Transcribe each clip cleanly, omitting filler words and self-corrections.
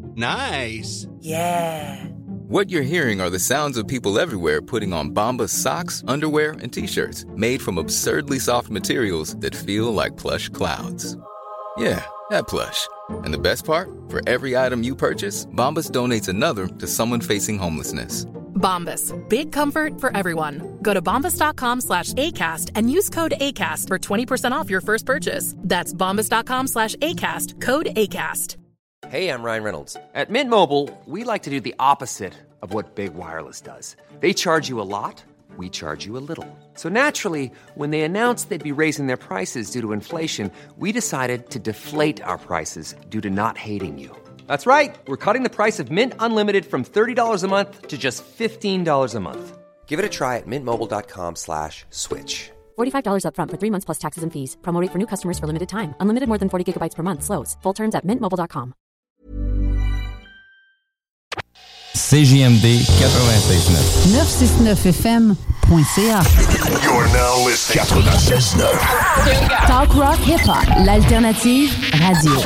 Nice. Yeah. What you're hearing are the sounds of people everywhere putting on Bombas socks, underwear, and T-shirts made from absurdly soft materials that feel like plush clouds. Yeah, that plush. And the best part? For every item you purchase, Bombas donates another to someone facing homelessness. Bombas. Big comfort for everyone. Go to bombas.com/ACAST and use code ACAST for 20% off your first purchase. That's bombas.com/ACAST. Code ACAST. Hey, I'm Ryan Reynolds. At Mint Mobile, we like to do the opposite of what Big Wireless does. They charge you a lot, we charge you a little. So naturally, when they announced they'd be raising their prices due to inflation, we decided to deflate our prices due to not hating you. That's right. We're cutting the price of Mint Unlimited from $30 a month to just $15 a month. Give it a try at mintmobile.com/switch. $45 up front for 3 months plus taxes and fees. Promo rate for new customers for limited time. Unlimited more than 40 gigabytes per month. Slows full terms at mintmobile.com. CJMD 96.9. 969fm.ca. You're now listening 96.9. Talk rock hip hop, l'alternative radio.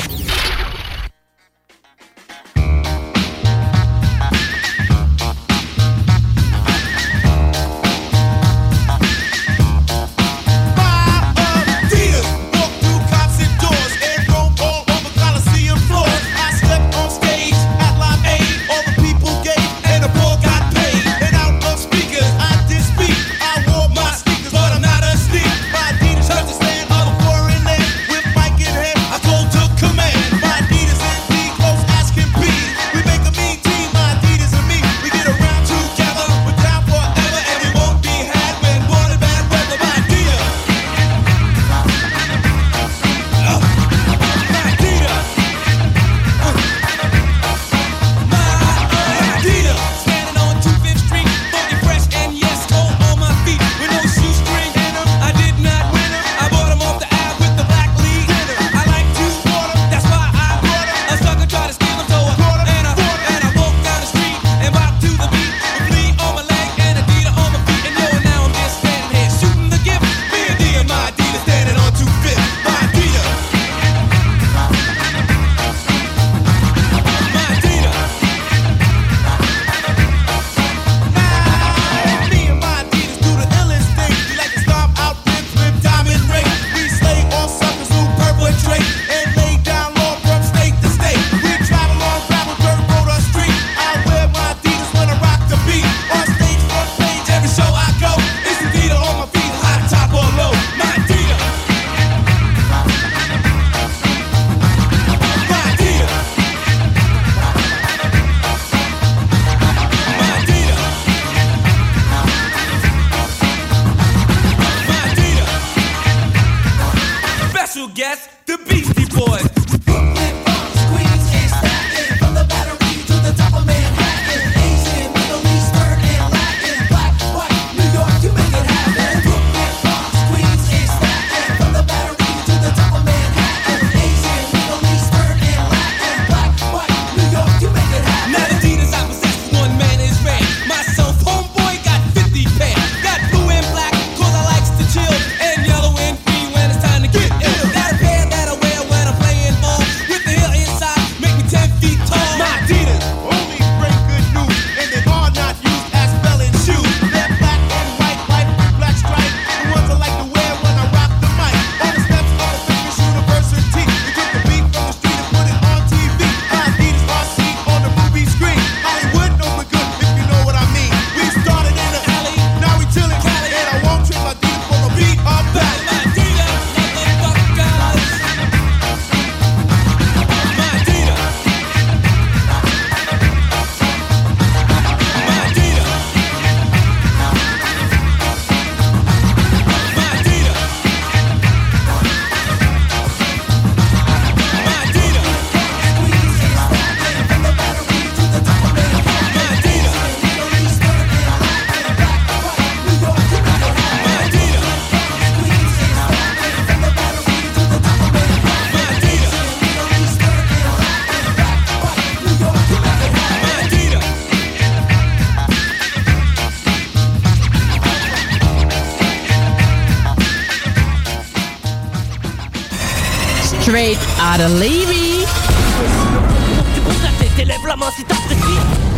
Straight out of Levy. lève la main si t'apprécies.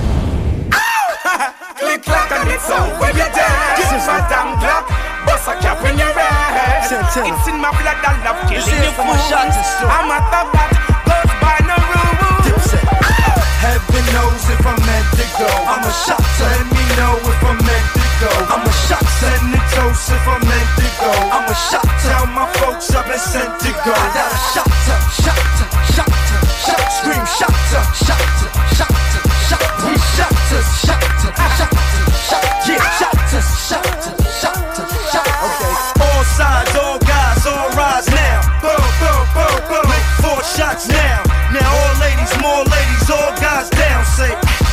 Click clack and it's over your dead. This is Madame Glock. Bust a cap in your head. It's in my blood, I love killing you fools. I'm a thug that goes by no rules. Heaven knows if I'm meant to go. I'm a shot, let me know if I'm meant to go. I'm a shot, send the toast if I'm meant to go. I'm a shot, tell my folks I've been sent to go. I got a shot, shot, shot, shot, scream shot, shot, shot, shot, we shot, shot, shot, shot, yeah, shot, shot, shot, shot. Okay, all sides, all guys, all rise now. Boom, boom, boom, boom. Make 4 shots now. Now all ladies, more ladies, all guys down. Say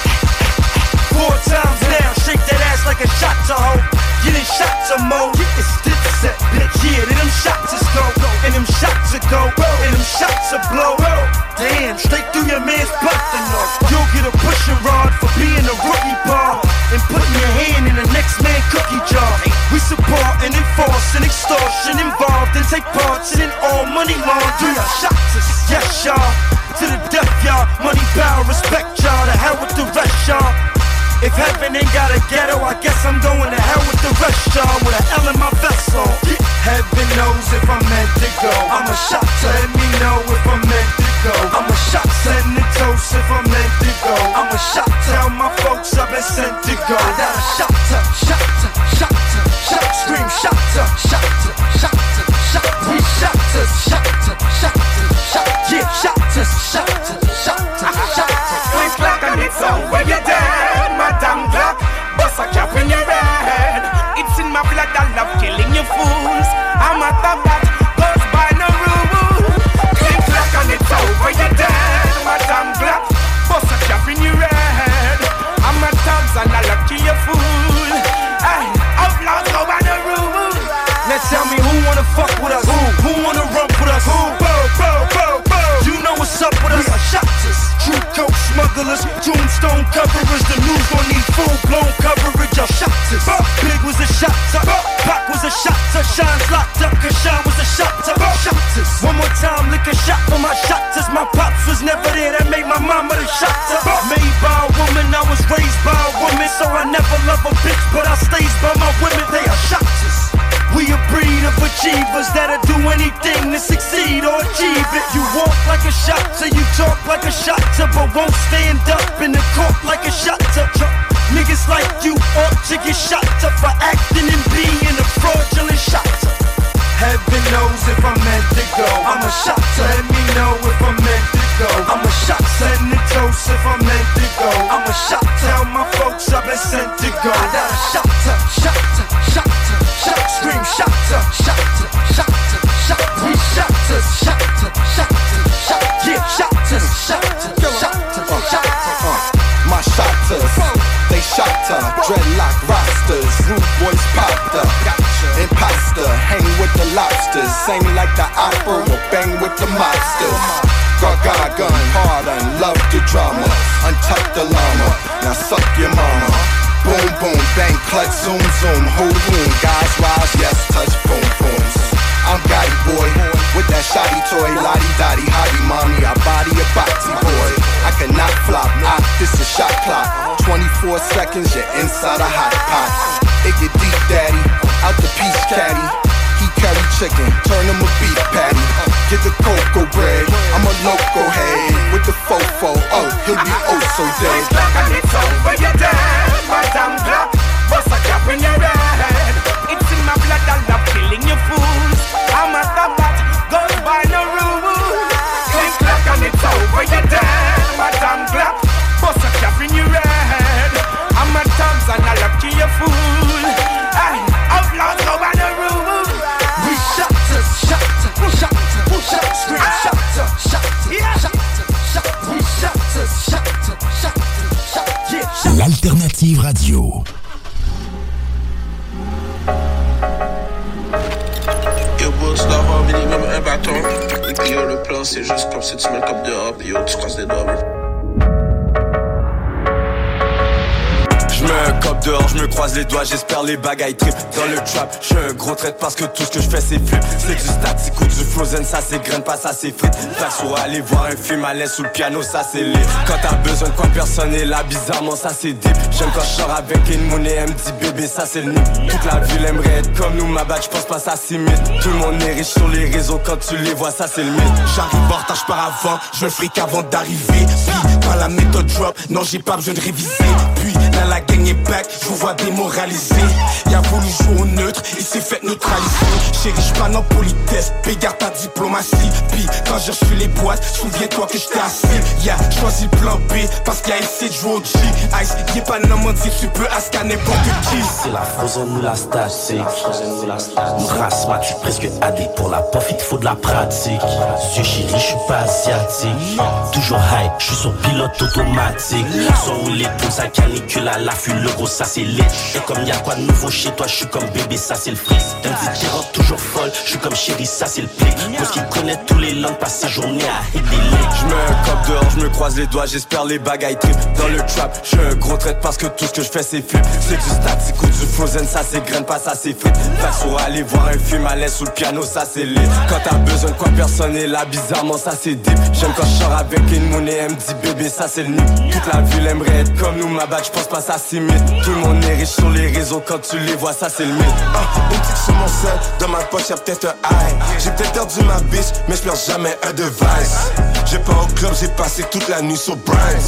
4 times now. Shake that ass like a shot to hoe. Get in shots of mo. It's Dipset, bitch. Yeah, then them shots is go. And them shots are go. And them shots are blow. Damn, straight through your man's butt to know. You'll get a pushing rod for being a rookie ball. And putting your hand in the next man's cookie jar. We support and enforce and extortion involved. And take parts in all money laundering. Shots is yes, y'all. To the death, y'all. Money, power, respect, y'all. To hell with the rest, y'all. If heaven ain't got a ghetto, I guess I'm going to hell with the rest, y'all. With an L in my vessel. Heaven knows if I'm meant to go. I'm a shot, let me know if I'm meant to go. I'm a shot, send the toast if I'm meant to go. I'm a shot, tell my folks I've been sent to go. I got a shot, shot, shot, shot, scream shot, shot, shot, shot, we shot, shot, shot, shot, yeah, shot, shot, shot, shot. Click clack and it's over your dead. Madame Glock, bust a cap in your head. It's in my blood, I love killing you fools. I'm a thug that goes by no rules. Click clack and it's over your dead. Madame Glock, bust a cap in your head. I'm a thugs and I love kill you fool. Hey, outlaws go by no rules. Now tell me who wanna fuck with us? Who wanna run with us? Who? You know what's up with us? We are shotters, true coke smugglers, tombstone coverers. The news gon' need full-blown coverage of shotters. Big was a shotter, Pac was a shotter, Shine's locked up, cause Shine was a shotter. Shotters, one more time, lick a shot for my shotters. My pops was never there, that made my mama the shotter. Made by a woman, I was raised by a woman, so I never love a bitch, but I stays by my women. They are shotters. We a breed of achievers that'll do anything to succeed or achieve it. You walk like a shotter, you talk like a shotter, but won't stand up in the court like a shotter. Niggas like you ought to get shot up for acting and being a fraudulent shotter. Heaven knows if I'm meant to go. I'm a shotter, let me know if I'm meant to go. I'm a shot, send the toast if I'm meant to go. I'm a shot, tell my folks I've been sent to go. I got a shotter, shotter, shotter, shot, scream shotter, shotter, shotter, shot, we shotter, shotter, shotter, shot, yeah, shotter, shotter, shotter, shotter. My shotters, they shotter, dreadlock rosters, rude boys popped up, imposter, hang with the lobsters, sing like the opera, or bang with the mobsters. Gaga gun, pardon, love the drama, untuck the llama, now suck your mama. Boom boom, bang, clutch, zoom zoom, hold room, guys rise, yes, touch boom booms. I'm Gotti boy, with that shoddy toy, lottie dotty, hottie mommy, I body a boxy boy. I cannot flop, this is shot clock. 24 seconds, you're inside a hot pot. It get deep, daddy, out the peach caddy. He carry chicken, turn him a beef patty. Get the cocoa bread, I'm a loco head. With the fofo, oh, he'll be oh so dead. And it's over your dead. Madame Glock, bust a cap in your head. It's in my blood, I love killing you fools. I'm a thug that goes by no rules. Click clack and it's over your dead. Madame Glock, bust a cap in your head. I'm a thugs and I love kill you fool. Hey, outlaws go by no rules. We shotters, shotter, shotter, shotter, scream shotter, shotter, shotter, shotter, we shotters, shotter, shotter, shotter, yeah, shotter. L'alternative radio. Yo boss, d'avoir minimum un bâton. Et puis yo, le plan c'est juste comme si tu mets le cop dehors. Puis yo, tu croises les doigts. J'mets un cop dehors, je me croise les doigts, j'espère les bagailles trip. Dans le trap, je suis un gros traite parce que tout ce que je fais c'est flip. C'est du statique ou du frozen, ça c'est graine, pas ça c'est frites. Perso, aller voir un film à l'aise sous le piano, ça c'est lit. Quand t'as besoin de quoi, personne est là, bizarrement ça c'est deep. J'aime quand je sors avec une monnaie, elle me dit bébé, ça c'est le nid. Toute la ville aimerait être comme nous, ma badge, j'pense pas ça s'imite. Tout le monde est riche sur les réseaux, quand tu les vois, ça c'est le mythe. J'arrive en retard, j'pars avant, je me fric avant d'arriver. Puis, quand la méthode drop, non j'ai pas besoin de réviser. Puis, là la gang est back, je vous vois démoralisé. Il a voulu jouer au neutre, il s'est fait neutraliser. Chérie, j'pas en politesse, pégarde ta diplomatie. Puis, quand je reçus les boîtes, souviens-toi que j'étais assis. Yeah, choisi le plan B, parce qu'il a essayé de jouer au G. Ice, y'est pas n'importe si tu peux ask à n'importe qui. C'est la frozen ou la statique. Mon race m'a tu presque adé pour la pof, il te faut de la pratique. Yeux chéri, je suis pas asiatique. Toujours high, je suis sur pilote automatique. Sans rouler pour sa canicule à l'affût, le gros ça c'est lit. Et comme y'a quoi de nouveau chez toi, je suis comme bébé, ça c'est le freeze. D'un dit qui rentre toujours folle, je suis comme chéri, ça c'est le plic. Parce qu'il connaît tous les langues, passe ses journées à hit des lits. Je mets un cop dehors, je me croise les doigts, j'espère les bagailles trip. Dans le trap, je suis un gros traite parce que tout ce que je fais c'est flip. C'est du statique ou du frozen, ça c'est graine, pas ça c'est frites. Perso, aller voir un film à l'aise sous le piano, ça c'est lit. Quand t'as besoin de quoi, personne est là, bizarrement ça c'est deep. J'aime quand je sors avec une monnaie, elle me dit bébé, ça c'est le nid. Toute la ville aimerait être comme nous, ma badge, j'pense pas ça s'imite. Tout le monde est riche sur les réseaux, quand tu les vois, ça c'est le mythe. Une petite sur mon sel, dans ma poche y'a peut-être un high. J'ai peut-être perdu ma bitch, mais j'perds jamais un device. J'ai pas au club, j'ai passé toute la nuit sur Bryce.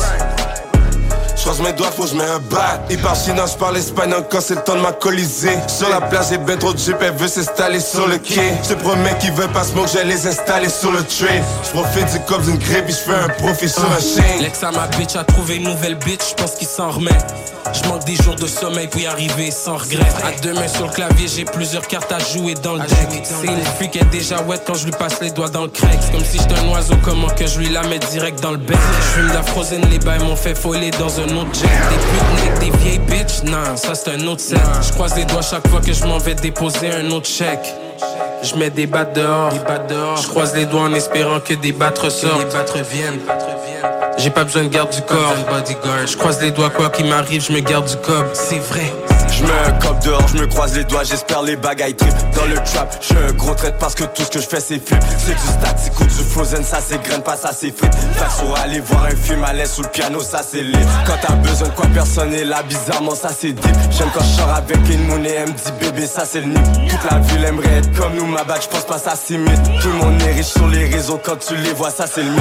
J'croise mes doigts, faut que j'mets un bat. Il parle chinois, j'parle espagnol quand c'est le temps de m'alcooliser. Sur la plage, j'ai ben trop de jeep, elle veut s'installer sur le quai. J'te promets qu'ils veulent pas smoke, j'allais les installer sur le tray. J'profite du cop d'une crêpe, j'fais un profit sur un chien. L'ex à ma bitch a trouvé une nouvelle bitch, j'pense qu'il s'en remet. J'manque des jours de sommeil pour y arriver sans regret. À deux mains sur le clavier, j'ai plusieurs cartes à jouer dans le deck. C'est une fille qui est déjà wet quand je lui passe les doigts dans le crack. C'est comme si j'étais un oiseau, comment que je lui la mets direct dans le bec. J'fume de la frozen, les bails m'ont fait foller dans un autre jet. Des putes avec des vieilles bitches, non, ça c'est un autre set. J'croise les doigts chaque fois que je m'en vais déposer un autre chèque. J'mets des battes dehors, j'croise les doigts en espérant que des battes ressortent. Que des battes reviennent. J'ai pas besoin de garde du corps, j'croise les doigts quoi qu'il m'arrive, j'me garde du cob, c'est vrai. Je mets un cop dehors, je me croise les doigts, j'espère les bagailles trip. Dans le trap, je suis un gros traite parce que tout ce que je fais c'est flip. C'est du statique ou du frozen, ça c'est graine, pas ça c'est frites. Perso, aller voir un film à l'aise sous le piano, ça c'est lit. Quand t'as besoin de quoi, personne est là, bizarrement ça c'est deep. J'aime quand je sors avec une monnaie, elle me dit bébé, ça c'est le nid. Toute la ville aimerait être comme nous, ma badge, j'pense pas ça s'imite. Tout le monde est riche sur les réseaux, quand tu les vois, ça c'est le mythe.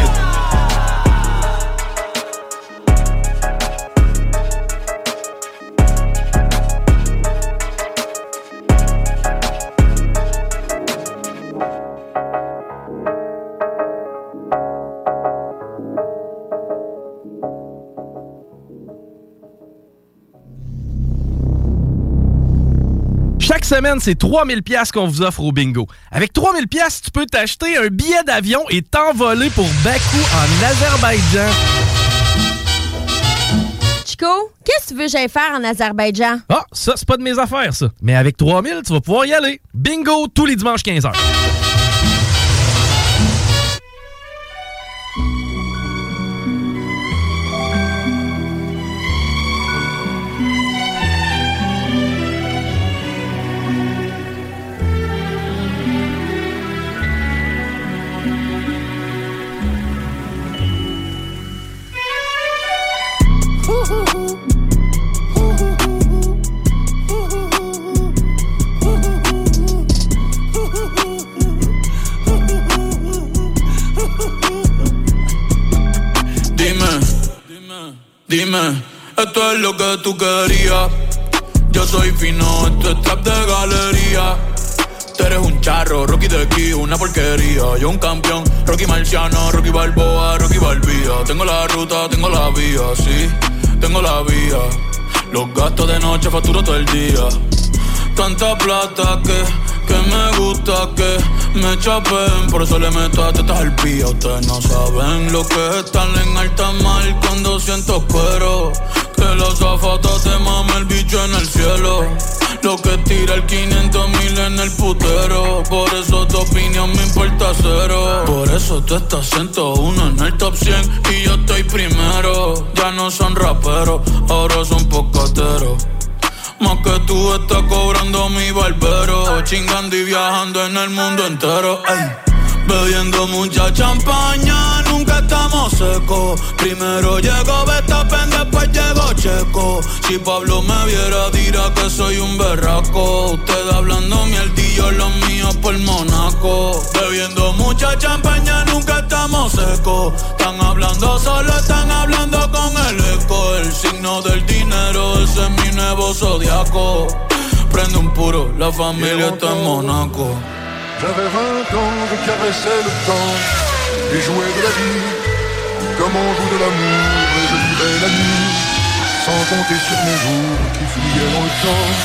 Chaque semaine, c'est 3000 $ qu'on vous offre au bingo. Avec 3000 $, tu peux t'acheter un billet d'avion et t'envoler pour Bakou en Azerbaïdjan. Chico, qu'est-ce que tu veux que j'aille faire en Azerbaïdjan? Ah, ça, c'est pas de mes affaires, ça. Mais avec 3000, tu vas pouvoir y aller. Bingo, tous les dimanches 15h. Dime, esto es lo que tú querías. Yo soy fino, esto es trap de galería. Tú eres un charro, Rocky de aquí, una porquería. Yo un campeón, Rocky Marciano, Rocky Balboa, Rocky Balbía. Tengo la ruta, tengo la vía, sí, tengo la vía. Los gastos de noche facturo todo el día. Tanta plata que me gusta que me chapen. Por eso le meto a tetas al pía. Ustedes no saben lo que es estar en alta mar cuando siento cuero. Que los zapatos te mame el bicho en el cielo. Lo que tira el 500,000 en el putero. Por eso tu opinión me importa cero. Por eso tú estás 101 en el top 100 y yo estoy primero. Ya no son raperos, ahora son pocateros. Más que tú estás cobrando mi barbero. Chingando y viajando en el mundo entero. Ey. Bebiendo mucha champaña, nunca estamos secos. Primero llegó Verstappen, después llegó Checo. Si Pablo me viera dirá que soy un berraco. Usted hablando mierdillo, los míos por Monaco. Bebiendo mucha champaña, nunca estamos secos. Están hablando solo, están hablando con el eco. El signo del dinero, ese es mi nuevo zodiaco. Prende un puro, la familia está en Monaco. J'avais 20 ans, je caressais le temps et jouais de la vie comme on joue de l'amour. Et je vivais la nuit sans compter sur mes jours qui fuyaient dans le temps.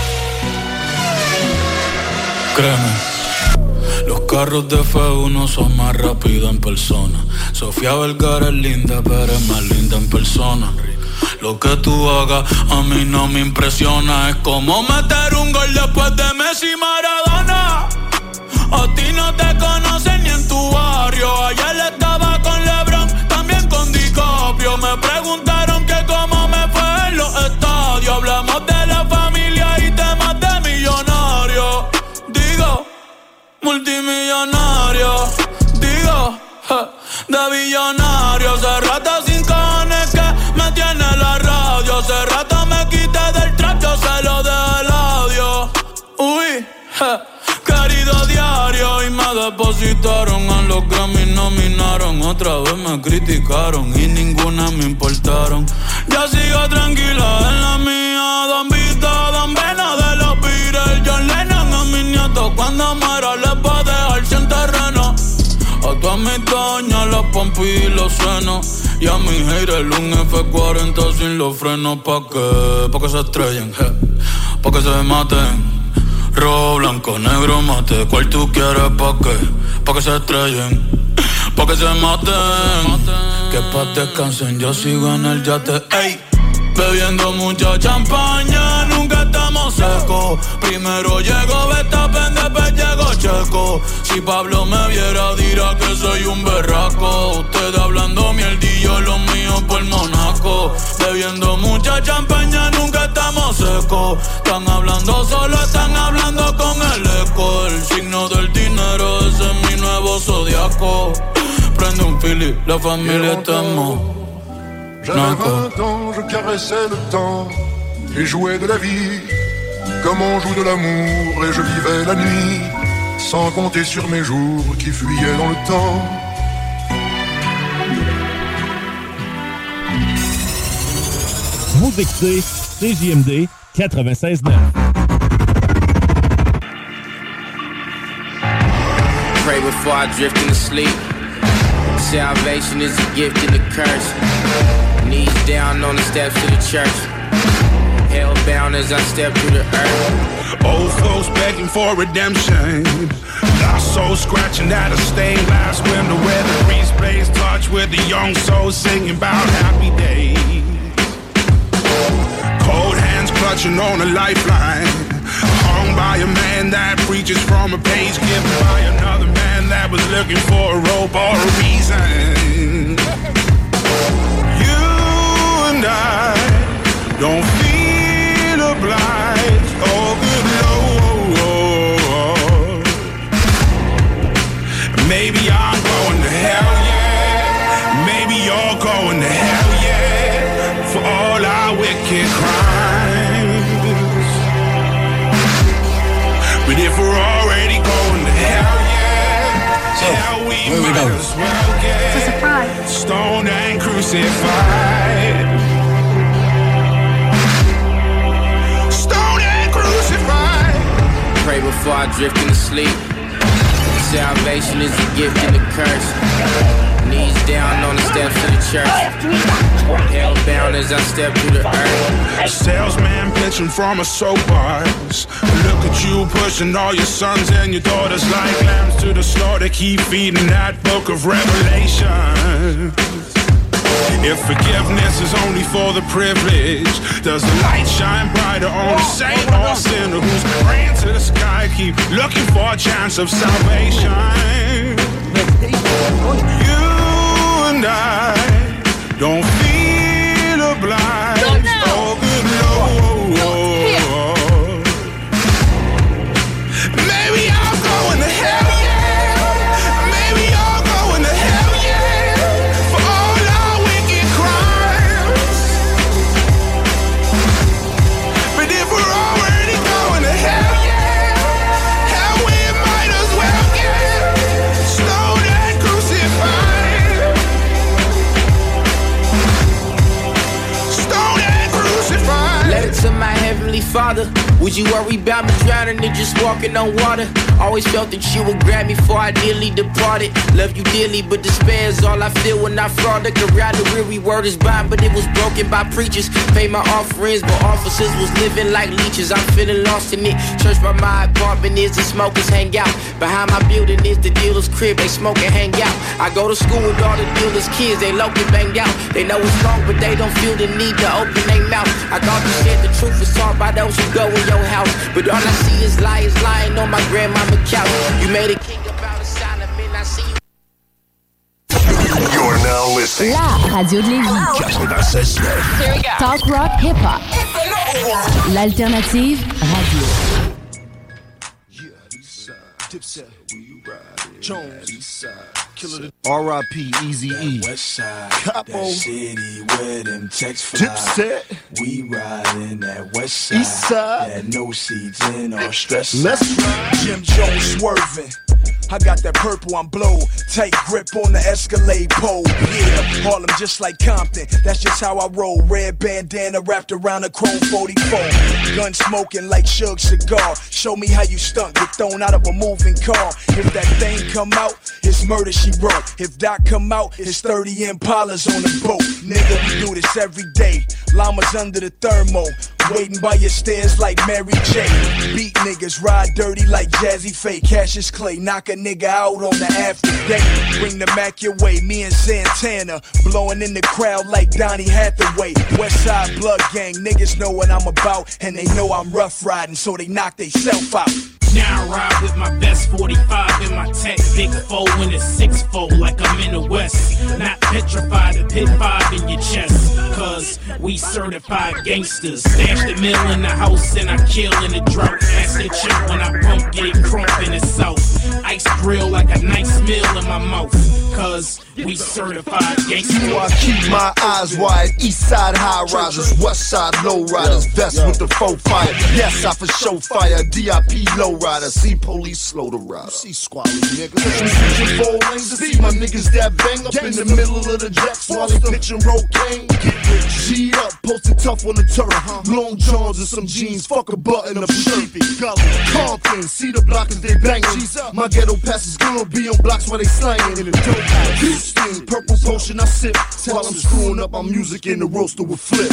Créeme, los carros de F1 son más rápidos en persona. Sofía Vergara es linda, pero es más linda en persona. Lo que tú hagas a mí no me impresiona. Es como meter un gol después de Messi y Maradona. A ti no te conocen ni en tu barrio. Ayer estaba con LeBron, también con DiCaprio. Me preguntaron que cómo me fue en los estadios. Hablamos de la familia y temas de millonarios. Digo, multimillonario. Digo, de billonario. Hace rato sin cojones que me tiene la radio. Hace rato me quité del trap, yo se lo dejé el audio. Uy, querido diario, y me depositaron a los Grammy, nominaron. Otra vez me criticaron y ninguna me importaron. Ya sigo tranquila en la mía. Don Vito, Don Vena de los Beatles, John Lennon a mis nietos. Cuando muera les voy a dejar sin terreno. A todas mis doñas, las pompis y los senos. Y a mi haters un F40 sin los frenos. ¿Pa' qué? Pa' que se estrellen, pa' que se maten. Rojo, blanco, negro, mate. ¿Cuál tú quieres? ¿Pa' qué? Pa' que se estrellen, pa' que se maten. Que pa' descansen, yo sigo en el yate. Ey, bebiendo mucha champaña, nunca estamos secos. Primero llegó Verstappen, después llegó Checo. Si Pablo me viera dirá que soy un berraco. Ustedes hablando mierdillo, los míos por Monaco. Bebiendo mucha champaña, nunca estamos secos. Están hablando solo, están hablando con el eco. El signo del dinero, ese es mi nuevo zodiaco. Prende un fili, la familia está en Monaco. J'avais 20 ans, je caressais le temps et jouais de la vie comme on joue de l'amour. Et je vivais la nuit sans compter sur mes jours qui fuyaient dans le temps. Vous écoutez CJMD 96.9. Pray before I drift into sleep. Salvation is a gift and a curse. Knees down on the steps of the church. Hellbound as I step through the earth. Old folks begging for redemption. Lost souls scratching at a stained glass window where the breeze plays touch with the young souls singing about happy days. Cold hands clutching on a lifeline. Hung by a man that preaches from a page given by another man that was looking for a rope or a reason. You and I don't feel obliged. Oh, good Lord. Maybe I'm going to hell, yeah. Maybe you're going to hell, yeah. For all our wicked crimes. But if we're already going to hell, yeah, hell we might as well get stoned and crucified. Stoned and crucified. Pray before I drift into sleep. Salvation is a gift and a curse. Knees down on the steps of the church. Hellbound as I step through the earth. Salesman pitching from a soapbox. Look at you pushing all your sons and your daughters like lambs to the slaughter. Keep feeding that book of Revelation. If forgiveness is only for the privileged, does the light shine brighter on a saint or a sinner who's praying to the sky, keep looking for a chance of salvation? You and I don't feel obliged. Oh, good Lord. father? Would you worry about me drowning or just walking on water? Always felt that you would grab me before I dearly departed. Love you dearly, but despair is all I feel when I fraud. Look around, the weary word is bond, but it was broken by preachers. Paid my offerings, but officers was living like leeches. I'm feeling lost in it. Church by my apartment is the smokers hang out. Behind my building is the dealer's crib, they smoke and hang out. I go to school with all the dealer's kids, they low-key banged out. They know it's wrong, but they don't feel the need to open their mouth. I thought you said the truth was taught by those who go in your house, but all I see is liars lying on my grandmama couch. You made a king about a Solomon, I see you. You're now listening. La radio de Lévis. 96.9. Talk rock hip hop. L'alternative radio. Jones, R.I.P. Eazy-E, Capo, city where them checks fly. Dipset, we riding that west side. East side, that no seats in or stress. Let's ride. Jim Jones swerving. I got that purple, I'm blow. Tight grip on the Escalade pole. Yeah, Harlem just like Compton. That's just how I roll. Red bandana wrapped around a chrome 44. Gun smoking like Suge Cigar. Show me how you stunt. Get thrown out of a moving car. If that thing come out, it's murder she wrote. If that come out, it's 30 Impalas on the boat. Nigga, we do this every day. Llamas under the thermo. Waiting by your stairs like Mary J. Beat niggas, ride dirty like Jazzy Faye. Cassius Clay, knock a nigga out on the after day. Bring the Mac your way, me and Santana. Blowing in the crowd like Donnie Hathaway. Westside Blood Gang, niggas know what I'm about. And they know I'm rough riding, so they knock they self out. Now I ride with my best 45 in my tech, big 4 in a 6-4 like I'm in the West. Not petrified to pit 5 in your chest, cause we certified gangsters. Stash the mill in the house and I kill in the drought. That's the chip when I pump, get it crump in the south. Ice grill like a nice meal in my mouth, cause we certified gangsters. I keep my eyes wide, east side high risers, west side low riders, vest with the faux fire. Yes, I for show fire, DIP low rider, see police slow to ride. See squallies, niggas. Switching 4 lanes to see my niggas that bang up in the middle of the jacks while they pitching rocaine. Get G'd up, posted tough on the turf. Long johns and some jeans, fuck a button up shirt. Compton, see the blockers they banging. My ghetto passes good, be on blocks while they slanging. In the dope house, Houston, purple potion I sip while I'm screwing up my music in the roaster with flip.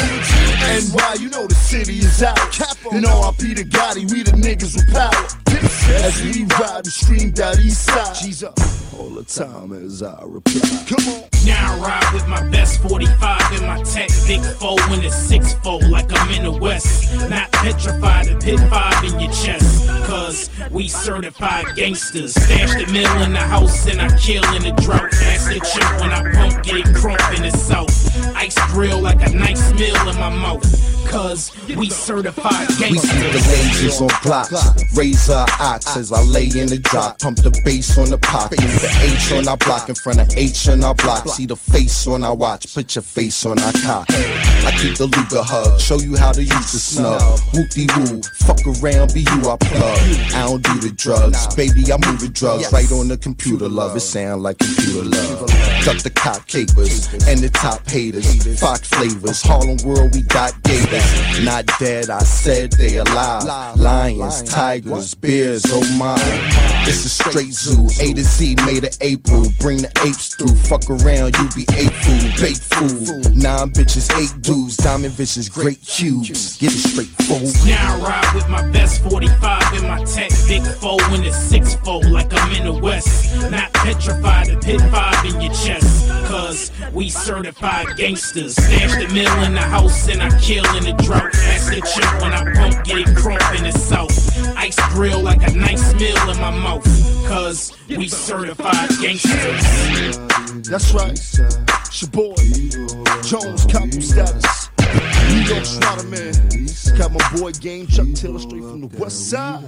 NY, you know the city is out. And R.I.P. to Gotti, we the niggas with power. As we ride and stream down east side. G's up all the time as I reply. Come on. Now I ride with my best 45 in my tech, big 4 in a 6-4 like I'm in the West. Not petrified to pit 5 in your chest, cause we certified gangsters. Stash the mill in the house and I kill in the drought. That's the chip when I pump, get it crump in the south. Ice grill like a nice meal in my mouth, cause we certified gangsters. We see the lasers on blocks, razor ox as I lay in the drop. Pump the bass on the pocket, the H on our block in front of H on our block. See the face on our watch, put your face on our cock. I keep the Luger hug, show you how to use the snub. Whoop-de-woo, fuck around, be you I plug. I don't do the drugs, baby I move the drugs right on the computer, love. It sound like computer love. Duck the cop capers and the top haters. Fox flavors, Harlem World, we got gators. Not dead, I said they alive. Lions, tigers, bears, oh my. It's a straight zoo, A to Z made of April. Bring the apes through, fuck around, you be ape food, baked food. 9 bitches, 8 dudes, diamond visions, great cubes. Get it straight, fool. Now I ride with my best 45 in my tech, big 4 in a 6-4 like I'm in the West. Not petrified to pit 5 in your chest, cause we certified gangsters. Stash the mill in the house and I kill in the drought. That's the chip when I pump, get it crump in the south. Ice grill like a nice meal in my mouth, cause we certified gangsters. That's right, it's your boy, Jones, Capo status. New York Schroeder, man. Got my boy Game Chuck Taylor straight from the west side.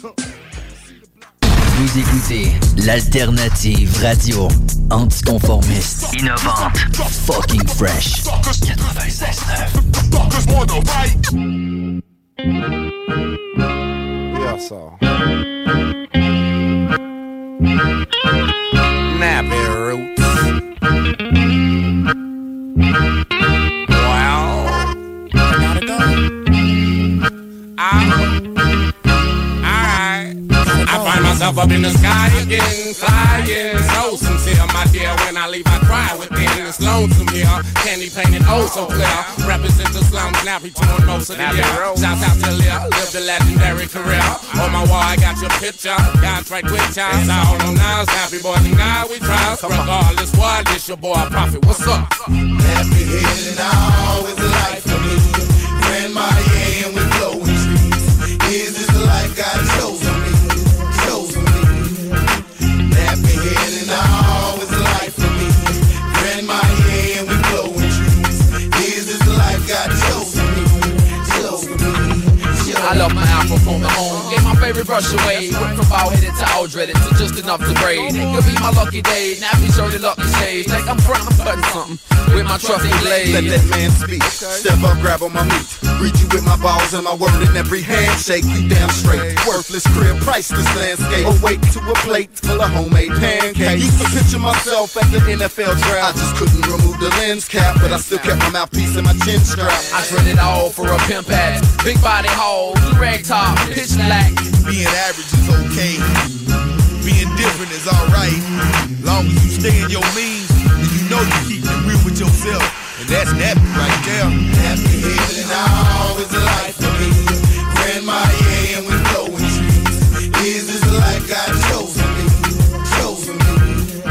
Vous écoutez l'alternative radio anticonformiste, innovante, fucking fresh. 96.9. Yeah, so. Nappy Roots. Well, I gotta go. up in the sky again, flying. So sincere, my dear, when I leave I cry within. It's lonesome here, candy painted oh so clear. Represent the slums, now we touring most of the year. Shouts out to Leah, live the legendary career. On my wall I got your picture, God's right with ya. It's all on us, happy boys and God we trust. Regardless what, it's your boy Prophet, what's up? Happy head and all is a life for me. Grandma, yeah, and we blowing trees. Is this the life God chose for me? Chose for me. Happy head and all is a life for me. Grandma, yeah, and we blowing trees. Is this the life God chose for me? Chose for me. I love my Afro from the home. Gave my favorite brush away. Went from bald headed to all dreaded to just enough to braid. It could be my lucky day. Nappy shirted lucky shades. Like I'm cutting something with my trusty blade. Let that man speak. Step up, grab on my meat. Greet you with my balls and my word in every handshake. You damn straight. Worthless crib, priceless landscape. Awake to a plate full of homemade pancakes. Used to picture myself at the NFL draft. I just couldn't remove the lens cap, but I still kept my mouthpiece and my chin strap. I traded all for a pimp hat. Big body hole, rag top, pitch black. Being average is okay. Being different is alright. Long as you stay in your means, then you know you keep it real with yourself. And that's nappy right there. Happy head and all is a life for me. Grandma, yeah, and we blowing trees. Is this the life God chose for me? Chose for me.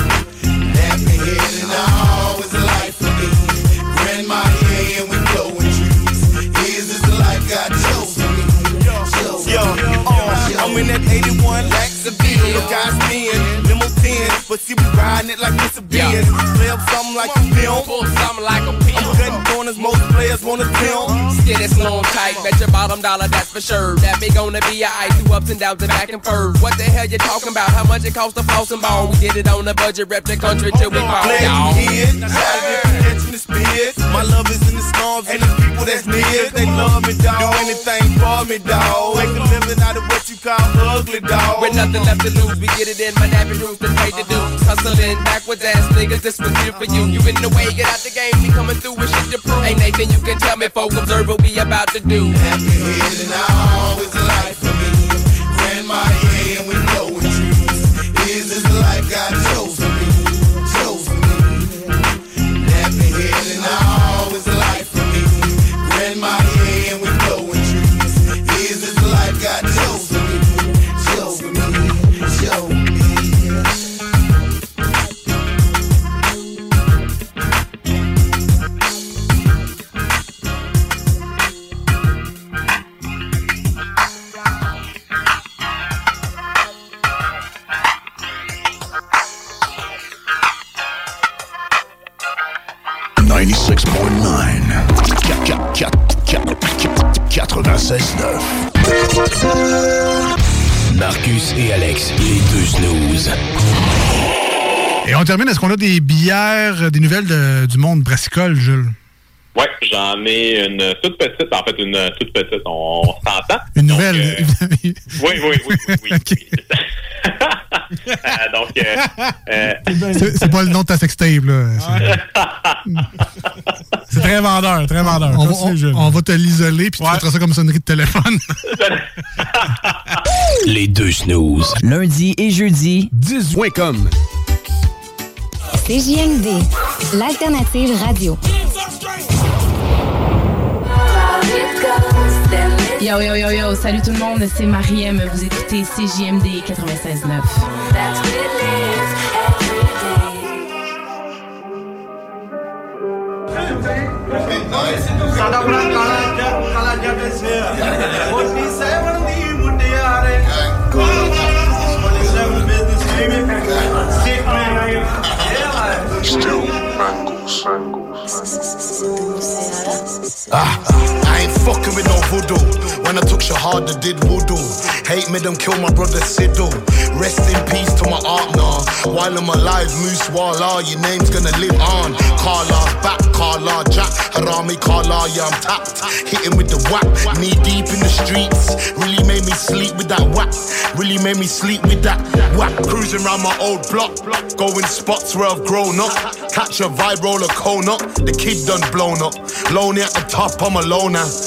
Happy head and all is a life for me. Grandma, yeah, and we blowing trees. Is this the life God chose for me? Chose for me. I'm in that 81 lakhs of beer. Look, guys spin, limo 10. But see, we riding it like it's a Benz. Play up something like a film. Pull something like a pimp. I'm cutting corners, most players wanna film. Steady, slow, tight, bet your bottom dollar, that's for sure. That big gonna be your ice, two ups and downs and back and forth. What the hell you talking about? How much it cost to floss and ball? We did it on the budget, rep the country till we fall, y'all. Catching the spears. My love is in the storms and the people that's near. They love me, dog. Do anything for me, dog. Make a living out of what you call ugly, dog. With nothing left to lose, we get it in my nappy roots and pay the dues. Hustling backwards ass niggas, this was here for you. You in the way, get out the game, we coming through with shit to prove. Ain't Nathan, you can tell me, folks, observe what we about to do. Happy head and all is a life for me. Grandma, yeah, and we blowing trees. Is this the life God chose for me? Chose for me. Happy head and all is a life for me. Grandma, yeah, and we blowing trees. Is this the life God chose for me? Chose for me. Chose for me. 96.9 Marcus et Alex, les deux snooze. Et on termine, est-ce qu'on a des bières, des nouvelles du monde brassicole, Jules? Ouais, j'en ai une toute petite, en fait une toute petite, on s'entend. Une nouvelle? Oui. Okay. C'est pas le nom de ta sextape, là. C'est très vendeur, très vendeur. On va te l'isoler, puis tu mettras ça comme sonnerie de téléphone. Les deux snooze. Lundi et jeudi, 18.com. CJMD, l'alternative radio. Yo, salut tout le monde, c'est Mariem, vous écoutez CJMD 96.9. Still mangles. I ain't fucking with no voodoo. When I took Shahada, did voodoo. Hate made them kill my brother Sidhu. Rest in peace to my aunt, nah. While I'm alive, Moose Walla, your name's gonna live on. Carla's back, Carla Jack, Harami Carla, yeah, I'm tapped. Hitting with the whack, knee deep in the streets. Really made me sleep with that whack. Really made me sleep with that whack. Cruising around my old block, going spots where I've grown up. Catch a vibe, roll a cone up. The kid done blown up. Lonely at the top, I'm a loner.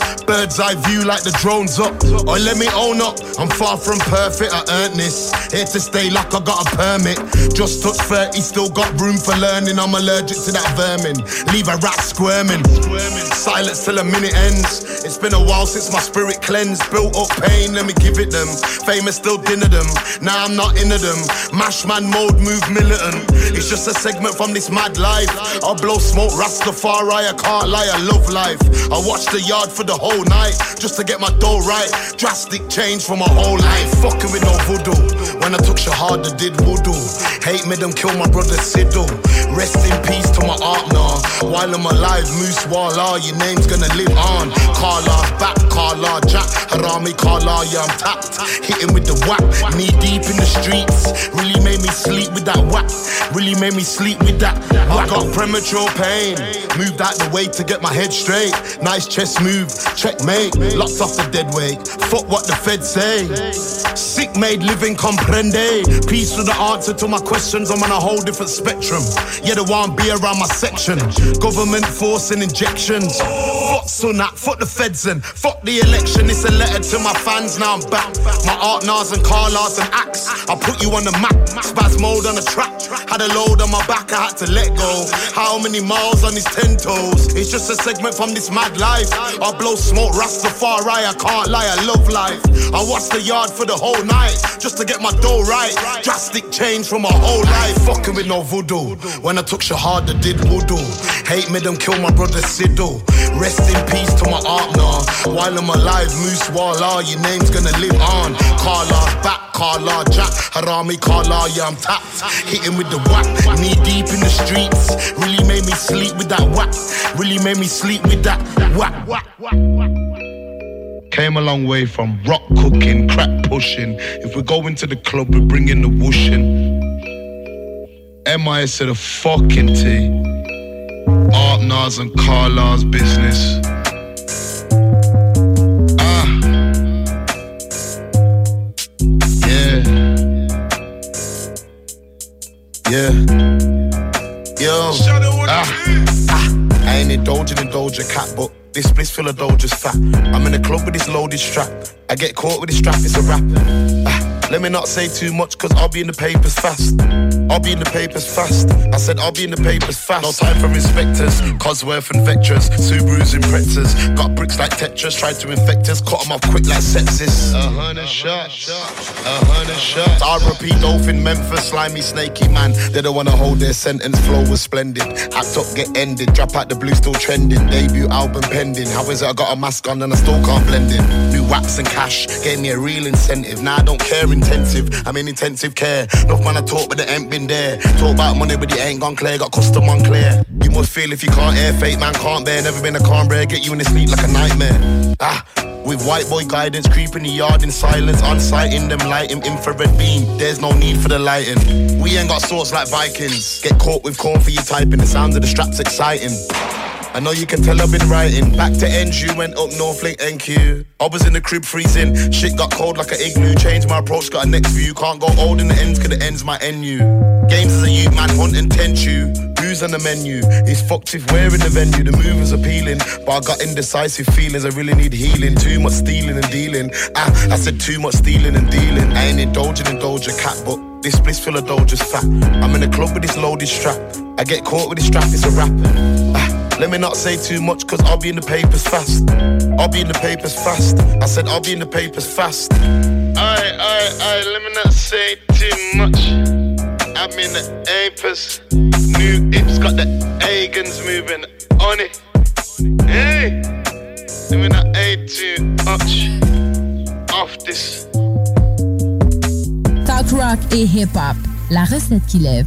Bird's eye view like the drone's up. Or let me own up, I'm far from perfect, I earned this. Here to stay like I got a permit. Just touched 30, still got room for learning. I'm allergic to that vermin. Leave a rat squirming. Silence till a minute ends. It's been a while since my spirit cleansed. Built up pain, let me give it them. Famous still dinner them. Now I'm not into them. Mash man mode, move militant. It's just a segment from this mad life. I blow smoke, Rastafari, I can't lie, I love life. I watch the yard for the whole night, just to get my dough right. Drastic change for my whole life. Fucking with no voodoo. When I took Shahada, did voodoo. Hate made them kill my brother Sidhu. Rest in peace to my art now. While I'm alive, Moose Walla, your name's gonna live on. Carla's back, Carla Jack, Harami Carla, yeah I'm tapped. Hitting with the whack, knee deep in the streets. Really made me sleep with that whack. Really made me sleep with that. I got premature pain. Moved out the way to get my head straight. Nice chest move, checkmate. Locked off the dead weight. Fuck what the feds say. Sick made living comprende. Peace to the answer to my questions. I'm on a whole different spectrum. Yeah, the one be around my section. Government forcing injections. Fuck Sunak, fuck the feds and fuck the election. It's a letter to my fans, now I'm back. My art Nas and Carlas and Axe. I put you on the map. Spaz mode on the track. Had a load on my back, I had to let go. How many miles on his 10 toes? It's just a segment from this mad life. I blow smoke, Rastafari, I can't lie, I love life. I watch the yard for the whole night, just to get my dough right. Drastic change from my whole life. Fucking with no voodoo. When I took Shahada, did voodoo. Hate made them kill my brother Sidhu. Rest in peace to my art now. While I'm alive, Moose Walla, your name's gonna live on. Carla's back, Carla Jack, Harami Carla, yeah I'm tapped. Hitting with the whack, knee deep in the streets. Really made me sleep with that whack. Really made me sleep with that whack. Came a long way from rock cooking, crack pushing. If we go into the club, we bring in the whooshing. MIS to the fucking T. Art Nas and Carla's business. Yeah. Yo. I ain't indulging in Doja Cat, but this bliss full of Doja's fat. I'm in the club with this loaded strap. I get caught with this strap, it's a rap. Let me not say too much, cause I'll be in the papers fast. I'll be in the papers fast. I said I'll be in the papers fast. No time for inspectors, Cosworth and Vectras, Subarus and Pretzers. Got bricks like Tetris, tried to infect us, cut them off quick like sepsis. 100 shots, 100 shots. R.I.P. Dolphin, Memphis, slimy, snaky man. They don't wanna hold their sentence, flow was splendid. Act up, get ended, drop out the blue, still trending. Debut album pending. How is it I got a mask on and I still can't blend in? New wax and cash, gave me a real incentive. Now I don't care intensive, I'm in intensive care. Enough man I talk but they ain't been there. Talk about money but it ain't gone clear. Got custom on clear. You must feel if you can't air, fake man can't bear. Never been a calm bear, get you in the sleep like a nightmare. With white boy guidance, creeping the yard in silence. On sight in them lighting, infrared beam. There's no need for the lighting. We ain't got swords like Vikings. Get caught with corn for you typing. The sounds of the straps exciting. I know you can tell I've been writing. Back to NG, went up Northlink NQ. I was in the crib freezing. Shit got cold like an igloo. Changed my approach, got a next view. Can't go old in the ends, cause the end's my NU. Games as a youth, man, hunt and tent you. Booze on the menu. It's fucked if we're in the venue. The move is appealing, but I got indecisive feelings. I really need healing. Too much stealing and dealing. I said too much stealing and dealing. I ain't indulging in Doja Cat, but this bliss full of Doja's fat. I'm in the club with this loaded strap. I get caught with this strap, it's a rap. Let me not say too much, cause I'll be in the papers fast. I'll be in the papers fast. I said I'll be in the papers fast. Aye, let me not say too much. I'm in the papers. New hips got the Agans moving on it. Hey, let me not say too much. Off this. Talk rock et hip-hop, la recette qui lève.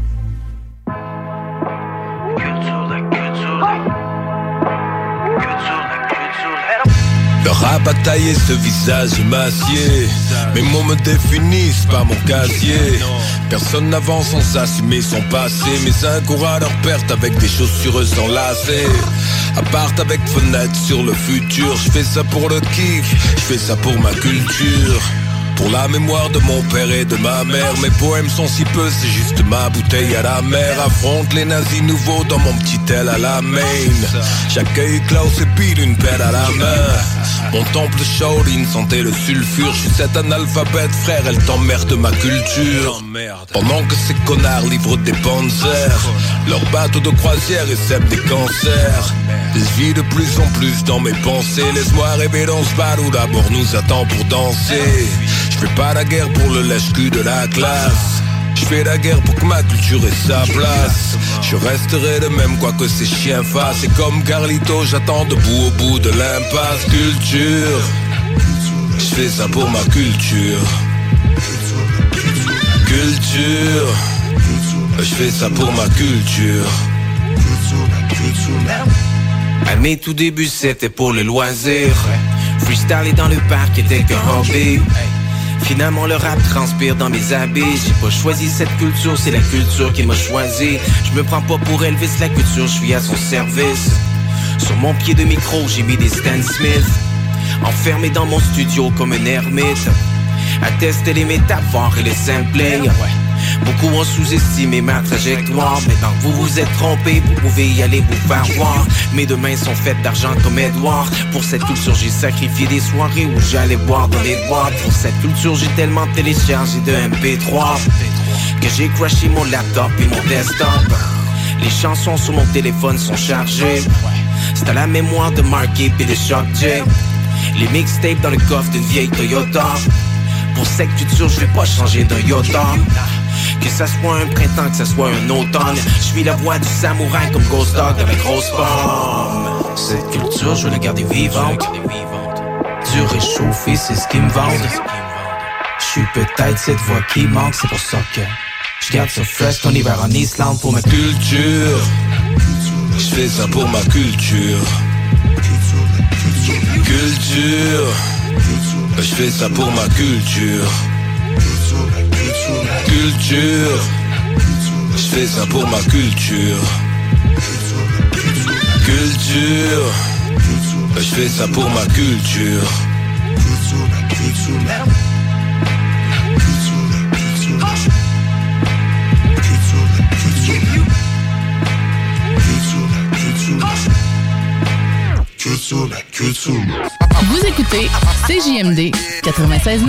Le rap a taillé ce visage massier. Mes mots me définissent, pas mon casier. Personne n'avance sans assumer son passé. Mes uns courent à leur perte avec des chaussures sans lacets. Appart avec fenêtre sur le futur. Je fais ça pour le kiff, je fais ça pour ma culture. Pour la mémoire de mon père et de ma mère, mes poèmes sont si peu, c'est juste ma bouteille à la mer. Affronte les nazis nouveaux dans mon petit aile à la main. J'accueille Klaus et pile une pelle à la main. Mon temple Shaolin sentait le sulfure. Je suis cet analphabète frère, elle t'emmerde ma culture. Pendant que ces connards livrent des panzers, leurs bateaux de croisière et sèment des cancers. Je vis de plus en plus dans mes pensées. Laisse-moi rêver dans ce bar où d'abord nous attend pour danser. Je fais pas la guerre pour le lèche-cul de la classe. Je fais la guerre pour que ma culture ait sa place. Je resterai le même quoi que ces chiens fassent. Et comme Carlito, j'attends debout au bout de l'impasse. Culture, je fais ça pour ma culture. Culture, je fais ça pour ma culture. À mes tout débuts c'était pour le loisir. Freestyler dans le parc était qu'un hobby. Finalement le rap transpire dans mes habits. J'ai pas choisi cette culture, c'est la culture qui m'a choisi. Je me prends pas pour Elvis, la culture, je suis à son service. Sur mon pied de micro j'ai mis des Stan Smith. Enfermé dans mon studio comme un ermite, à tester les métaphores et les samplings. Beaucoup ont sous-estimé ma trajectoire. Maintenant que vous vous êtes trompé, vous pouvez y aller vous faire voir. Mes deux mains sont faites d'argent comme Edouard. Pour cette culture j'ai sacrifié des soirées où j'allais boire dans les boîtes. Pour cette culture j'ai tellement téléchargé de MP3 que j'ai crashé mon laptop et mon desktop. Les chansons sur mon téléphone sont chargées. C'est à la mémoire de Marky et de Shock J. Les mixtapes dans le coffre d'une vieille Toyota. Pour cette culture je vais pas changer d'un iota. Que ça soit un printemps, que ça soit un automne, je suis la voix du samouraï comme Ghost Dog dans la grosse pomme. Cette culture, je veux la garder vivante. Du réchauffé, c'est ce qui me vante. Je suis peut-être cette voix qui manque, c'est pour ça que je garde ça fresh ton hiver en Islande pour ma culture. Je fais ça pour ma culture. Culture, je fais ça pour ma culture. Culture, je fais ça pour ma culture. Culture, je fais ça pour ma culture. Vous écoutez CJMD 96.9.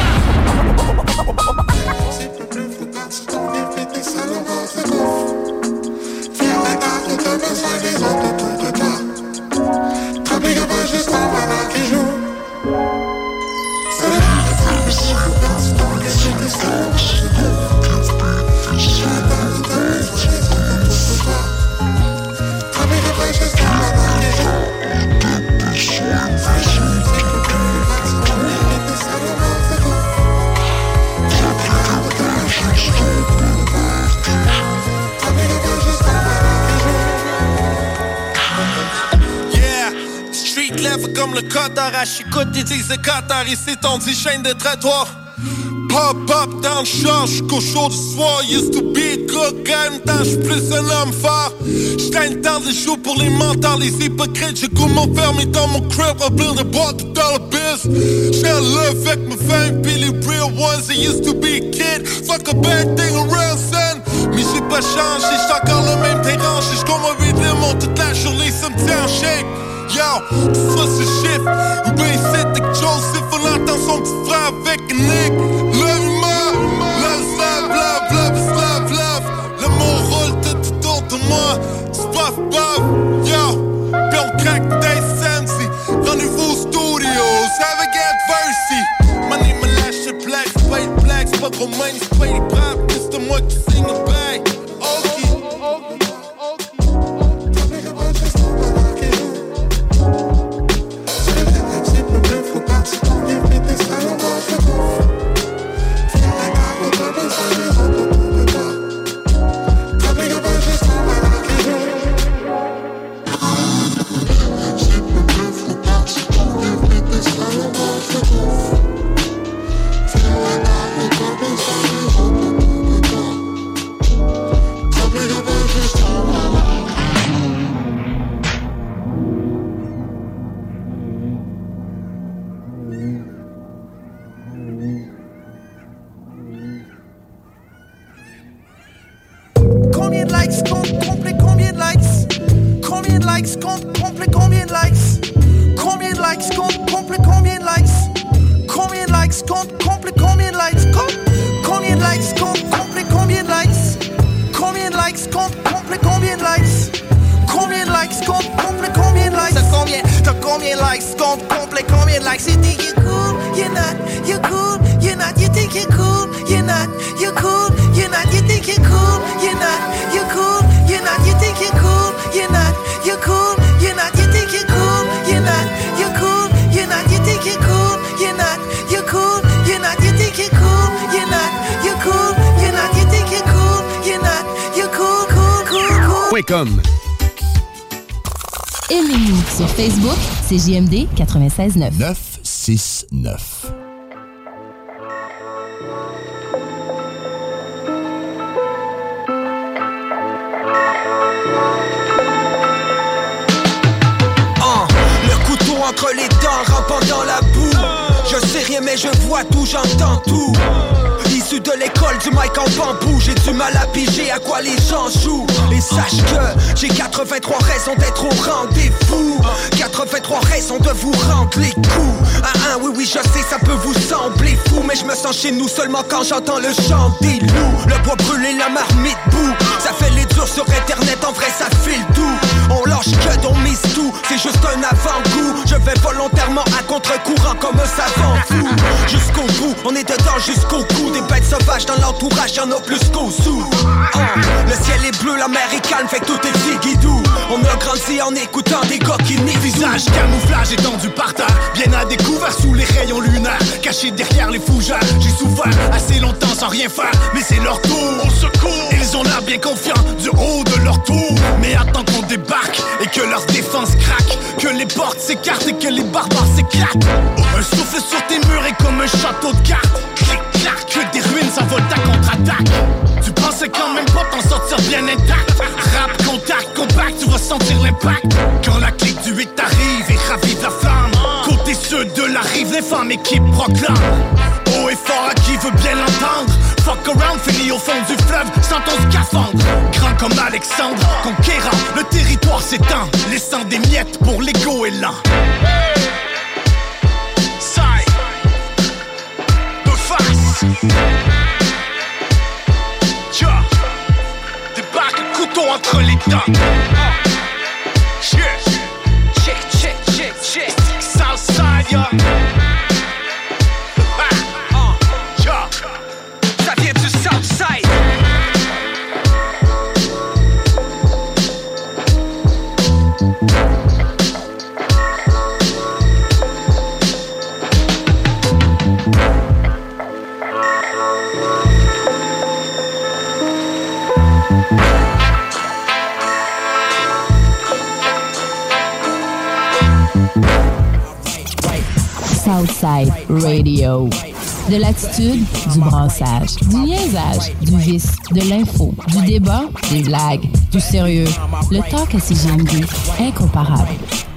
Comme le cotard à chicoute, ils disent le Qatar, ici ton dit chaîne de trottoir. Pop up dans le char, jusqu'au show du soir. Used to be a good guy, maintenant j'suis plus un homme fort. J'traîne dans les jours pour les mentales, les hypocrites. J'ai goût m'enfermer dans mon crib, remplir de boîtes dans le biz. J'ai love avec ma femme, pis les real ones. I used to be a kid, fuck a bad thing around, son. Mais j'ai pas changé, j'suis encore le même dérangé. J'comme un rythme toute la journée, ça me tient en shape. Yo, tout ça c'est shit. Ou ben c'est avec Joseph, on entend son petit frère avec un Nick. Love-moi, love. L'amour roule tout autour de moi. C'est paf. Yo, pis on craque des Samsy. Rendez-vous au studio, avec Adversity. Money me lâche le black, c'est pas les blacks, c'est pas gros money, c'est pas les braves. C'est moi qui signe le bail. compte complet combien de likes? Combien de likes, compte complet combien de likes? Combien de likes, compte complet combien de likes? Combien de likes, compte complet combien de likes? Combien de likes, compte complet combien de likes? Combien de likes, compte complet combien de likes? T'as combien de likes, compte complet combien de likes? You think you're cool, you're not, you're cool, you're not, you think you're cool, you're not, you're cool, you're not, you think you're cool, you're not, you're cool, you're not, you think you're cool, you're not, you're cool, you're not, you think you're cool, you're not, you're cool, you're not, you think you're cool, you're not, you're cool, you're not, you think you're cool, you're not, you're cool, you're not, you think you're cool, you're not, you're cool, cool. .com. Aimez-nous sur Facebook, CJMD 96.9. 969. Le couteau entre les dents, rampant dans la boue. Je sais rien mais je vois tout, j'entends tout. Issu de l'école du mic en bambou, j'ai du mal à piger à quoi les gens jouent. Et sache que j'ai 83 raisons d'être au rendez-vous, 83 raisons de vous rendre les coups. Oui, je sais, ça peut vous sembler fou, mais je me sens chez nous seulement quand j'entends le chant des loups. Le bois brûlé, la marmite boue, ça fait les durs sur internet, en vrai ça file tout. On lâche que on mise tout, c'est juste un avant-goût. Je vais volontairement à contre-courant comme un savant fou. Jusqu'au bout, on est dedans jusqu'au cou. Des bêtes sauvages dans l'entourage, y'en a plus qu'au sous. Le ciel est bleu, la mer est calme, fait que tout est ziguidou. On a grandi en écoutant des gars qui nient. Visage, camouflage étendu par terre, bien à découvert sous les rayons lunaires, caché derrière les fougères. J'ai souffert assez longtemps sans rien faire, mais c'est leur tour. Au secours, ils ont l'air bien confiants du haut de leur tour. Mais attends qu'on débarque et que leur défense craque, que les portes s'écartent et que les barbares s'éclatent. Un souffle sur tes murs est comme un château de cartes. Clic, clac, que des ruines s'envolent à contre-attaque. Tu pensais quand même pas t'en sortir bien intact. Rap, contact, compact, tu vas sentir l'impact. Quand la clique du 8 arrive et ravive la flamme, côté ceux de la rive, l'infâme équipe proclame. Haut et fort à qui veut bien l'entendre. Fuck around, fini au fond du fleuve, sans ton scaphandre. Grand comme Alexandre, conquérant, le territoire s'étend, laissant des miettes pour l'ego et l'an. Side, de face. Tiens, débarque, couteau entre les dents. Check, Southside, ya. Ça vient du Southside. Southside Radio. De l'attitude, du brassage, du niaisage, du vice, de l'info, du débat, des blagues, du sérieux. Le talk à CJMD, incomparable.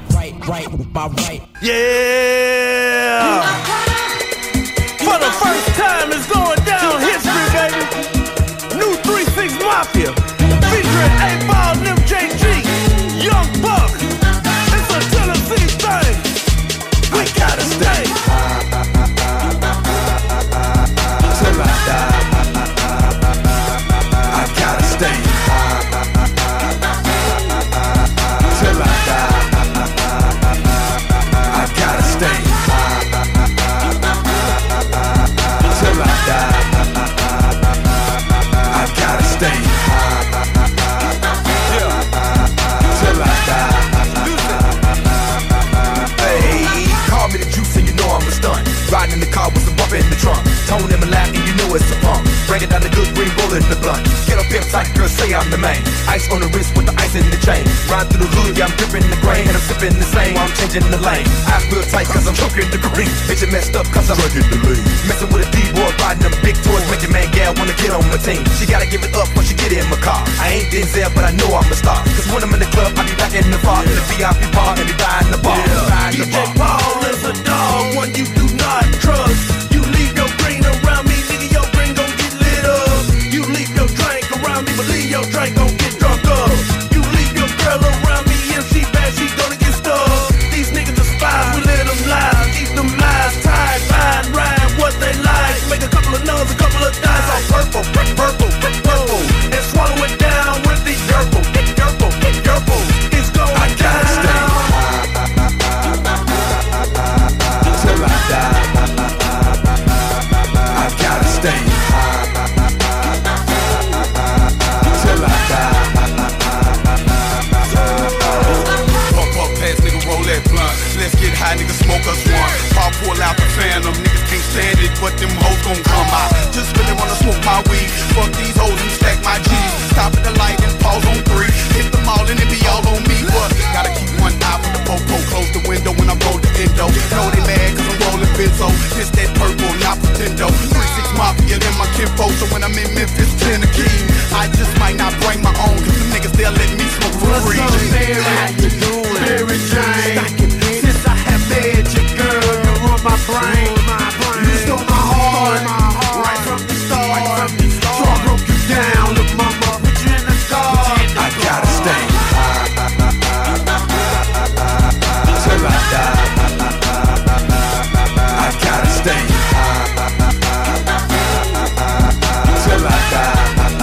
Yeah! For the first time it's going down history, baby. New 3-6 Mafia, featuring 8-Ball, Nim JG, Young Buck. It's a Tennessee thing. We gotta stay. Till I die. I gotta stay. Till I die. I gotta stay. Till I die. I gotta stay. Yeah. Till I die. Call me the juice and you know I'm a stunt. Riding in the car with some bump in the trunk. Tone in my lap and you know it's a pump. Breaking down the good green bullet in the blunt. Get up pimp tight, girl, say I'm the main. Ice on the wrist with the ice in the chain. Ride through the hood, yeah, I'm dripping the grain. And I'm sipping the same while I'm changing the lane. Eyes real tight cause I'm choking the green. Bitch, it messed up cause I'm drinking the lean. Messing with a D-boy, riding them big toys. Make your man gal wanna get on my team. She gotta give it up when she get in my car. I ain't Denzel, but I know I'm a star. Cause when I'm in the club, I be back in the bar. In the VIP bar, and be buying the bar. DJ Paul is a dog, one you do not trust. You leave your green around me, nigga, your green gon' get lit up. You leave your drink around me, but leave your drink gon' get drunk up. You leave your girl around me, if she bad, she ride, niggas smoke us one. Pop pull out the phantom, niggas can't stand it, but them hoes gon' come out. Just really wanna smoke my weed, fuck these hoes and stack my G's. Stop at the light and pause on 3. Hit them all and it be all on me, but gotta keep one eye for the popo. Close the window when I roll the endo. Know they mad cause I'm rolling benzo. This that purple, not pretendo. 3-6 Mafia in my kinfolk, so when I'm in Memphis, 10 a key. I just might not bring my own, cause the niggas they'll let me smoke for free. What's up, Mary Jane? Since I have met you, girl, you run my brain. You stole my heart, right from the start. So I broke you down, look mama, put you in the dark. I gotta stay till I die. I gotta stay till I die.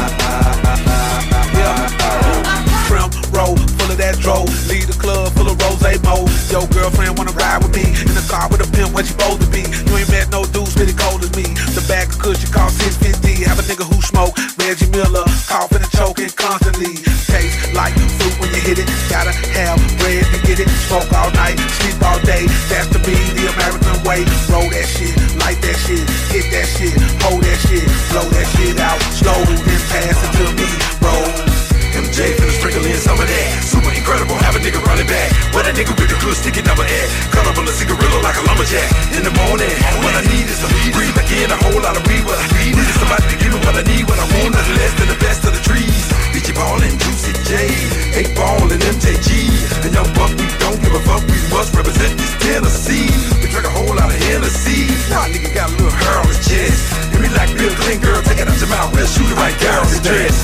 That dro, leave the club full of rose mo. Yo, girlfriend wanna ride with me in the car with a pimp, what you supposed to be? You ain't met no dudes really cold as me. The bag of cushion cost $6.50. Have a nigga who smoke Reggie Miller, coughing and choking constantly. Taste like fruit when you hit it. Gotta have bread to get it. Smoke all night, sleep all day. That's to be the American way. Roll that shit, light that shit, hit that shit, hold that shit, blow that shit out slow and then pass it to me. Roll. MJ finna sprinkle in some of that. Super incredible, have a nigga running back. What a nigga with a good sticky number at. Colorful a cigarillo like a lumberjack. In the morning, what I need is a breathe again, a whole lot of weed. What I need is somebody to give me what I need. What I want is less than the best of the trees. Bitchy ballin', Juicy J, 8-Ball and MJG. And young buck, we don't give a fuck. We must represent this Tennessee. We drink a whole lot of Hennessy. Nah, nigga got a little hair on his chest. Hit me like Bill Clinton, girl, take it out your mouth. We'll shoot it right there on his dress.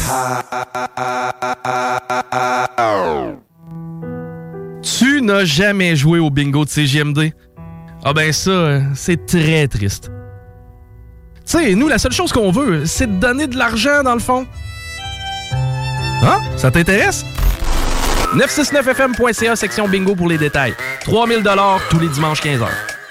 Tu n'as jamais joué au bingo de CJMD? Ah ben ça, c'est très triste. Tu sais, nous, la seule chose qu'on veut, c'est de donner de l'argent, dans le fond. Hein? Ça t'intéresse? 969fm.ca, section bingo pour les détails. 3000 $ tous les dimanches 15h.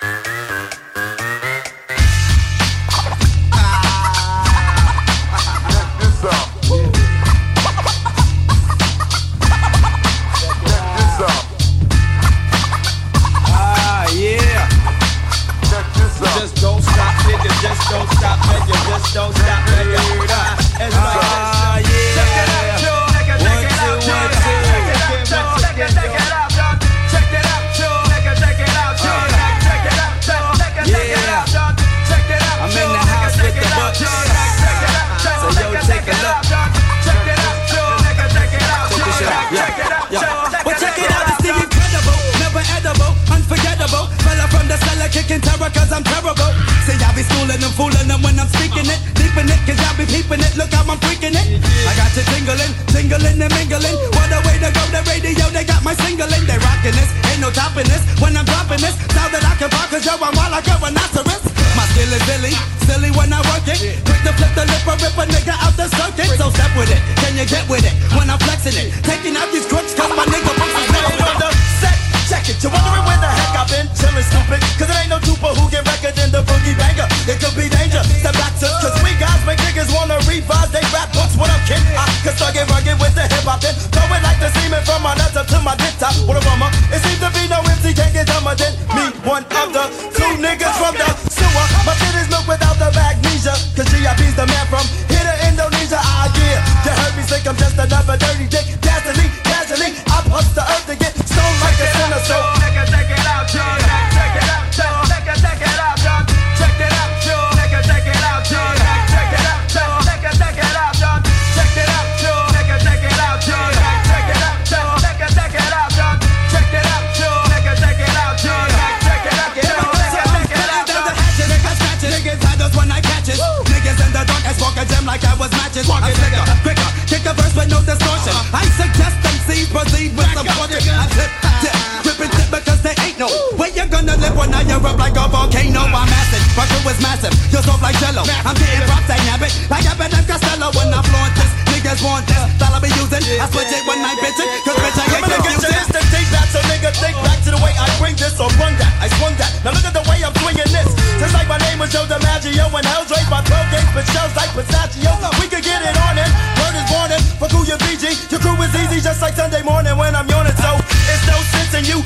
Don't stop, nigga. It's like this. Check it out, yo. Check it out, yo. Check it out, yo. Check it out, yo. Check it out, yo. Check it out, yo. Check it out. I'm in the house with the bucks. So yo, take a look. Check it out, yo. Check it out, yo. Check it out, yo. Well, check it out. It's the incredible, never edible, unforgettable. Fella from the cellar kicking terror 'cause I'm terrible. See, I be schooling them, fooling them when I'm speaking it. Deepin' it, 'cause y'all be peeping it. Look how I'm freaking it. I got you tingling, tingling and mingling. What a way to go, the radio, they got my singling. They rockin' this, ain't no topping this. When I'm dropping this, now that I can rock, 'cause yo, I'm wild like a rhinoceros. My skill is silly when I work it. Quick to flip the lip or rip a nigga out the circuit. So step with it, can you get with it? When I'm flexing it, taking out these crooks 'cause my nigga books is never on the set. Check it, you're wondering where the heck I've been chillin' stupid. 'Cause it ain't no trooper who get record in the boogie banger. It could be danger, step back to 'cause we guys make niggas wanna revise they rap books. What up, kid? I can start getting rugged with the hip hop then. Throw it like the semen from my nuts up to my dick top. What a bummer, it seems to be no MC can't get dumber than me. One of the two niggas from the sewer. My shit is milk without the magnesia. 'Cause GIP's the man from here to Indonesia. Ah yeah, you heard me think I'm just another dirty dick. Gasoline, I bust the earth to get stoned like a sinner. So nigga, check it out, John. Check it out, John. Nigga, check it out, John. Check it out, John. Nigga, check it out, John. Check it out, John. Nigga, check it out, John. Check it out, John. Nigga, check it out, John. Check it out, John. Nigga, check it out, John. Check it out, John. Nigga, check it out, John. Check it out, John. Nigga, check it out, John. Niggas scratch it, niggas had us when I catch it. Niggas in the dark, I spark a gem like I was matches. I'm slicker, quicker, kick a verse with no distortion. I suggest MCs proceed with some fortune. I flip, dip, rip and dip because they ain't no way you're gonna live when I erupt like a volcano. I'm acid, my crew is massive, you're soft like jello. I'm getting props, I nab it, like Eminem Costello. When I flaunt this, niggas want this, style I be using. I switch it when I bitch it, 'cause bitch I get confused. To take back, so nigga think back to the way I bring this or run that. I swung that, now look at the way I'm swinging this. Just like my name was Joe DiMaggio and Hell's raised my 12 games, but shells like pistachio. We could get it on it, word is warning, fuck who you BG. Your crew is easy just like Sunday morning when I'm yawning. So it's no sense in you losing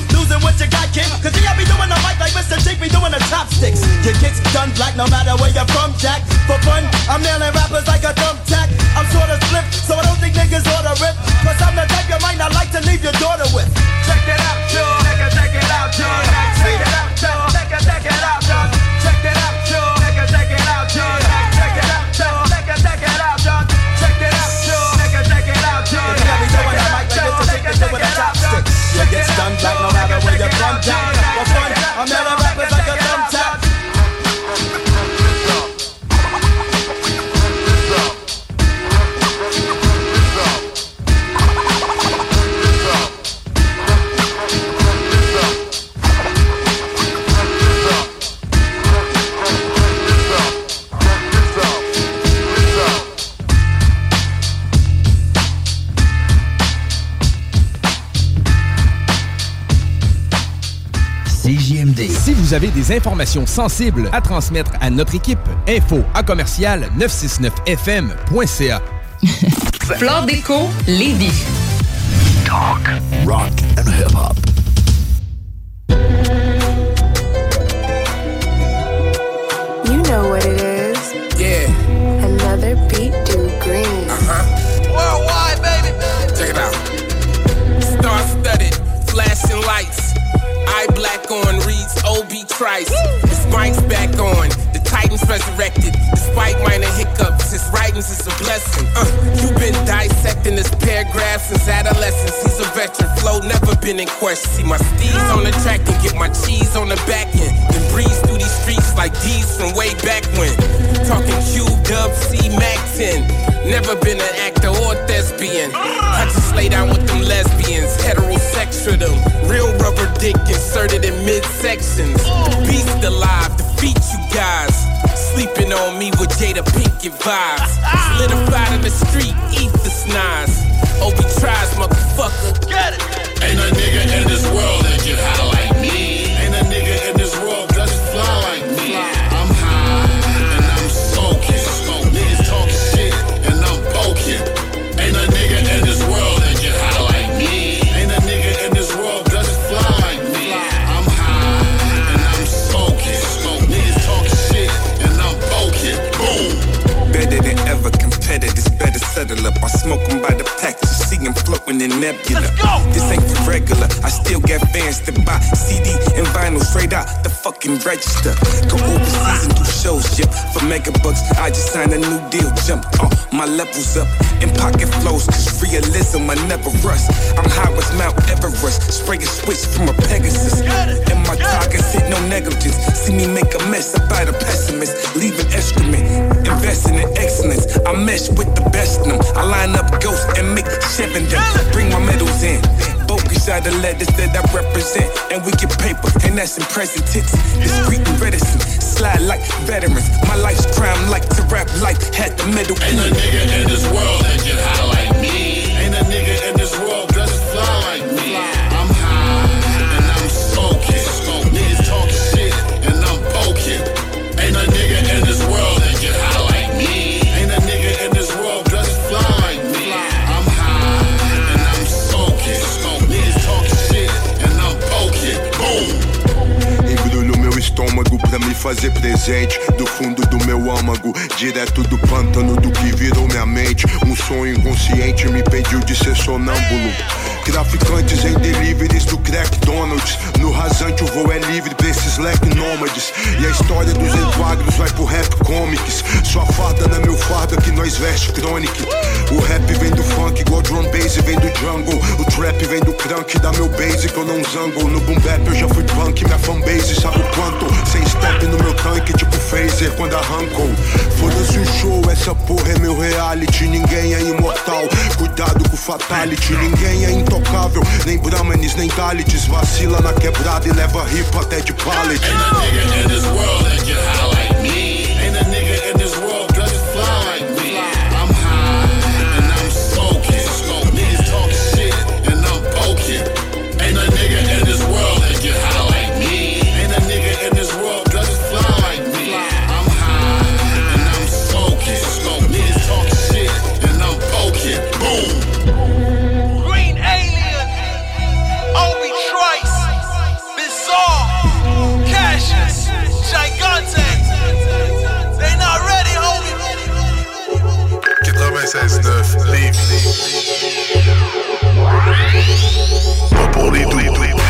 what you got, kid. Cause I be doing the mic like Mr. Jake be doing the chopsticks. Your kicks done black no matter where you're from, Jack. For fun, I'm nailing rappers like a thumbtack. I'm sorta split, so I don't think niggas ought to rip. Cause I'm the type you might not like to leave your daughter with. Check it out, y'all. Check it out, y'all. Check it out, y'all. Check it out, y'all. Check it out, y'all. Check it out, y'all. Check it out, y'all. Check it out, y'all. Check it out, y'all. Check it out, y'all. Yeah, we doing the mic like Mr. Jake be doing the chopsticks. It gets done black no matter where you're from, Jack. For fun, I'm nailing rappers like a thumbtack. CJMD. Si vous avez des informations sensibles à transmettre à notre équipe, info@969fm.ca. Flore Déco, Lévis. Talk, rock and hip-hop. You know what it is. Yeah. Another beat do green. Worldwide, baby. Check it out. Star-studded, flashing lights. Eye black on, reads O.B. Trice. This mic's back on, the Titans resurrected. Despite minor hiccups, his writings is a blessing. You've been dissecting this paragraph since adolescence. He's a veteran, flow never been in question. See my steeds on the track and get my cheese on the back end. Then breeze through these streets like D's from way back when. Talking Q, Dub, C, Mac 10. Never been an actor or thespian. I just lay down with them lesbians, heterosexual them. Real rubber dick inserted in midsections. Beast alive, defeat you guys. Sleeping on me with Jada Pinkett vibes. Solidified in the street, ether snaz. Obi tries, motherfucker. Get it! Ain't a nigga in this world that get high like me. Ain't a nigga in this world that just fly like me. I'm high and I'm smoking. Niggas talking shit and I'm poking. Ain't a nigga in this world that get high like me. Ain't a nigga in this world that just fly like me. I'm high and I'm smoking. Niggas talking shit and I'm poking. Boom. Better than ever, competitors better settle up. I smoke them by the pack, just see them floating in nebula. This ain't for regular, I still got fans to buy CD and vinyl straight out the fucking register. Go overseas and do shows, yep, for mega bucks. I just signed a new deal, jump my levels up. In pocket flows, cause realism I never rust. I'm high as Mount Everest, spray a switch from a Pegasus. And my targets hit no negligence. See me make a mess about a pessimist, leaving excrement, investing in excellence. I mesh with the best of them. I line up ghosts and make 7 them. Bring my medals in. Focus out the letters that I represent. And we get paper, and that's in present tense. Discreet and reticent, slide like veterans. My life's crime like to rap life, had the middle. Ain't a nigga in this world that get high like me. Ain't a nigga in this world that just fly like me. I'm high and I'm smoking. Niggas talking shit and I'm poking. Ain't a nigga in this world that get high like me. Ain't a nigga in this world that just fly like me. I'm high and I'm smoking. Niggas talking shit and I'm poking. Boom. Embrulho meu estômago pra me fazer presente. Do fundo do meu âmago, direto do pântano do que virou minha mente. Sonho inconsciente me impediu de ser sonâmbulo. Traficantes em deliveries do Crack Donald's. No rasante o voo é livre pra esses slack nômades. E a história dos enquadros vai pro rap comics. Sua farda não é meu farda que nós veste chronic. O rap vem do funk igual drum bass vem do jungle. O trap vem do crunk, dá meu basic eu não zango. No boom bap eu já fui punk, minha fanbase sabe o quanto. Sem step no meu tanque tipo phaser quando arrancou. Foda-se o show, essa porra é meu reality. Ninguém é imortal, cuidado com o fatality. Ninguém é intocável, nem brahmanes, nem dalites. Vacila na quebrada e leva ripa até de pallet. Ain't a nigga in this world that get high like me. Ain't a nigga in this world that just fly like me. I'm high and I'm smoking. Niggas talking shit and I'm poking. Ain't a nigga in this world that get high like me. Ain't a nigga in this world that just fly like me. I'm high and I'm smoking. Niggas talking shit and I'm poking. Boom. Green Alien, Obi Trice, 96.9 Lévis. Pas pour les doux.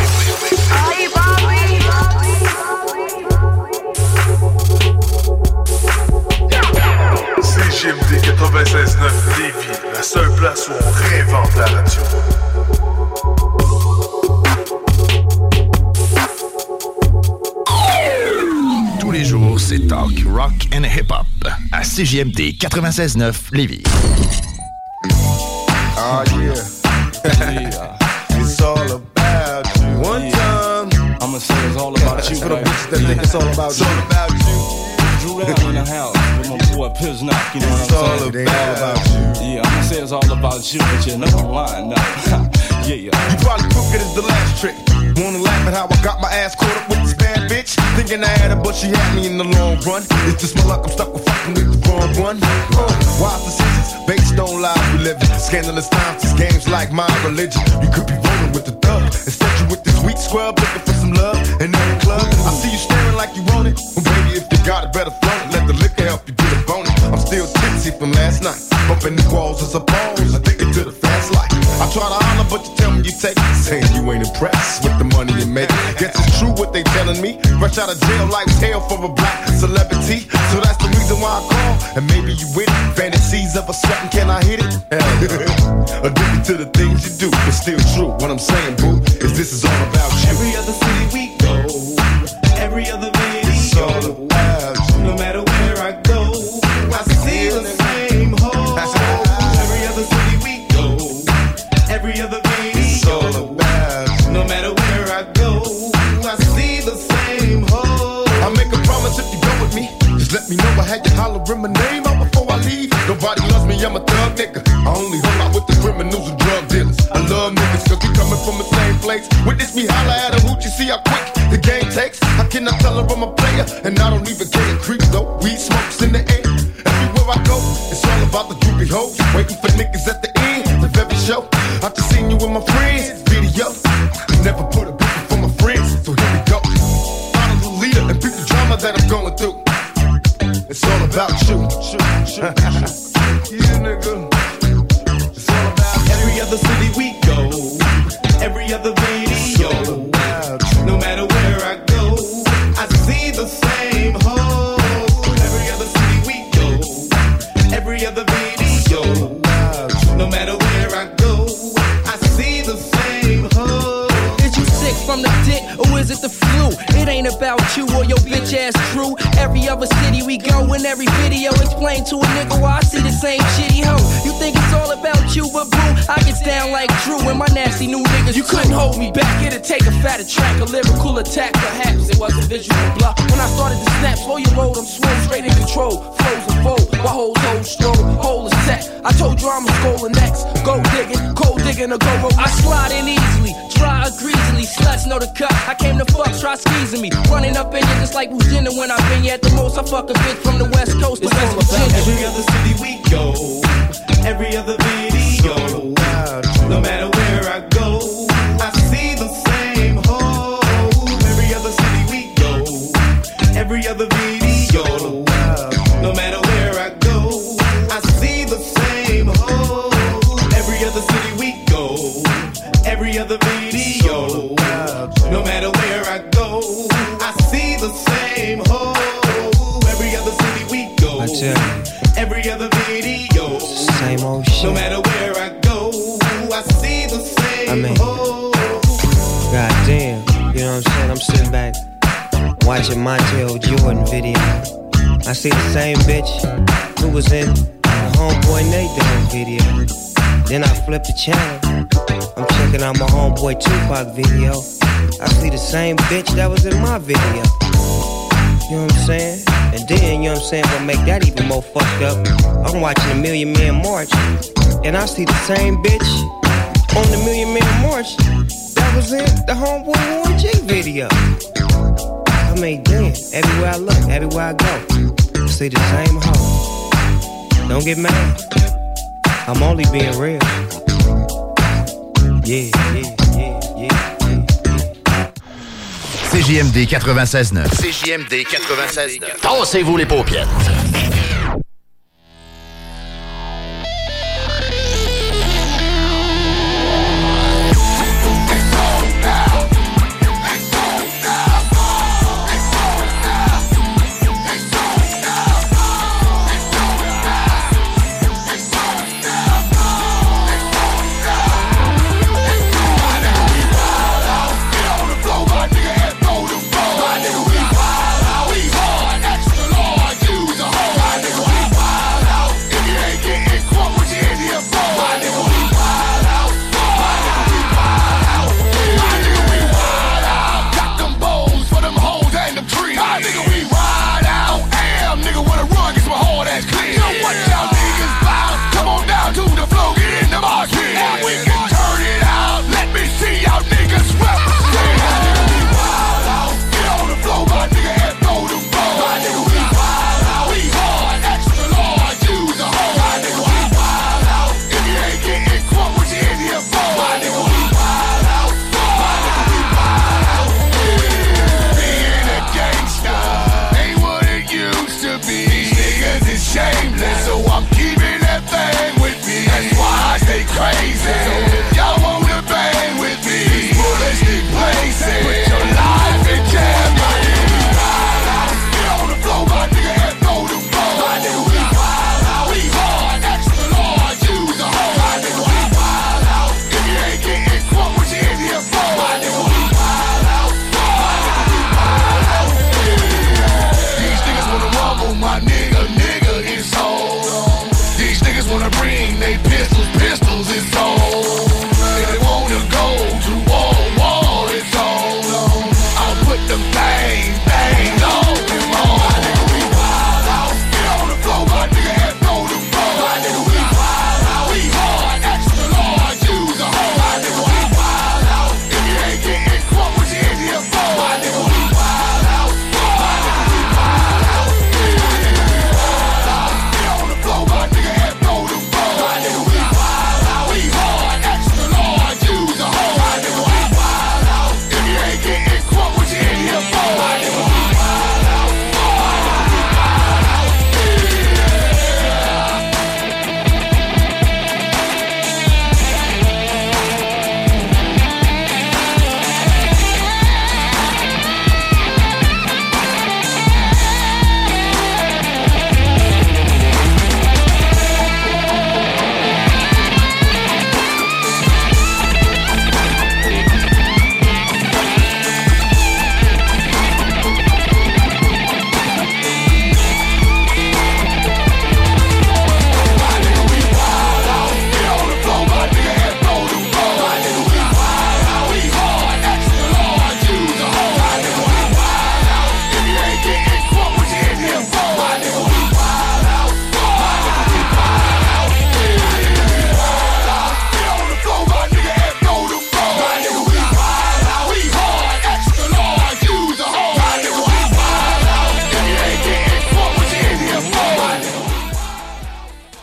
CJMD 96.9 Lévis, la seule place où on réinvente la radio. Tous les jours, c'est talk, rock and hip-hop à CJMD 96.9 Lévis. Oh yeah. It's all about you. One time. I'ma say it's all about you. For the bitches that think it's all about you. It's all about you. Drew down in the house with my boy Piznock, you know what I'm saying? It's all about you. Yeah, I'ma say it's all about you, but you know I'm lying now. Yeah. You probably crooked as the last trick. Wanna laugh at how I got my ass caught up with this bad bitch? Thinking I had her, but she had me in the long run. It's just my luck, I'm stuck with fucking with the wrong one. Wise decisions, based on lies we live in. Scandalous times, these games like my religion. You could be rolling with the thug. Instead you with this weak scrub, looking for some love. And in the club, I see you staring like you want it. Well baby, if you got it, better flaunt it. Let the liquor help you get a bonus. I'm still tipsy from last night. Bumping the walls as a pose, addicted to the fast life. I try to holler, but you tell me you take it. Saying you ain't impressed with the money you make. Guess it's true what they telling me. Fresh out of jail, life's hell for a black celebrity. So that's the reason why I call. And maybe you with it. Fantasies of a sweating, can I hit it? Addicted to the things you do, but still true. What I'm saying, boo, is this is all about you. Every other city we go, every other video, it's all about you. No matter where I go, I see the same hole. Every other city we go, every other video, it's all about you. No matter where I go, I see the same hole. I make a promise if you go with me, just let me know I had you hollering my name out before I leave. Nobody loves me, I'm a thug nigga. I only hung out with the criminals and drug dealers. I love niggas cause we coming from the same place. Witness me holler at a hoot, you see how quick the game takes. I cannot tell her I'm a player, and I don't even care. Creep though, weed smokes in the air. Everywhere I go, it's all about the groupie hoes. Waiting for niggas at the end of every show. I just seen you with my friends, video. Never put a bitch for my friends, so here we go. Follow the leader and beat the drama that I'm going through. It's all about you. Yeah, nigga. It's all about you. Every other city we go, every other video. No matter where I go, I see the same hole. Every other city we go, every other video. No matter where I go, I see the same hole. Is you sick from the dick, or is it the flu? It ain't about you or your bitch ass crew. Every other city we go, in every video, explain to a nigga why I see the same shitty hoe. You think it's all about you, but boo, I get down like Drew and my nasty new niggas. You couldn't hold me back, it'd take a fatter track, a lyrical attack, perhaps it was a visual block. When I started to snap, slow your roll, I'm swole, straight in control, flows and fold, my whole toe stroll, whole is set. I told you I'm a scolding next, go digging, cold digging or go roll. I slide in easily, dry or greasily, sluts know the cut. I came to fuck, try squeezing me, running up in you just like Virginia when I've been at the most. I fuck a bitch from the West Coast to West Virginia. Every other city we go, every other video. No matter where I go, I see the same hole. Every other city we go, every other video. No matter where I go, I see the same hole. Every other city we go, every other video. No matter where I go, I see the same hole. Every other city we go, every other video. Same old shit. No matter where I go, I see the same hole. Goddamn, you know what I'm saying? I'm sitting back watching Montel Jordan video. I see the same bitch who was in the Homeboy Nathan video. Then I flip the channel, I'm checking out my Homeboy Tupac video. I see the same bitch that was in my video. You know what I'm saying? And then, you know what I'm saying, what make that even more fucked up, I'm watching the Million Man March, and I see the same bitch on the Million Man March that was in the Homeboy Warren G video. I mean, damn, everywhere I look, everywhere I go, I see the same hoe. Don't get mad, I'm only being real. Yeah. CJMD 96.9. CJMD 96.9. Tassez-vous les paupières.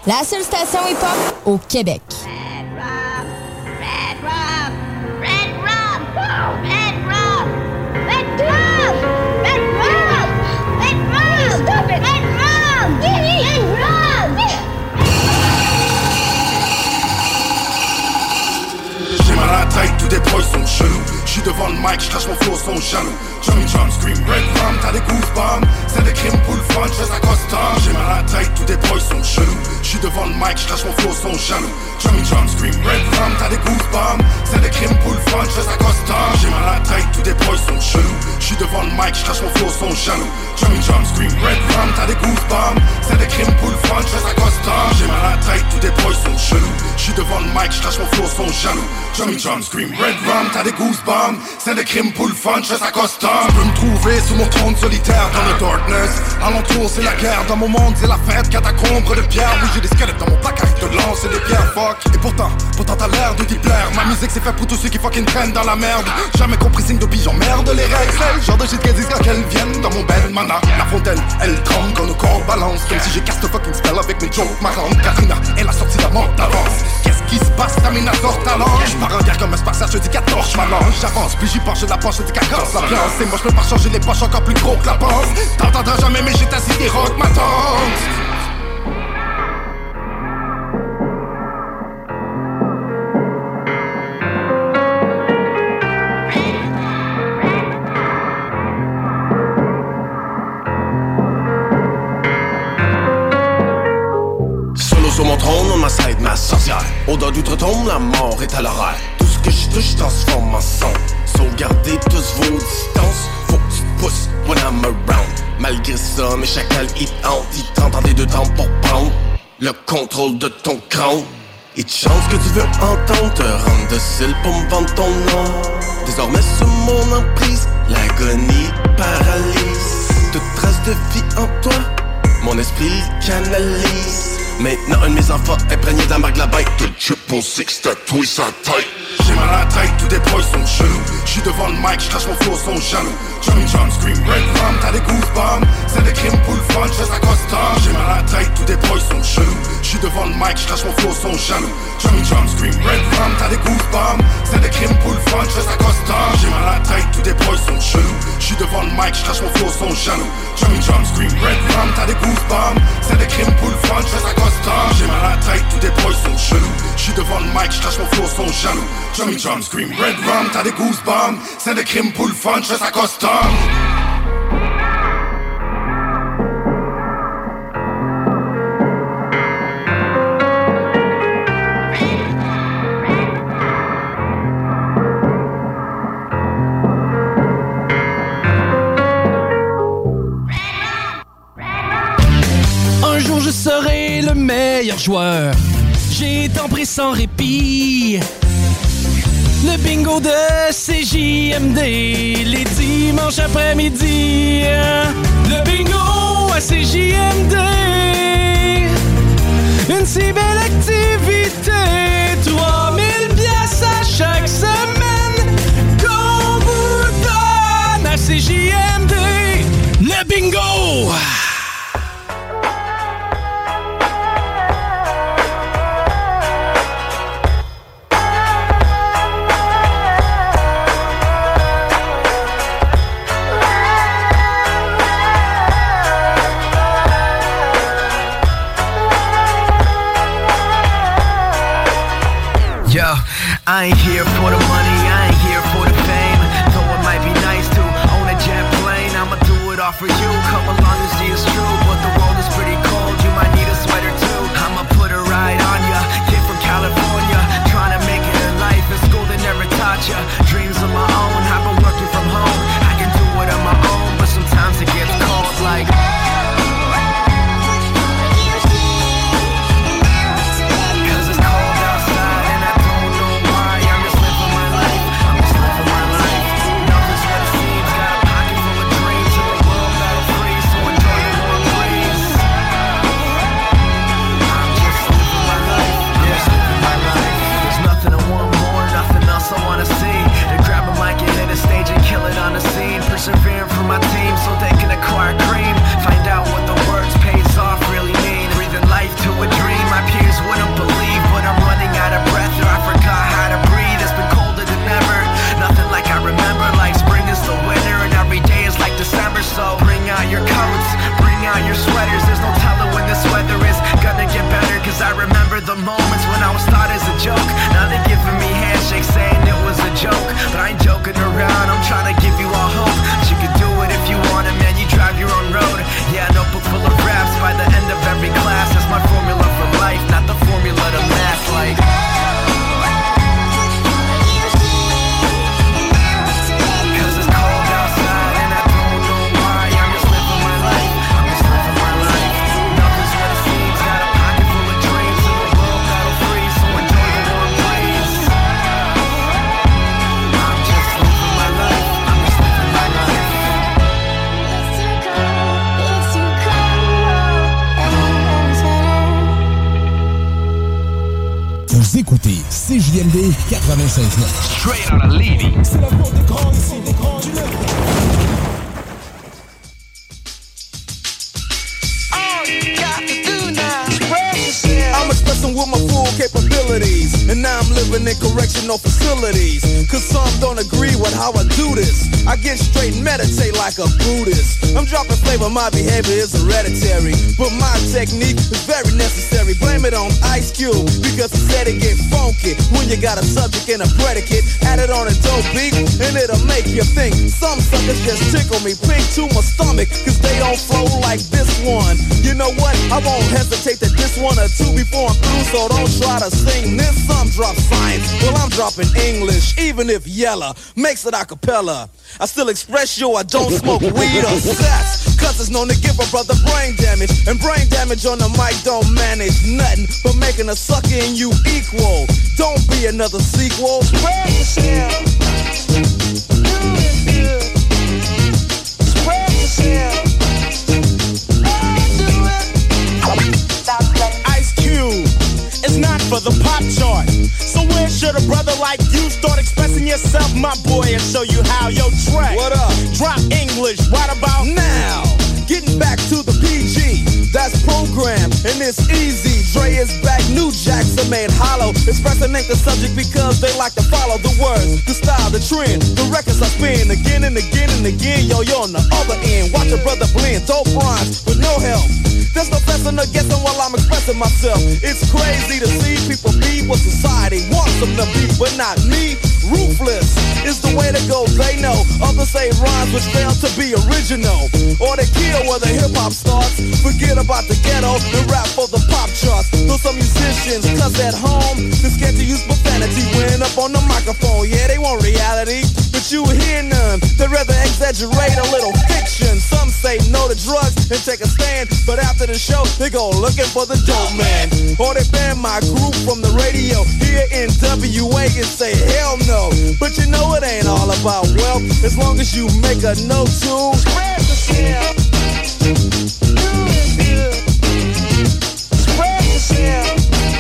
La seule station hip-hop au Québec. J'ai mal à la tête, tous des boys sont chelous. J'suis devant le mic, j'crache mon flow, sont jaloux. Johnny Jump Scream, Red Rum, t'as des goosebumps. C'est des crimes pour le fun, j'fais ça custom. J'ai mal à la tête, tous des boys sont chelous. J'suis devant le mic, j'crache mon flow, sont jaloux. Johnny Jump Scream, Red Rum, t'as des goosebumps. C'est des crimes pour le fun, j'fais ça custom. J'ai mal à la tête, tous des boys sont chelous. J'suis devant le mic, j'crache mon flow, sont jaloux. Johnny Jump Scream, Red Rum, t'as des goosebumps. C'est des crimes pour le fun, j'fais ça custom. J'ai mal à la tête, tous des boys sont chelous. J'suis devant le mic, j'crache mon flow, sont jaloux. Johnny Jump Scream, Red Rum, t'as des goosebumps. C'est des crimes pour le fun, j'fais ça custom. Tu peux me trouver sous mon trône solitaire dans le darkness. Alentour c'est la guerre, dans mon monde c'est la fête. Catacombe de pierre, oui j'ai des squelettes dans mon placard. Je te lance et des pierres fuck. Et pourtant t'as l'air de t'y plaire. Ma musique c'est fait pour tous ceux qui fucking traînent dans la merde. Jamais compris signe de pigeon, merde les règles. C'est le genre de shit qu'elles disent quand elles viennent dans mon bel mana. La fontaine, elle tremble quand nos corps balancent. Comme si j'ai cast fucking spell avec mes jokes marrantes. Katrina, elle a sorti la mort d'avance. Qu'est-ce qui se passe, Tamina sort talent. J'pars en guerre comme un spartiate, je dis 14, j'm'allonge. J'avance, puis j'y penche de la poche, je dis qu'elle casse la place. Et moi j'peux pas changer les poches encore plus gros que la panse. T'entendras jamais mais j'ai assis des rocs ma tante. Sur mon trône, on m'assède ma sorcière. Odeur d'outre-tombe, la mort est à l'horaire. Tout ce que je touche transforme en son. Sauvegardez tous vos distances. Faut que tu te pousses when I'm around. Malgré ça, mes chacals hit hante. Ils tentent en des deux temps pour prendre le contrôle de ton crâne. Et de chance que tu veux entendre te rendre docile pour me vendre ton nom. Désormais sous mon emprise, l'agonie paralyse. Toute trace de vie en toi, mon esprit canalise. Maintenant un de mes enfants imprégné de la marque de la bête. De triple six tatoué sa tête. J'ai mal à la tête, tous des boys sont chelous. J'suis devant le mic, j'crache mon flow, sont jaloux. Johnny Jump Scream, Red Rum, t'as des goosebumps. C'est des crimes pour le fun, j'fais ça custom. J'ai mal à la tête, tous des boys sont chelous. J'suis devant le mic, j'crache mon flow, sont jaloux. Johnny Jump Scream, Red Rum, t'as des goosebumps. C'est des crimes pour le fun, j'fais ça custom. J'ai mal à la tête, tous des boys sont chelous. J'suis devant le mic, j'crache mon flow, sont jaloux. Johnny Jump Scream, Red Rum, t'as des goosebumps. C'est des crimes pour le fun, j'fais ça custom. J'ai mal à la tête, tous des boys sont chelous. J'suis devant le mic, j'crache mon flow, sont jaloux. Johnny Jump Scream, Red Rum, t'as des goosebumps. C'est des crimes pour le fun, j'fais ça custom. Un jour je serai le meilleur joueur. J'ai tant pris sans répit. Le bingo de CJMD, les dimanches après-midi. Le bingo à CJMD, une si belle activité. 3000 piastres à chaque semaine qu'on vous donne à CJMD. Le bingo! I ain't here for the money, I ain't here for the fame. Though it might be nice to own a jet plane, I'ma do it all for you. Come along and see it's true, but the world is pretty cold. You might need a sweater too. I'ma put a ride on ya. Kid from California, trying to make it in life. In school they never taught ya. Dreams of my own, I've been working from home. I can do it on my own, but sometimes it gets cold like. CJMD 96.9. Straight out of Levy. C'est la porte des grands ici, des grands du Nord. I'm expressing with my full capabilities, and now I'm living in correctional facilities. Cause some don't agree with how I do this. I get straight and meditate like a Buddhist. I'm dropping flavor, my behavior is hereditary, but my technique is very necessary. Blame it on Ice Cube, because he said it get funky when you got a subject and a predicate. Add it on a dope beat, and it'll make you think. Some suckers just tickle me pink to my stomach, cause they don't flow like this one. You know what? I won't hesitate to diss one or two before I'm through, so don't try to sing this. Some drop science, well I'm dropping English, even if Yella makes it a cappella. I still express yo, I don't smoke weed or sex, cause it's known to give a brother brain damage, and brain damage on the mic don't manage nothing but making a sucker in you equal. Don't be another sequel. Spread yourself. Do it good. Spread yourself. Ice Cube is not for the pop chart. So where should a brother like you start expressing yourself, my boy, and show you how? Yo, Trey, what up? Drop English right about now. Getting back to the PG, that's programmed, and it's easy. Dre is back, new jacks are made hollow. Expressing ain't the subject because they like to follow the words, the style, the trend. The records I spin again and again and again. Yo, you're on the other end. Watch a brother blend dope rhymes with no help. There's no fessing or guessing while I'm expressing myself. It's crazy to see people be what society wants them to be, but not me. Ruthless is the way to go, they know. Others say rhymes which fail to be original, or they kill where the hip-hop starts. Forget about the ghetto and rap for the pop charts. Though some musicians, cause at home they're scared to use profanity when up on the microphone. Yeah, they want reality, but you hear none. They'd rather exaggerate a little fiction. Some say no to drugs and take a stand, but after the show they go looking for the dope man. Or they ban my group from the radio here in WA and say hell no. But you know it ain't all about wealth, as long as you make a note to spread yourself. Do it good. Spread yourself.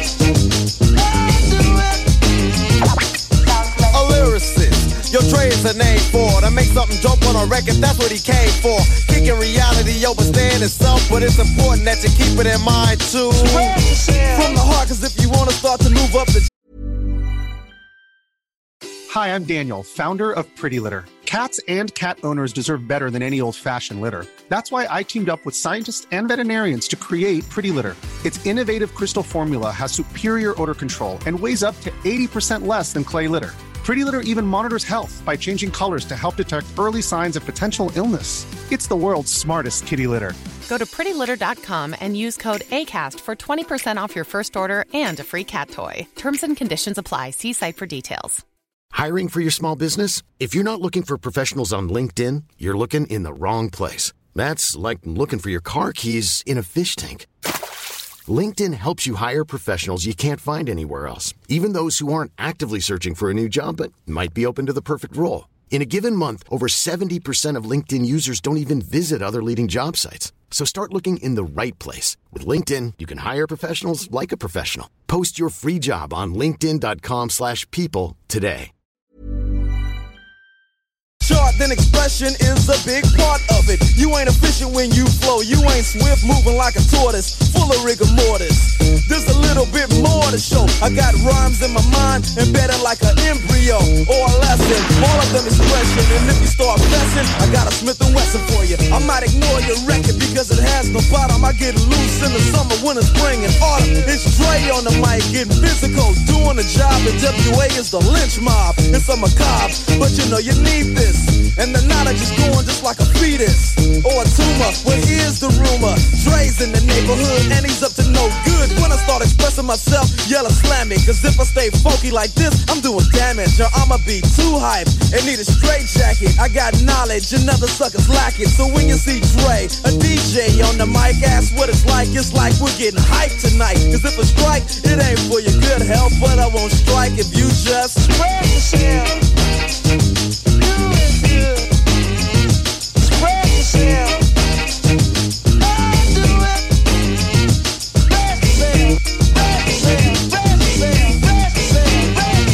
Do it. A lyricist, your Dre is a name for to make something dope on a record, that's what he came for. Kicking reality over staying itself, but it's important that you keep it in mind too. From the heart, cause if you wanna start to move up the Hi, I'm Daniel, founder of Pretty Litter. Cats and cat owners deserve better than any old-fashioned litter. That's why I teamed up with scientists and veterinarians to create Pretty Litter. Its innovative crystal formula has superior odor control and weighs up to 80% less than clay litter. Pretty Litter even monitors health by changing colors to help detect early signs of potential illness. It's the world's smartest kitty litter. Go to prettylitter.com and use code ACAST for 20% off your first order and a free cat toy. Terms and conditions apply. See site for details. Hiring for your small business? If you're not looking for professionals on LinkedIn, you're looking in the wrong place. That's like looking for your car keys in a fish tank. LinkedIn helps you hire professionals you can't find anywhere else, even those who aren't actively searching for a new job but might be open to the perfect role. In a given month, over 70% of LinkedIn users don't even visit other leading job sites. So start looking in the right place. With LinkedIn, you can hire professionals like a professional. Post your free job on linkedin.com/people today. Short, then expression is a big part of it. You ain't efficient when you flow. You ain't swift, moving like a tortoise, full of rigor mortis. There's a little bit more to show. I got rhymes in my mind, embedded like an embryo or a lesson. All of them expression, and if you start messing, I got a Smith & Wesson for you. I might ignore your record because it has no bottom. I get loose in the summer, winter, spring, and autumn. It's Dre on the mic, getting physical, doing the job. And WA is the lynch mob. It's a macabre, but you know you need this. And the knowledge is going just like a fetus or a tumor. Well, here's the rumor: Dre's in the neighborhood and he's up to no good. When I start expressing myself, yell or slam me. Cause if I stay funky like this, I'm doing damage. Or I'ma be too hyped and need a straight jacket. I got knowledge and other suckers lack it. So when you see Dre, a DJ on the mic, ask what it's like we're getting hyped tonight. Cause if I strike, it ain't for your good health, but I won't strike if you just spread yourself. Spread yourself. Do it. Spread yourself. Spread yourself. Spread yourself. Spread yourself.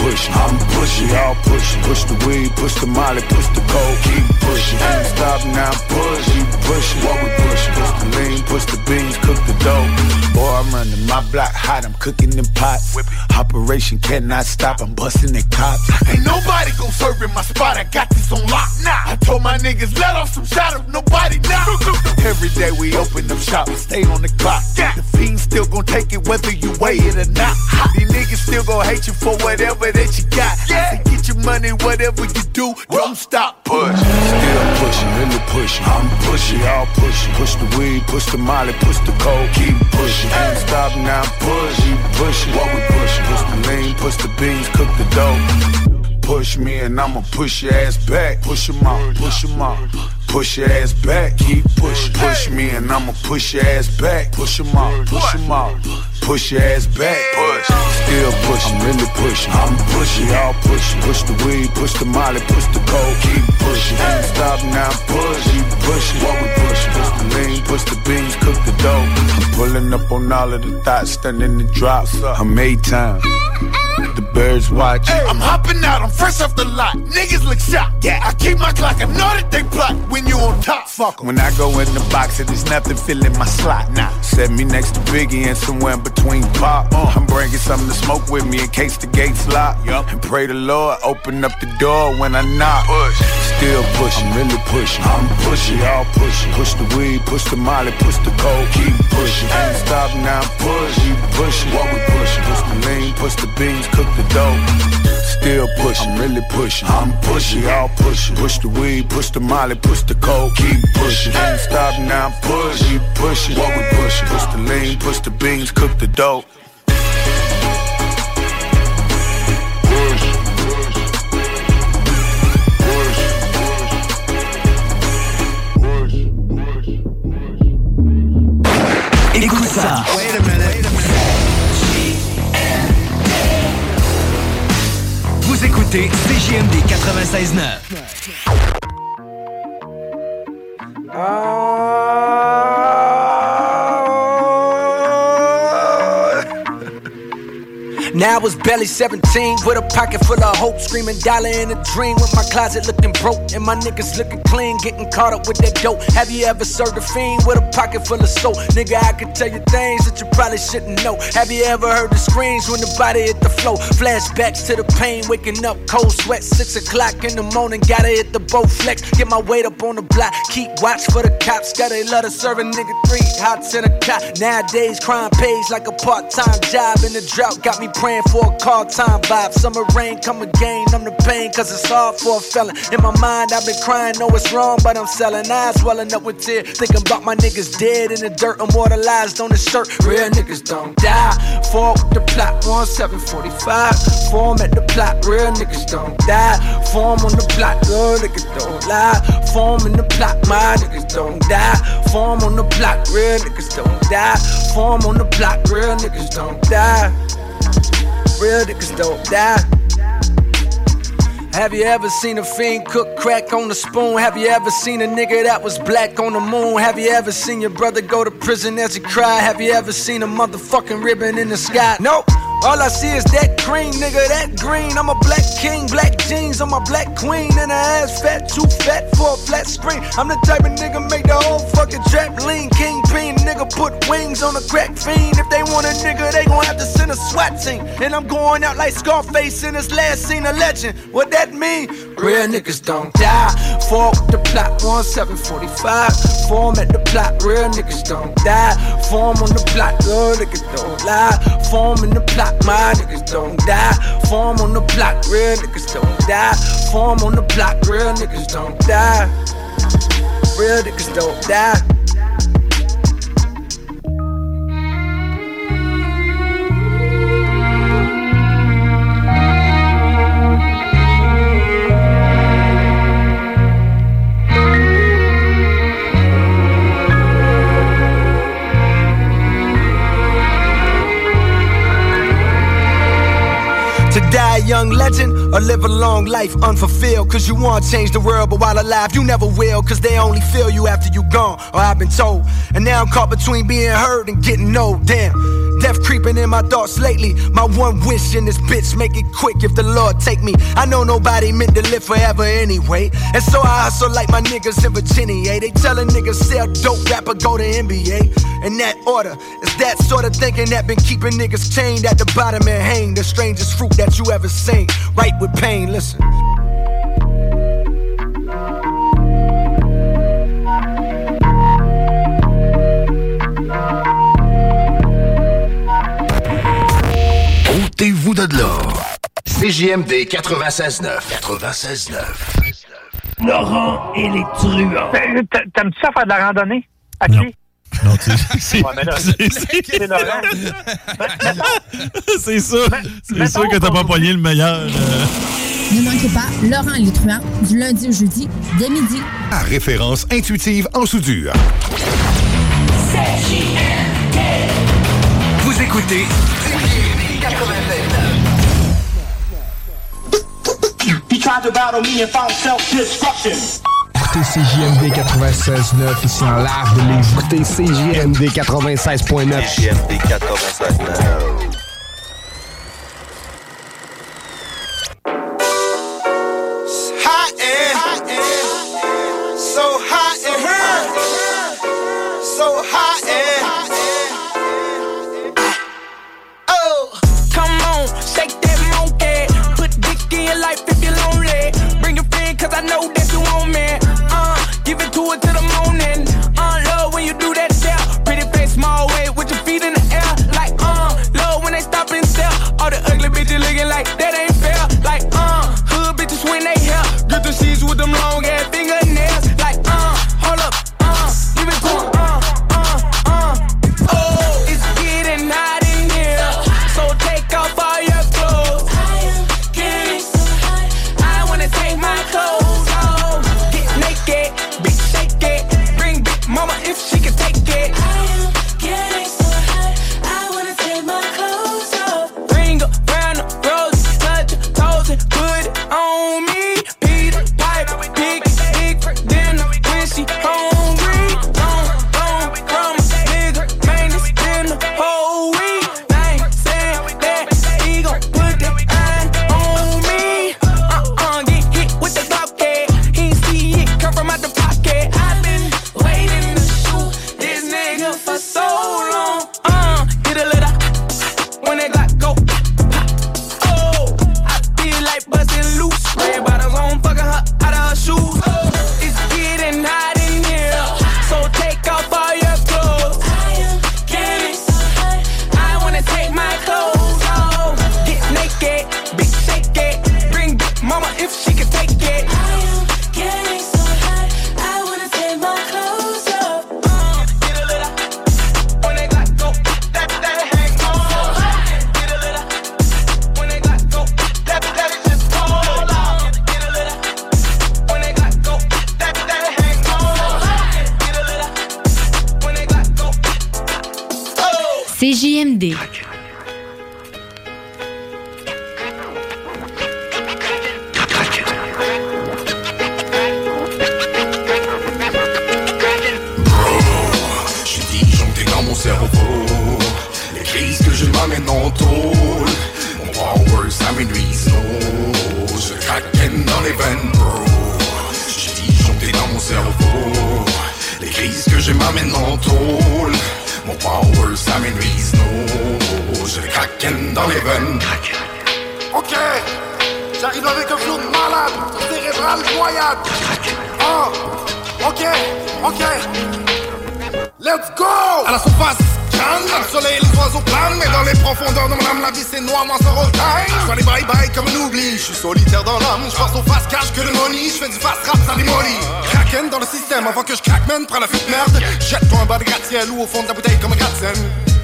pushing, I'm pushing, y'all pushing. Push the weed, push the molly, push the coke, keep pushing. Ain't stop now, push, keep pushing. What we pushing? Push the lean, push the beans, cook the dough. Boy, I'm running my block hot, I'm cooking in pots. Operation cannot stop, I'm busting the cops. Ain't nobody gon' serve in my spot, I got this on lock. Nah, I told my niggas let off some shot of nobody now. Every day we open up shop, stay on the clock. Yeah. The fiend still gon' take it whether you weigh it or not. These niggas still gon' hate you for whatever that you got. Yeah. So get your money, whatever you do, don't stop. Push, still pushing, really pushing. I'm pushing, y'all pushing. Push the weed, push the molly, push the coke, keep pushing. Ain't stop now, push, keep pushing. What we pushing? Push the lean, push the beans, cook the dough. Push me and I'ma push your ass back. Push 'em out, push 'em out. Push your ass back, keep pushing. Push me and I'ma push your ass back. Push 'em out, push 'em out. Push your ass back, push. Still pushing, I'm really pushing. I'm pushing, y'all pushing. Push the weed, push the molly, push the coke, keep pushing. Ain't stop now, push, keep pushing. What we pushing? Push the lean, push the beans, cook the dough. I'm pulling up on all of the thoughts, stunning the drop. I'm A-Town. The birds watch. Hey, I'm hopping out, I'm fresh off the lot. Niggas look shocked. Yeah, I keep my clock, I know that they plot when you on top. Fuck 'em. When I go in the box, there's nothing filling my slot. Nah, set me next to Biggie and somewhere in between pop. I'm bringing something to smoke with me in case the gates lock. Yup. And pray the Lord open up the door when I knock. Push, still pushing, I'm really pushing. I'm pushing, y'all pushing. Push the weed, push the molly, push the coke, keep pushing. Ain't stop now, push, keep pushing. What we pushing? Push the lean, push the beans, cook the dough. Still pushing, I'm really pushing. I'm pushing, y'all pushing. Push the weed, push the molly, push the coke, keep pushing. Ain't stop now, push, keep pushing. What we pushing? Push the lean, push the beans, cook the dough. Écoute ça. Wait a minute. Vous écoutez CJMD 96.9. Now I was barely 17 with a pocket full of hope, screaming dollar in a dream with my closet looking broke and my niggas looking clean, getting caught up with that dope. Have you ever served a fiend with a pocket full of soap? Nigga, I can tell you things that you probably shouldn't know. Have you ever heard the screams when the body hit the floor? Flashbacks to the pain, waking up cold sweat, 6 o'clock in the morning, gotta hit the Bowflex, get my weight up on the block, keep watch for the cops, gotta love to serve a nigga 3 hots in a cot. Nowadays crime pays like a part-time job, and the drought got me praying for a call time vibe. Summer rain come again, I'm the pain cause it's hard for a felon. In my mind I've been crying, know it's wrong but I'm selling. Eyes swelling up with tears, thinking about my niggas dead in the dirt, immortalized on the shirt. Real niggas don't die. Fall with the plot, 1745. Form at the plot, real niggas don't die. Form on the plot, real niggas don't lie. Form in the plot, my niggas don't die. Form on the plot, real niggas don't die. Form on the plot, real niggas don't die. Real niggas don't die. Have you ever seen a fiend cook crack on the spoon? Have you ever seen a nigga that was black on the moon? Have you ever seen your brother go to prison as he cried? Have you ever seen a motherfucking ribbon in the sky? Nope. All I see is that cream, nigga, that green. I'm a black king, black jeans on my black queen. And her ass fat, too fat for a flat screen. I'm the type of nigga make the whole fucking trap lean. Kingpin, nigga put wings on a crack fiend. If they want a nigga, they gon' have to send a SWAT team. And I'm going out like Scarface in his last scene, a legend. What that mean? Real niggas don't die. Fall with the plot, 1745. Form at the plot, real niggas don't die. Form on the plot, real niggas don't lie. Form in the plot, my niggas don't die. Form on the block, real niggas don't die. Form on the block, real niggas don't die. Real niggas don't die. To die a young legend or live a long life unfulfilled. Cause you wanna change the world, but while alive you never will. Cause they only feel you after you gone, or I've been told. And now I'm caught between being heard and getting old. Damn, Death creeping in my thoughts lately. My one wish in this bitch, make it quick if the Lord take me. I know nobody meant to live forever anyway. And so I hustle like my niggas in Virginia. They tell a nigga sell dope, rapper go to NBA. In that order, it's that sort of thinking that been keeping niggas chained at the bottom and hang. The strangest fruit that you ever seen. Right with pain, listen. Ôtez-vous de là. CJMD 96.9. 96.9. Laurent et les truands. T'aimes-tu ça faire de la randonnée? À pied? Non, tu sais, ouais, mais là, c'est Laurent. C'est sûr. C'est sûr que t'as pas poigné le meilleur. Ne manquez pas Laurent et les truands du lundi au jeudi dès midi. À référence intuitive en soudure. Vous écoutez He tried to battle me and found self-destruction. Écoutez CJMD 96.9 ici en live de Lévis. Écoutez CJMD 96.9. CJMD 96.9. Cause I know that you want me. Give it to it to the morning. Love when you do that step. Pretty face, small weight with your feet in the air. Like, love when they stop and stare. All the ugly bitches looking like that ain't fair. Like, hood bitches when they hair. Get the sheets with them long ass fingernails. Like, hold up, give it to them, Oh, it's getting hot in here. So take off all your clothes. I am getting so hot. I wanna take my clothes. Mama, if she can take it. I am getting so hot, I wanna take my clothes off. Ring around the rose, touch your toes and put it on me. Peter Piper, big dinner when she hungry. Long from a nigga, man, it's been the whole week. I ain't saying that he gon' put that iron on me. Get hit with the Glock, he ain't see it come from out the pocket. I've been waiting for so long, get a little when they got go. Oh, I feel like bustin' loose. Red bottoms on, fucking her out of her shoes. Oh, it's getting hot in here, so take off all your clothes. I am getting so hot, I wanna take my clothes off. Get naked, big shake it, bring big mama if she can take it. I am getting so hot, I wanna take my clothes off. CJMD. J'suis disjoncté dans mon cerveau. Les crises que je m'amène en tôle. Mon power ça m'énuise. Je craquenne dans les veines, bro. J'suis disjoncté dans mon cerveau. Les crises que je m'amène en tôle. Mon power ça m'énuise, je craquenne dans les veines. Ok, j'arrive avec un flow de malade, cérébral noyade. Ok, let's go. À la surface, calme, le soleil, les oiseaux planent. Mais dans les profondeurs de mon âme, la vie c'est noir, moi ça roll time. J'fais les bye-bye comme un oubli, j'suis solitaire dans l'âme. J'pense au fast cash que le money, j'fais du fast rap, ça démolit. Cracken dans le système avant que j'craque, man, prends la fuite merde. Jette-toi en bas de gratte-ciel ou au fond de la bouteille comme un gratte-scène.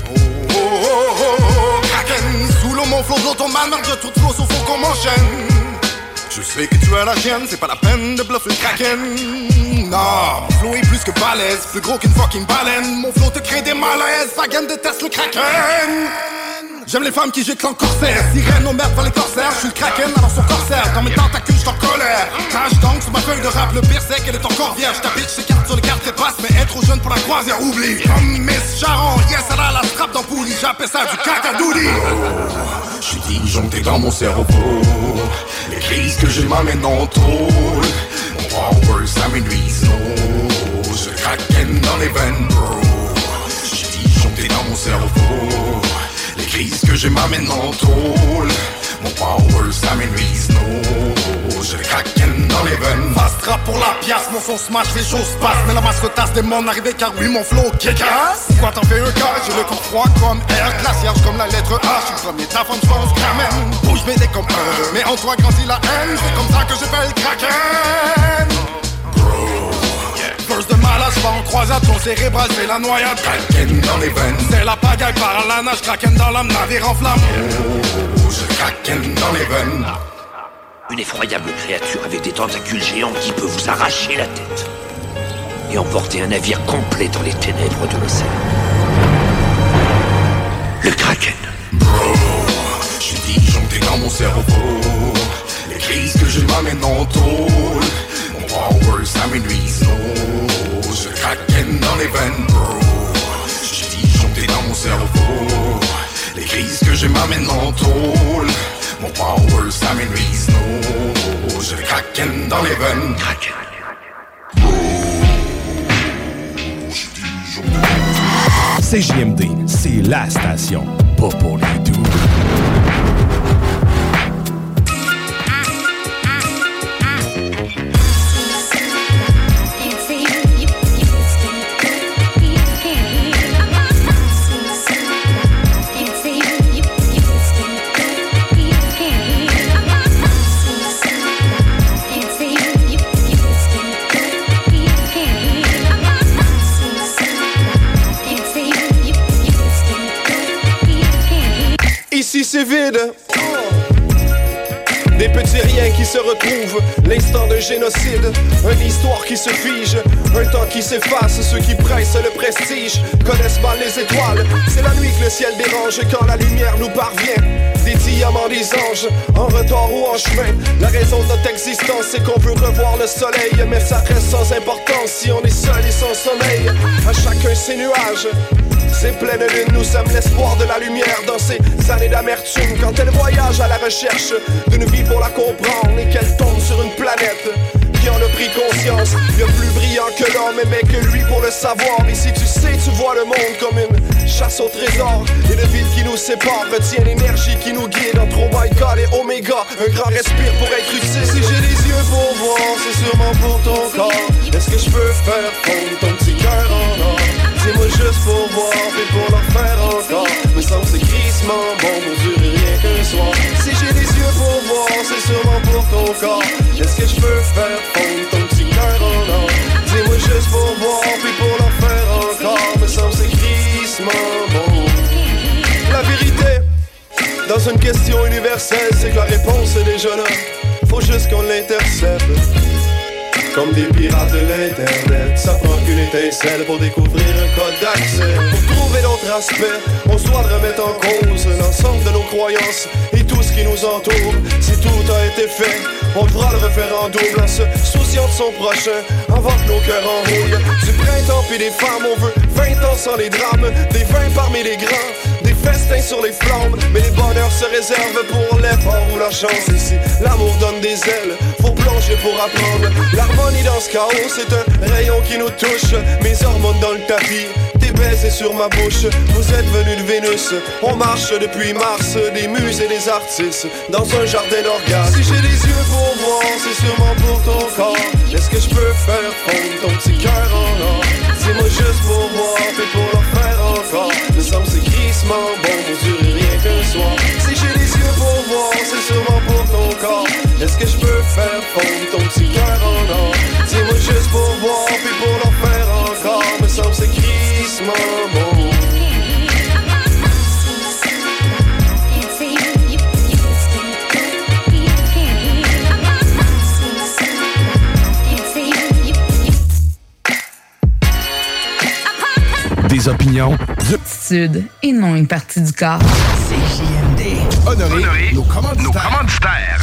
Kraken, sous l'eau mon flow d'automane, marque de tout flow, sauf faut qu'on m'enchaîne. Je sais que tu as la gêne, c'est pas la peine de bluffer le Kraken. Non, mon flow est plus que balèze, plus gros qu'une fucking baleine. Mon flow te crée des malaises, sa gaine déteste le Kraken. J'aime les femmes qui giclent en corsaire. Sirène aux merdes vers les corsaires. Je suis le kraken dans son corsaire. Dans mes tentacules, j'suis en colère. Crash donc sur ma feuille de rap. Le pire c'est qu'elle est encore vierge. Ta bitch s'écarte sur les cartes et passe. Mais être trop jeune pour la croisière, oublie. Comme Miss Sharon, yes, elle a la strap dans poulie. J'appelle ça du cacadouli. J'suis disjoncté dans mon cerveau. Les crises que j'ai m'amènent en tôle. Mon power, ça m'énuise. Je kraken dans les veines, bro. J'suis disjoncté dans mon cerveau. Les crises que j'ai m'amènent en tôle. Mon power, ça m'énuise. Je kraken dans les veines. Fast rap pour la pièce, mon son smash, les choses passent. Mais la masse retasse des mondes arrivés car oui, mon flow kick-ass. Pourquoi t'en fais un cas? J'ai le corps froid comme air, glaciaire comme la lettre H. J'suis premier, ta femme, j'pense grammaire. Bouge BD comme un. Mais en toi grandit la haine. C'est comme ça que j'appelle kraken. Burst de malade, j'vais en croisade, ton cérébral c'est la noyade. Kraken dans les veines. C'est la pagaille par la nage, kraken dans l'âme, navire en flamme. Je kraken dans les veines. Une effroyable créature avec des tentacules géants qui peut vous arracher la tête et emporter un navire complet dans les ténèbres de l'océan. Le Kraken. Bro, j'suis disjoncté dans mon cerveau. Les crises que je m'amène en tôle. Mon power, ça m'énuise. Je kraken dans les veines, bro. J'suis disjoncté dans mon cerveau. Les crises que je m'amène en tôle. Mon power, ça m'énuise. Je kraken dans les veines. Kraken. CJMD, c'est la station, pas pour les doux. Ici c'est vide. Des petits riens qui se retrouvent, l'instant d'un génocide, une histoire qui se fige, un temps qui s'efface. Ceux qui pressent le prestige connaissent mal les étoiles. C'est la nuit que le ciel dérange quand la lumière nous parvient. Des diamants, des anges, en retard ou en chemin. La raison de notre existence, c'est qu'on veut revoir le soleil. Mais ça reste sans importance si on est seul et sans sommeil. À chacun ses nuages. Ces pleines lunes, nous sommes l'espoir de la lumière dans ces années d'amertume. Quand elle voyage à la recherche d'une vie pour la comprendre et qu'elle tombe sur une planète qui en a pris conscience. Y'a plus brillant que l'homme, mais que lui pour le savoir. Et si tu sais, tu vois le monde comme une chasse au trésor. Et le vide qui nous sépare retient l'énergie qui nous guide entre oh my god et oméga. Un grand respire pour être utile. Si j'ai les yeux pour voir, c'est sûrement pour ton corps. Est-ce que je peux faire fondre ton petit cœur en or? Dis-moi juste pour voir et pour leur faire encore. Me semble c'est crissement bon pour durer rien qu'un soir. Si j'ai les yeux pour voir, c'est sûrement pour ton corps. Est-ce que je peux faire fondre ton petit cœur en or? Dis-moi juste pour voir et pour leur faire encore. Me semble c'est crissement bon. La vérité, dans une question universelle, c'est que la réponse est déjà là. Faut juste qu'on l'intercepte. Comme des pirates de l'internet, ça prend qu'une étincelle pour découvrir un code d'accès. Pour trouver d'autres aspects, on se doit de remettre en cause l'ensemble de nos croyances et tout ce qui nous entoure. Si tout a été fait, on devra le refaire en double en se souciant de son prochain, avant que nos cœurs enrouillent. Du printemps puis des femmes, on veut 20 ans sans les drames, des vins parmi les grands, des festins sur les flammes. Mais les bonheurs se réservent pour l'effort ou la chance. Et si l'amour donne des ailes, faut plonger pour apprendre. L'harmonie dans ce chaos, c'est un rayon qui nous touche. Mes hormones dans le tapis, tes baisers sur ma bouche. Vous êtes venus de Vénus, on marche depuis Mars. Des muses et des artistes, dans un jardin d'orgasme. Si j'ai les yeux pour voir, c'est sûrement pour ton corps. Est-ce que je peux faire fondre ton petit cœur en or? Dis-moi juste pour voir et pour leur faire encore. Me semble c'est crissement bon pour durer rien qu'un soir. Si j'ai les yeux pour voir, c'est sûrement pour ton corps. Est-ce que je peux faire fondre ton petit cœur en or? Dis-moi juste pour voir puis pour leur faire encore. Me semble c'est crissement bon. Des opinions, Attitude et non une partie du corps. CJMD. Honoré nos commanditaires.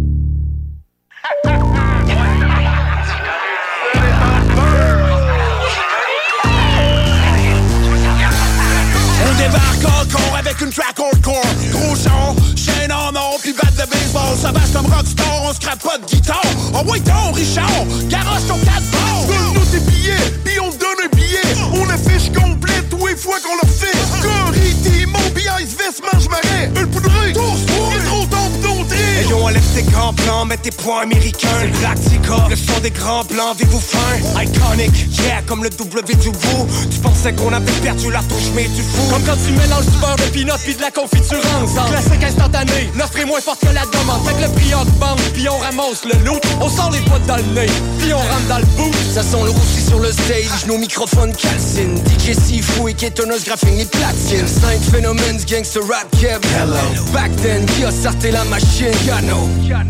On débarque encore avec une track hardcore. Gros son, chaîne en or, puis batte de baseball. Sauvage comme rockstar, on scrape pas de guitare. Oh ouais donc, Richard, garoche ton 4 balles. Donne-nous tes billets, puis on te donne un billet. On affiche complète tous les fois qu'on leur fait. Corée, Timo, puis Ice Vest, mange marais. Un poudreux, tourse-toi, et trop tard pour ton trait. Hey yo, enlève tes grands plans, mets tes points américains. C'est le Practica, le son des grands blancs, vivez-vous fin. Iconic, yeah, comme le W du bout. Tu pensais qu'on avait perdu la touche, mais tu fous. Comme quand tu mélanges du beurre de peanut puis de la confiture ensemble. Classique instantané, l'offre est moins forte que la demande. Fait que le prix augmente, puis on ramasse le loot. On sort les potes dans le nez, puis on rentre dans le bout. Ça sent le roussi sur le stage, nos microphones calcinent. DJ Sifu et Kétonos graphing les platines. 5 phénomènes, gangster rap kev. Hello. Back then, qui a starté la machine? Yano.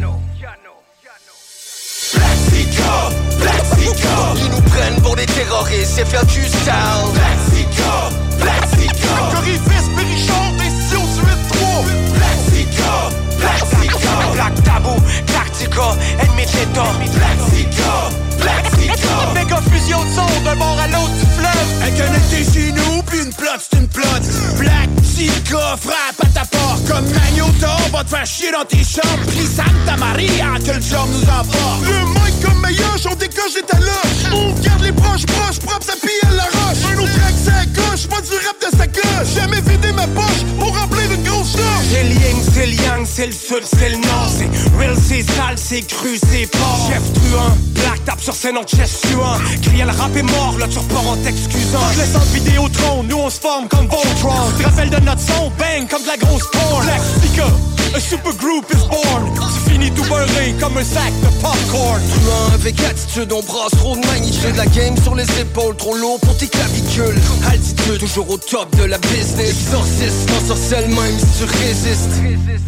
Blaxica, ils nous prennent pour des terroristes, c'est faire du style. Blaxica, Corifis, Bérichard, des Sion 8-3. Blaxica, Black Tabou, Tactica, Ennemi de l'État. Blaxica, méga fusion de son d'un bord à l'autre du fleuve. Un connecté chez nous, puis une plot, c'est une plot. Blaxica, frappe à ta porte. Comme Magnota, on va te faire chier dans tes chambres. Pris Santa Maria, que le job nous emporte. Le mic comme Mayoche, on décoche des taloches. On garde les proches, propres, ça pille à la roche. Un autre track, ça gauche, pas du rap de sacoche. Jamais vidé ma poche pour remplir une grosse charge. C'est le yin, c'est le yang, c'est le sud, c'est le nord. C'est real, c'est sale, c'est cru, c'est pas. Chef truand, black tape sur scène en chest suant. Crier le rap est mort, là tu repars en t'excusant. Je laisse en Vidéotron, nous on se forme comme Voltron. Tu te rappelles de notre son, bang, comme de la grosse porn. Blaxica, a super group is born. Tu finis tout beurré comme un sac de popcorn. Truand avec attitude, on brasse trop de magnitude. La game sur les épaules, trop lourd pour tes clavicules. Altitude, toujours au top de la business. Exorciste, non sorcelle même si tu résistes.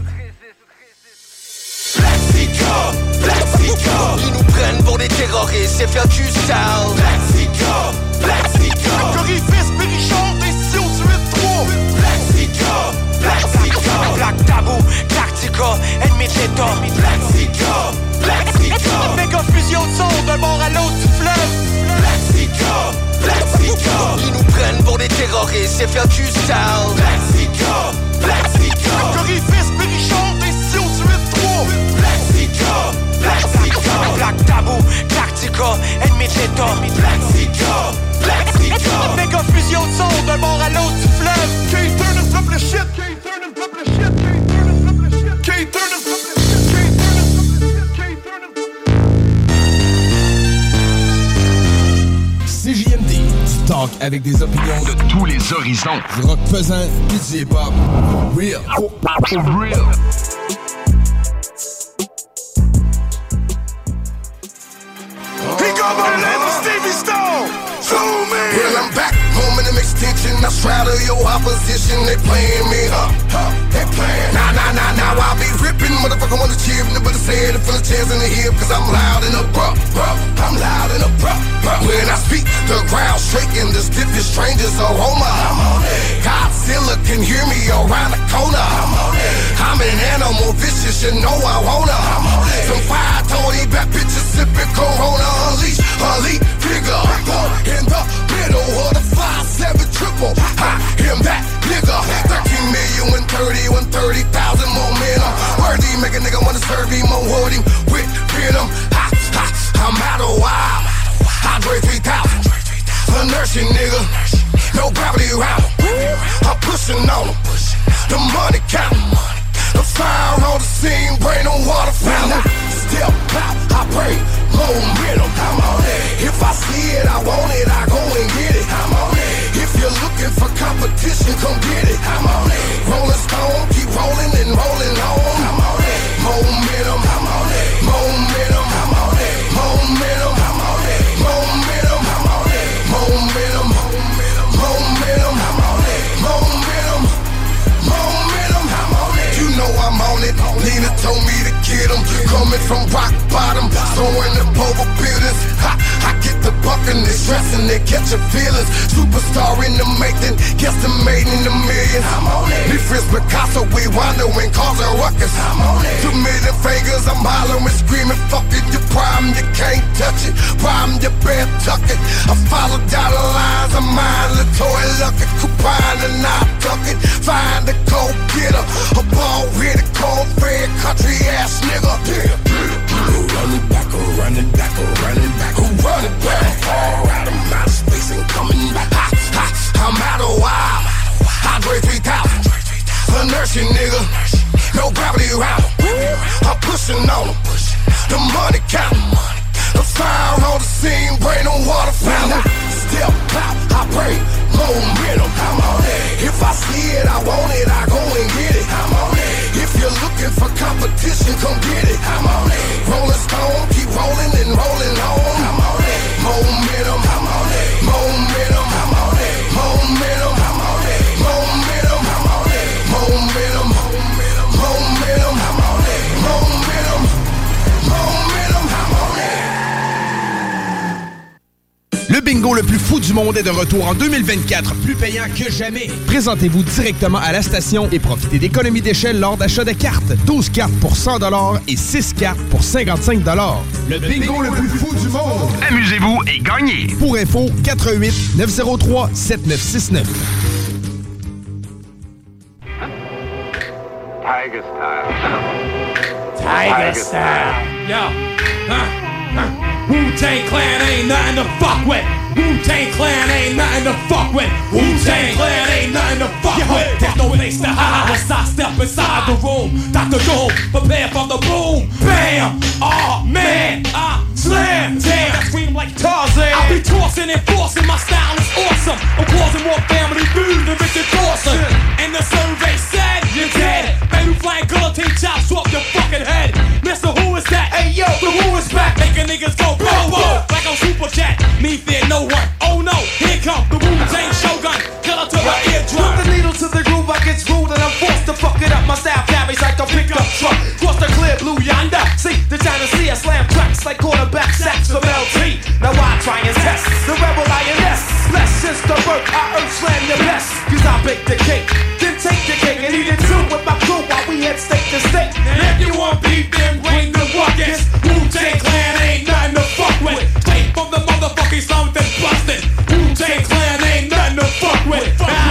Blaxica, ils nous prennent pour des terroristes, c'est faire du style. Blaxica, Corifis, Bérichard, des Sion 8-3. Blaxica, Black Tabou, Tactica, Ennemi de l'État. Blaxica, méga fusion de son d'un bord à l'autre du fleuve. Blaxica, ils nous prennent pour des terroristes, c'est faire du style. Blaxica, Corifis, Bérichard, des Sion 8-3. Blaxica, Black Tabou, Tactica, Ennemi de l'État. Blaxica, méga fusion de son d'un bord à l'autre du fleuve. K-Turn drop le shit. K-Turn drop le shit. CJMD, du talk avec des opinions de tous les horizons. Du rock pesant, pis du hip-hop. Real. For real. He got my name of Stevie Stone. Zoom in. Well, I'm back home in the extension. I straddle your opposition. They playing me, they playing. Nah, I'll be ripping. Motherfucker wanna cheer, but it's head and full of chairs in the hip. Cause I'm loud and abrupt, I'm loud and abrupt. When I speak, the crowd shaking. The stiffest strangers aroma. I'm on it. Godzilla can hear me around the corner. I'm on it. I'm an animal vicious, you know I wanna. I'm on it. Some 5-20 bad bitches sipping Corona. Unleash, elite figure. In the middle of the 5-7 triple. I am that nigga. 13 million, 130,000 momentum. Worthy, make a nigga wanna serve him or hold him with venom. I'm out of wild. Andre 3000. A nursing nigga. No gravity around him. I'm pushing on him. The money count. The fire on the scene, brain on water fountain. Step out, I bring momentum. I'm on it. If I see it, I want it, I go and get it. I'm on it. If you're looking for competition, come get it. I'm on it. Rolling Stone, keep rolling and rolling on. I'm on it. Momentum, I'm on it. Momentum, I'm on it. Momentum, I'm on it. Momentum, I'm on it. Momentum, momentum, I'm on it. Momentum, I'm on it. You know I'm on it. Nina told me to get them. Coming from rock bottom, throwing up over buildings. I get the buck and they stressing, they catching feelings. Superstar in the making, guesstimating the millions. I'm on it. Me friends Picasso, we wandering, causing ruckus. I'm on it. 2 million fingers, I'm hollering, screaming, fucking your problem, you can't touch it. Problem, you better tuck it. I follow down the lines, I'm mine, the toy lucky, coupon and I tuck it. Find the cold getter, a ball with a cold fed country ass nigga. Who running back, who running back, who running back, who running back? All out of my space and coming back. I'm out of wild. Andre 3000. Inertia, nigga. No gravity around. I'm pushing on them. The money count. The fire on the scene, bring no water fountain. Step pop, I bring momentum. I'm on it. If I see it, I want it, I go and get it. I'm on it. If you're looking for competition, come get it. I'm on it. Rolling stone, keep rolling and rolling on. I'm on it. Momentum, I'm on it. Momentum, I'm on it. Momentum, I'm on it. Momentum, I'm on it. Momentum, momentum, I'm on it. Momentum, momentum, I'm on it. Le bingo le plus fou du monde est de retour en 2024, plus payant que jamais. Présentez-vous directement à la station et profitez d'économies d'échelle lors d'achat de cartes. 12 cartes pour 100 $ et 6 cartes pour 55 $. Le bingo le plus fou du monde. Amusez-vous et gagnez. Pour info, 88 903 7969. Tiger style. Tiger style. Yo. Wu-Tang Clan ain't nothing to fuck with. Wu-Tang Clan ain't nothing to fuck with. Wu-Tang Clan ain't nothing to fuck with. There's no place to hide once I step inside the room. Dr. Doom, prepare for the boom. Bam! Oh man, I slam. Damn, I scream like Tarzan. I be tossing and forcing, my style is awesome. I'm causing more family food than Richard Dawson. And the survey said you're dead. Baby flying guillotine chops off your fucking head. Mister, who is that? Hey yo, the who is back? Making niggas go bro, bro, like on Super Chat. Me fear no one. Oh no, here come the Wu-Tang Shogun. Killer to the eardrum. Put the needle to the groove, I get screwed and I'm forced to fuck it up. My style carries like a pickup truck. Cross the clear blue yonder. See the China Sea, I slam tracks like quarterback sacks from LT. Now I try and test the rebel INS. Less since the birth, I earth slam your best. Cause I bake the cake, then take the cake and eat it too with my crew while we head state to state. And if you want beef, then bring the buckets. Wu-Tang Clan ain't nothing to fuck with. Straight from the motherfucking slums that's busted. Wu-Tang Clan ain't nothing to fuck with.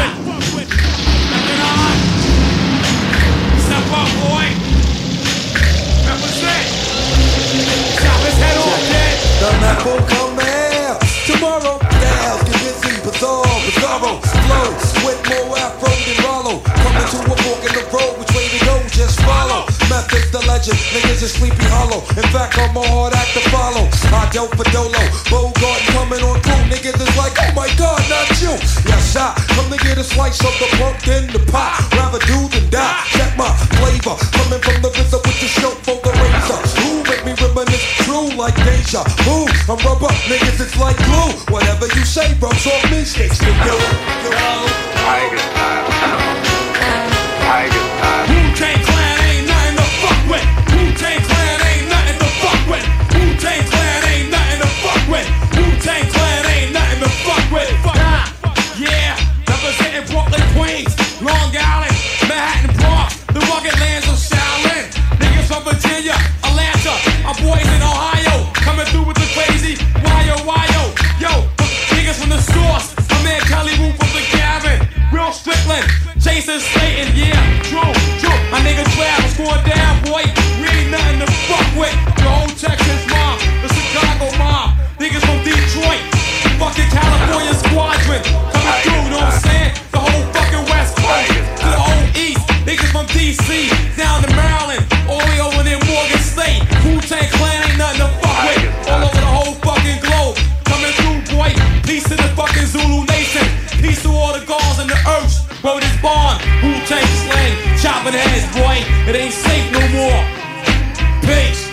Step up, boy. Represent. Chop his head off, kid. The map will come there tomorrow. Styles get busy, bizarro, flow with more afro than Rollo. Coming to a fork in the road, which way to go? Just follow. Method's the legend, niggas is Sleepy Hollow. In fact, I'm a hard act to follow. I dealt for Dolo, Bogart coming on through. Niggas is like, oh my God, not you. Yes, I come to get a slice of the pumpkin, the pie. Rather do than die. Check my flavor, coming from the RZA with the show for the razor. Who make me reminisce true like deja vu? I'm rubber, niggas it's like glue. Whatever you say, rubs off me, sticks to you. Tiger style. Tiger style. Wu-Tang Clan ain't nothing to fuck with. Wu-Tang Clan ain't nothing to fuck with. Wu-Tang Clan ain't nothing to fuck with. Wu-Tang Clan ain't nothing to fuck with. Yeah, representing Brooklyn, Queens, Long Island, Manhattan, Bronx, the rugged lands of Shaolin. Niggas from Virginia, Atlanta, our boys in Ohio, coming through with the crazy wyo. Yo, niggas from the source, my man Kelly Wu from the Gavin, Real Strickland, Jason Slayton, yeah, true. My nigga Trav was going down, boy. We ain't nothing to fuck with. The whole Texas mob, the Chicago mob, niggas from Detroit, fucking California squadron, coming through, know what I'm saying? The whole fucking West Coast, to the whole East, niggas from DC, down to Maryland, all the way over there Morgan State. Wu-Tang Clan ain't nothing to fuck with. All over the whole fucking globe, coming through, boy. Peace to the fucking Zulu Nation. Peace to all the gods and the earths. Word is born. Wu-Tang slang, chopping heads, boy. It ain't safe no more. Peace.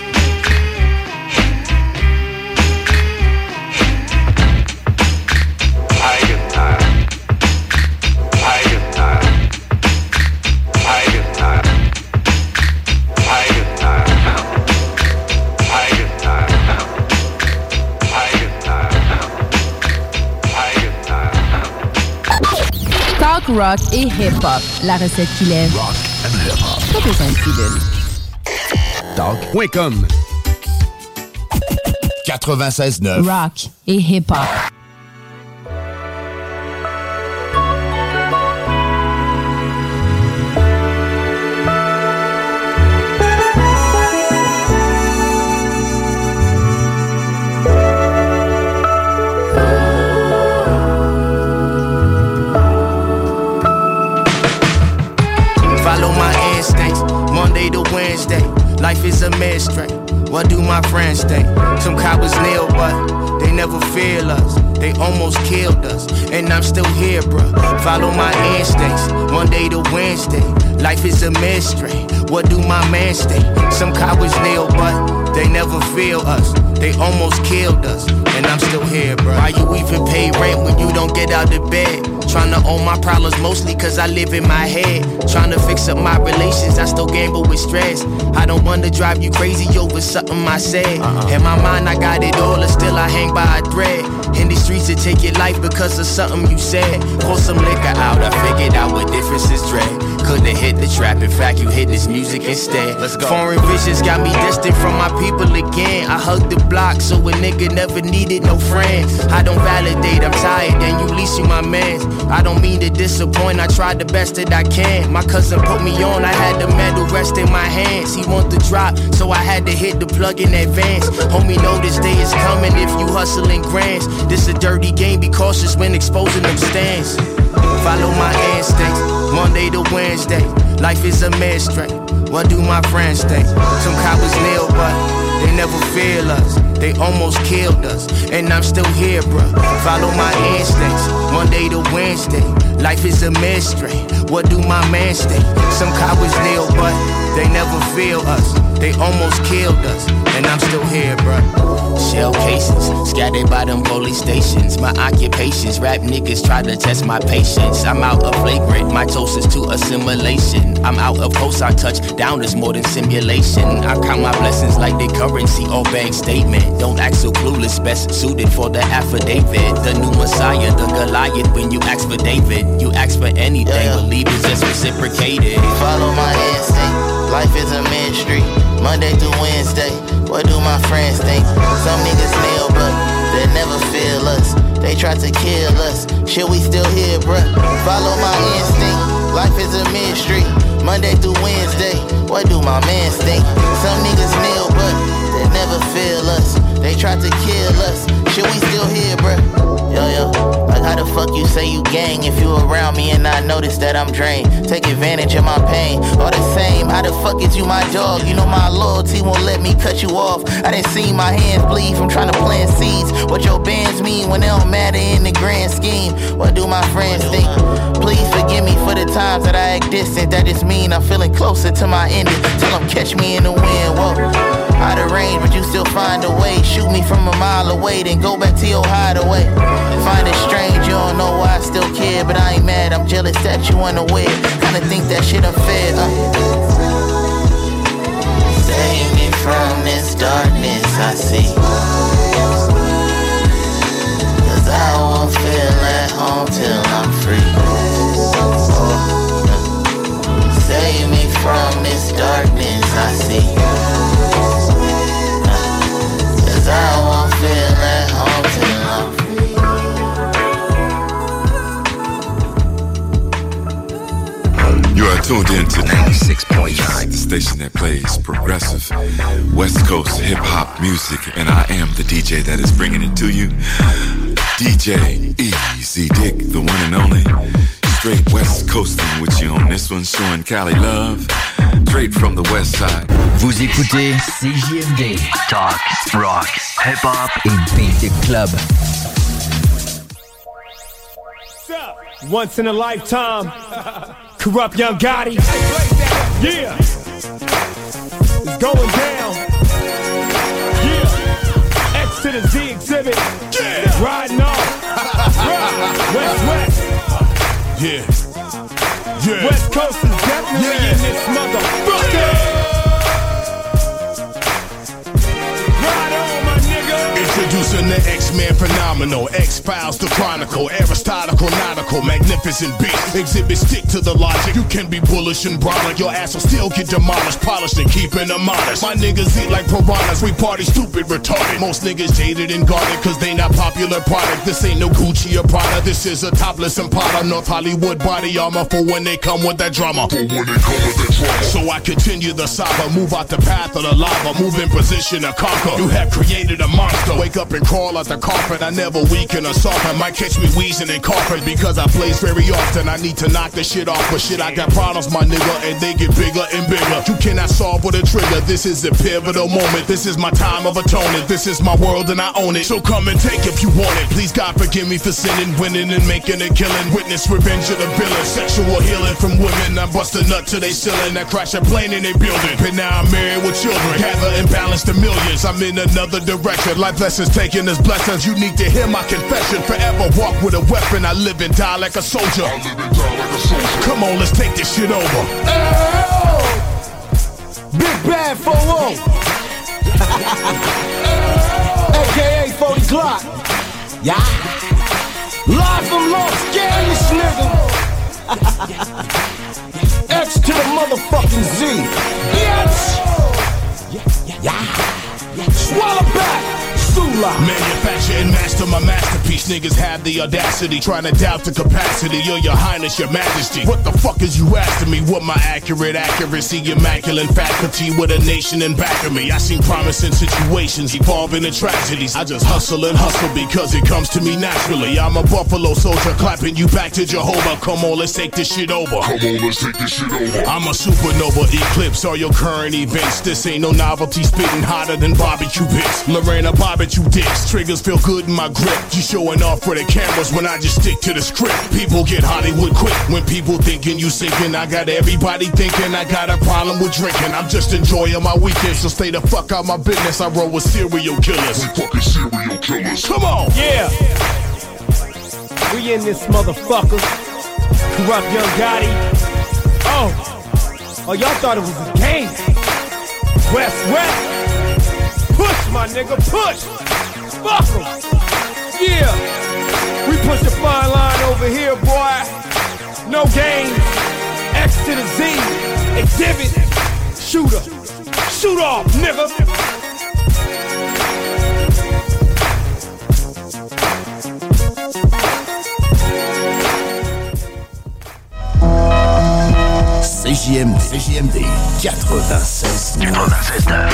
Tiger style. Tiger style. Tiger style. Tiger style. rock et hip-hop. La recette qui lève. Rock and hip-hop. Pas besoin de pilule. Talk.com 96.9 Rock et hip-hop. Follow my instincts, Monday to Wednesday. Life is a mystery. What do my friends think? Some cowards kneel, but they never feel us. They almost killed us, and I'm still here, bruh. Follow my instincts, Monday to Wednesday. Life is a mystery. What do my mans think? Some cowards kneel, but they never feel us. They almost killed us, and I'm still here, bruh. Why you even pay rent when you don't get out of bed? Tryna own my problems mostly cause I live in my head. Tryna fix up my relations, I still gamble with stress. I don't wanna drive you crazy over something I said. In my mind I got it all and still I hang by a thread. In the streets to take your life because of something you said. Pour some liquor out, I figured out what difference is dread. Couldn't hit the trap, in fact you hit this music instead. Let's go. Foreign visions got me distant from my people again. I hugged the block so a nigga never needed no friends. I don't validate, I'm tired and you least you my mans. I don't mean to disappoint, I tried the best that I can. My cousin put me on, I had the medal rest in my hands. He want the drop, so I had to hit the plug in advance. Homie know this day is coming if you hustling grands. This a dirty game, be cautious when exposing them stands. Follow my instincts, Monday to Wednesday. Life is a mystery. What do my friends think? Some cowards kneel, but they never feel us. They almost killed us, and I'm still here, bruh. Follow my instincts, Monday to Wednesday. Life is a mystery. What do my mans think? Some cowards kneel, but they never feel us. They almost killed us, and I'm still here, bruh. Shell cases, scattered by them police stations. My occupations, rap niggas try to test my patience. I'm out of flagrant, my toast is to assimilation. I'm out of coast, I touch down is more than simulation. I count my blessings like they currency or bank statement. Don't act so clueless, best suited for the affidavit. The new Messiah, the Goliath, when you ask for David. You ask for anything, believe it's just reciprocated. Follow my instinct, life is a mystery. Monday through Wednesday, what do my friends think? Some niggas kneel, but they never feel us. They try to kill us, shit we still here, bruh. Follow my instinct, life is a mystery. Monday through Wednesday, what do my mans think? Some niggas kneel, but they never feel us. They try to kill us, shit we still here, bruh. Yo, like how the fuck you say you gang if you around me and I notice that I'm drained? Take advantage of my pain, all the same, how the fuck is you my dog? You know my loyalty won't let me cut you off. I done seen my hands bleed from trying to plant seeds. What your bands mean when they don't matter in the grand scheme? What do my friends think? Please forgive me for the times that I act distant. That just mean I'm feeling closer to my ending. Tell them catch me in the wind, whoa. Out of range, but you still find a way. Shoot me from a mile away, then go back to your hideaway. Find it strange, you don't know why I still care, but I ain't mad, I'm jealous that you unaware. Kinda think that shit unfair, Save me from this darkness I see, cause I won't feel at home till I'm free. Save me from this darkness I see, I won't feel at home till I'm free. You are tuned in to 96.9, the station that plays progressive West Coast hip-hop music, and I am the DJ that is bringing it to you. DJ Easy Dick, the one and only. Straight West Coasting with you on this one, showing Cali love. Straight from the west side. Vous écoutez CJMD, Talk, Rock, Hip Hop et Beat Club. Once in a lifetime, Corrupt Young Gotti. Yeah, it's going down. Yeah, X to the Z exhibit. Yeah, riding off. West. Yeah. Yeah. West Coast is definitely in this motherfucker. Introducing the X-Men phenomenal, X-Files the chronicle, Aristotle nautical, magnificent beat. Exhibit stick to the logic. You can be bullish and brolic, your ass will still get demolished, polished and keeping them honest. My niggas eat like piranhas, we party stupid, retarded. Most niggas jaded and guarded, cause they not popular product. This ain't no Gucci or Prada, this is a topless Impala. North Hollywood body armor for when they come with that drama. So I continue the saga, move out the path of the lava, move in position to conquer. You have created a monster, wake up and crawl out the carpet. I never weaken or soften, might catch me wheezing and coughing because I blaze very often. I need to knock the shit off, but shit, I got problems, my nigga, and they get bigger and bigger. You cannot solve with a trigger, this is a pivotal moment. This is my time of atonement, this is my world and I own it. So come and take if you want it. Please God forgive me for sinning, winning and making a killing. Witness revenge of the villain, sexual healing from women. I bust a nut to they ceiling, I crash a plane in they building. But now I'm married with children, gather and balance the millions. I'm in another direction, life lessons taking as blessings. You need to hear my confession, forever walk with a weapon. I live and die like a soldier. Come on, let's take this shit over. Big Bad 4-0 AKA 40 Glock. Yeah. Live from Los Angeles, nigga. X to the motherfucking Z. Yes. Yeah. Swallow back. Manufacture and master my masterpiece. Niggas have the audacity, trying to doubt the capacity. Your highness, your majesty. What the fuck is you asking me? What my accurate accuracy, immaculate faculty with a nation in back of me. I seen promising situations evolving into tragedies. I just hustle and hustle because it comes to me naturally. I'm a Buffalo soldier clapping you back to Jehovah. Come on, let's take this shit over. Come on, let's take this shit over. I'm a supernova, eclipse all your current events. This ain't no novelty, spitting hotter than barbecue bits. Lorena barbecue dicks, triggers feel good in my grip. You showing off for the cameras when I just stick to the script. People get Hollywood quick when people thinking you sinking. I got everybody thinking I got a problem with drinking. I'm just enjoying my weekend, so stay the fuck out my business. I roll with serial killers. We fucking serial killers. Come on. Yeah. We in this motherfucker. Corrupt Young Gotti. Oh, y'all thought it was a game. West. Push, my nigga, push. Fuck 'em. Yeah. We push a fine line over here, boy. No games. X to the Z. Exhibit. Shooter. Shoot off, nigga. CJMD 96.9.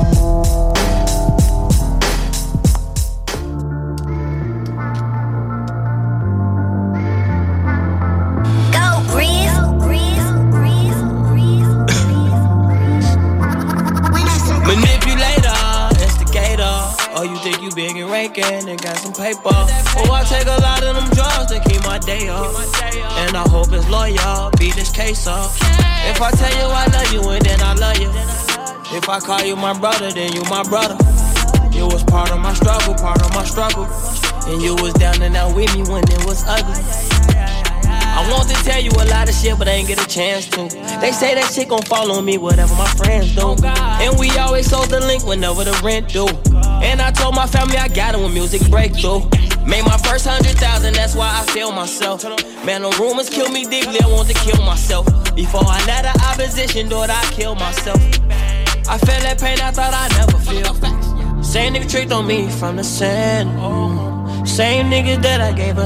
Big and raking and got some paper. Oh, I take a lot of them drugs to keep my day off. And I hope it's loyal, beat this case off. If I tell you I love you and then I love you. If I call you my brother, then you my brother. You was part of my struggle. And you was down and out with me when it was ugly. I want to tell you a lot of shit, but I ain't get a chance to. They say that shit gon' fall on me, whatever my friends do. And we always sold the link whenever the rent due. And I told my family I got it when music breakthrough. Made my first 100,000, that's why I feel myself. Man, the rumors kill me deeply, I want to kill myself. Before I let the opposition do it, I kill myself. I felt that pain I thought I'd never feel. Same nigga tricked on me from the sand. Same nigga that I gave a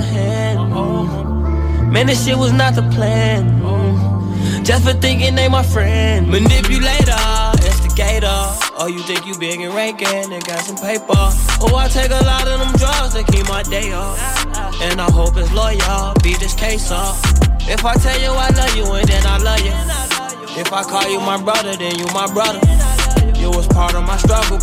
hand. Man, this shit was not the plan. Just for thinking they my friend. Manipulator, instigator. Oh, you think you big and ranking and got some paper. Oh, I take a lot of them drugs to keep my day off. And I hope it's loyal, beat this case off. If I tell you I love you and then I love you. If I call you my brother, then you my brother. You was part of my struggle.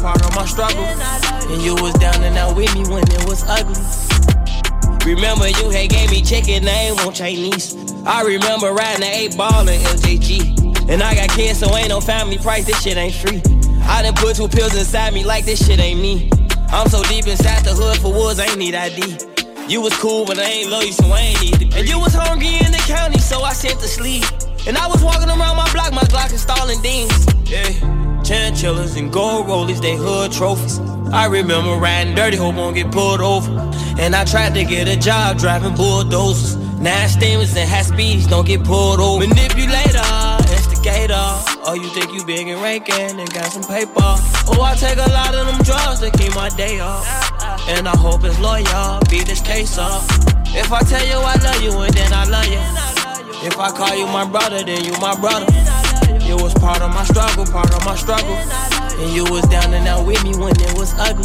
And you was down and out with me when it was ugly. Remember you had gave me chicken, I ain't want Chinese. I remember riding the 8-ball in LJG. And I got kids, so ain't no family price, this shit ain't free. I done put 2 pills inside me like this shit ain't me. I'm so deep inside the hood for woods, I ain't need ID. You was cool, but I ain't love you, so I ain't need it. And you was hungry in the county, so I sent to sleep. And I was walking around my block, my Glock installing deans. Yeah, chinchillas and gold rollies, they hood trophies. I remember riding dirty, hope won't get pulled over. And I tried to get a job driving bulldozers. 9 steamers and high speeds, don't get pulled over. Manipulator, instigator. Oh, you think you big and ranking and got some paper. Oh, I take a lot of them drugs to keep my day off. And I hope it's loyal, beat this case off. If I tell you I love you and then I love you. If I call you my brother, then you my brother. You was part of my struggle, And you was down and out with me when it was ugly.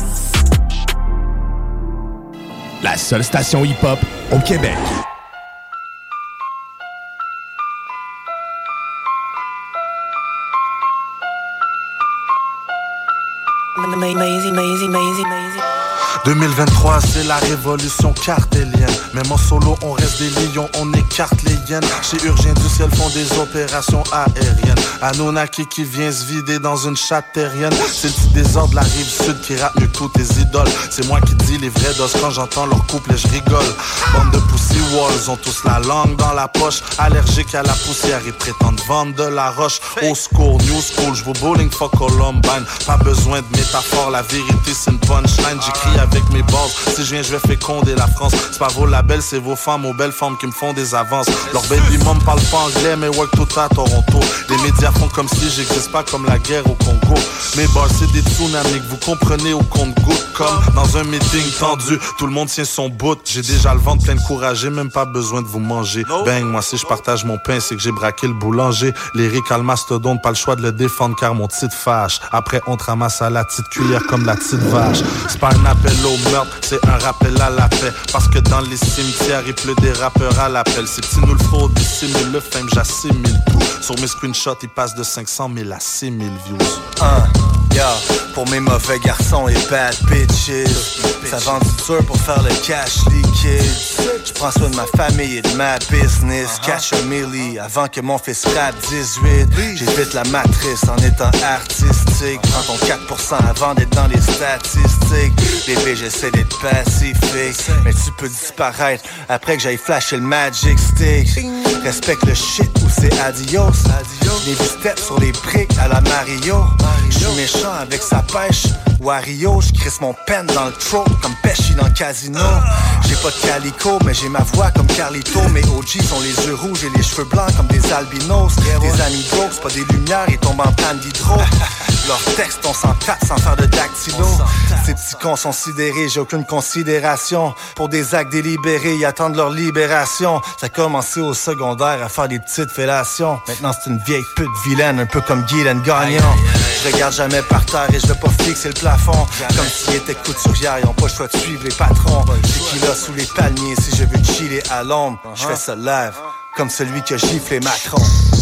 La seule station hip-hop au Québec. Lazy. 2023 c'est la révolution cartélienne. Même en solo on reste des lions, on écarte les hyènes. Chirurgiens du ciel font des opérations aériennes. Anunnaki qui vient se vider dans une chatte terrienne. C'est le petit désordre de la rive sud qui rappe mieux que tous tes idoles. C'est moi qui dis les vrais doses quand j'entends leur couple et je rigole. Bande de pussy walls ont tous la langue dans la poche. Allergiques à la poussière et prétendent vendre de la roche. Old school, new school, j'vaux bowling for Columbine. Pas besoin de métaphore, la vérité c'est une punchline. J'écris avec mes bases, si je viens je vais féconder la France. C'est pas vos labels, c'est vos femmes aux belles formes qui me font des avances. Leur baby mom parle pas anglais mais work tout à Toronto. Les médias font comme si j'existe pas, comme la guerre au Congo. Mes bars c'est des tsunamis que vous comprenez au compte-gouttes. Comme dans un meeting tendu, tout le monde tient son bout. J'ai déjà le ventre plein de courage, j'ai même pas besoin de vous manger. Bang, moi si je partage mon pain c'est que j'ai braqué le boulanger. L'Éric à le mastodonte, pas le choix de le défendre car mon titre fâche. Après on te ramasse à la petite cuillère comme la petite vache. C'est pas un appel au meurtre, c'est un rappel à la paix. Parce que dans les cimetières il pleut des rappeurs à l'appel. Ces petits nous le faut, dissimule le fame, j'assimile tout. Sur mes screenshots ils passent de 500 000 à 6 000 views. Pour mes mauvais garçons et bad bitches, ça vend du dur pour faire le cash liquide. Je prends soin de ma famille et de ma business. Cash a milli avant que mon fils rap 18. J'évite la matrice en étant artistique. Prends ton 4% avant d'être dans les statistiques. Bébé, j'essaie d'être pacifique, mais tu peux disparaître après que j'aille flasher le magic stick. Respecte le shit ou c'est adios. Les vu step sur les briques à la Mario. J'suis méchant avec sa pêche. Wario, j'crisse mon pen dans le throat comme Pesci dans le casino. J'ai pas de calico, mais j'ai ma voix comme Carlito. Mes OG sont les yeux rouges et les cheveux blancs comme des albinos. Des amis broke, c'est pas des lumières, ils tombent en panne d'hydro. Leurs textes, on s'en tape sans faire de dactylo. Ces petits cons sont sidérés, j'ai aucune considération pour des actes délibérés, ils attendent leur libération. Ça a commencé au secondaire à faire des petites fellations. Maintenant c'est une vieille pute vilaine, un peu comme Guylaine Gagnon. Je regarde jamais par terre et je veux pas fixer le plafond. Comme s'ils étaient couturières, ils ont pas le choix de suivre les patrons. J'ai qui là sous les palmiers, si je veux chiller à l'ombre, je fais ça live, comme celui qui a giflé Macron.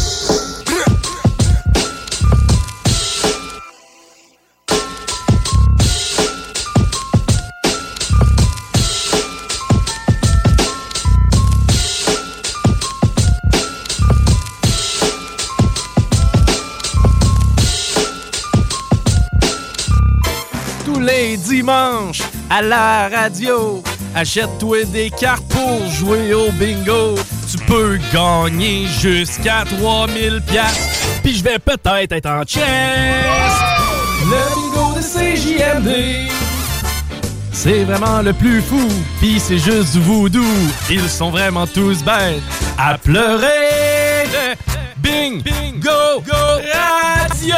Les dimanches à la radio, achète-toi des cartes pour jouer au bingo. Tu peux gagner jusqu'à 3000$. Puis je vais peut-être être en chest. Le bingo de CJMD, c'est vraiment le plus fou. Puis c'est juste du voodoo. Ils sont vraiment tous bêtes à pleurer. Bingo Radio.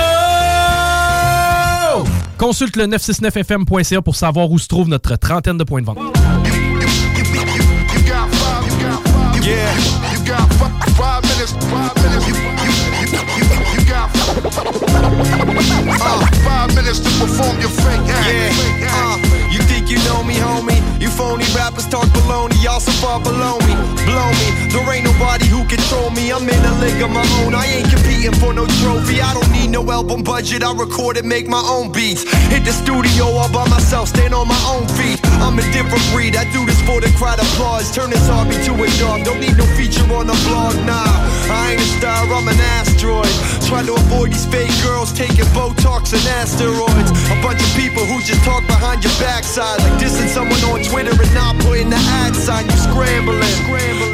Consulte le 969fm.ca pour savoir où se trouve notre trentaine de points de vente. Yeah, you got 5 minutes. 5 minutes to perform your fake act. You think you know me, homie? You phony rappers talk baloney, y'all so far below me. Blow me, there ain't nobody who control me. I'm in a league of my own, I ain't competing for no trophy. I don't need no album budget, I record and make my own beats. Hit the studio all by myself, stand on my own feet. I'm a different breed, I do this for the crowd applause. Turn this hobby to a job, don't need no feature on the blog, nah. I ain't a star, I'm an asteroid. Trying to avoid these fake girls taking Botox and asteroids. A bunch of people who just talk behind your backside, like dissing someone on Twitter and not putting the ad sign. You scrambling. Career is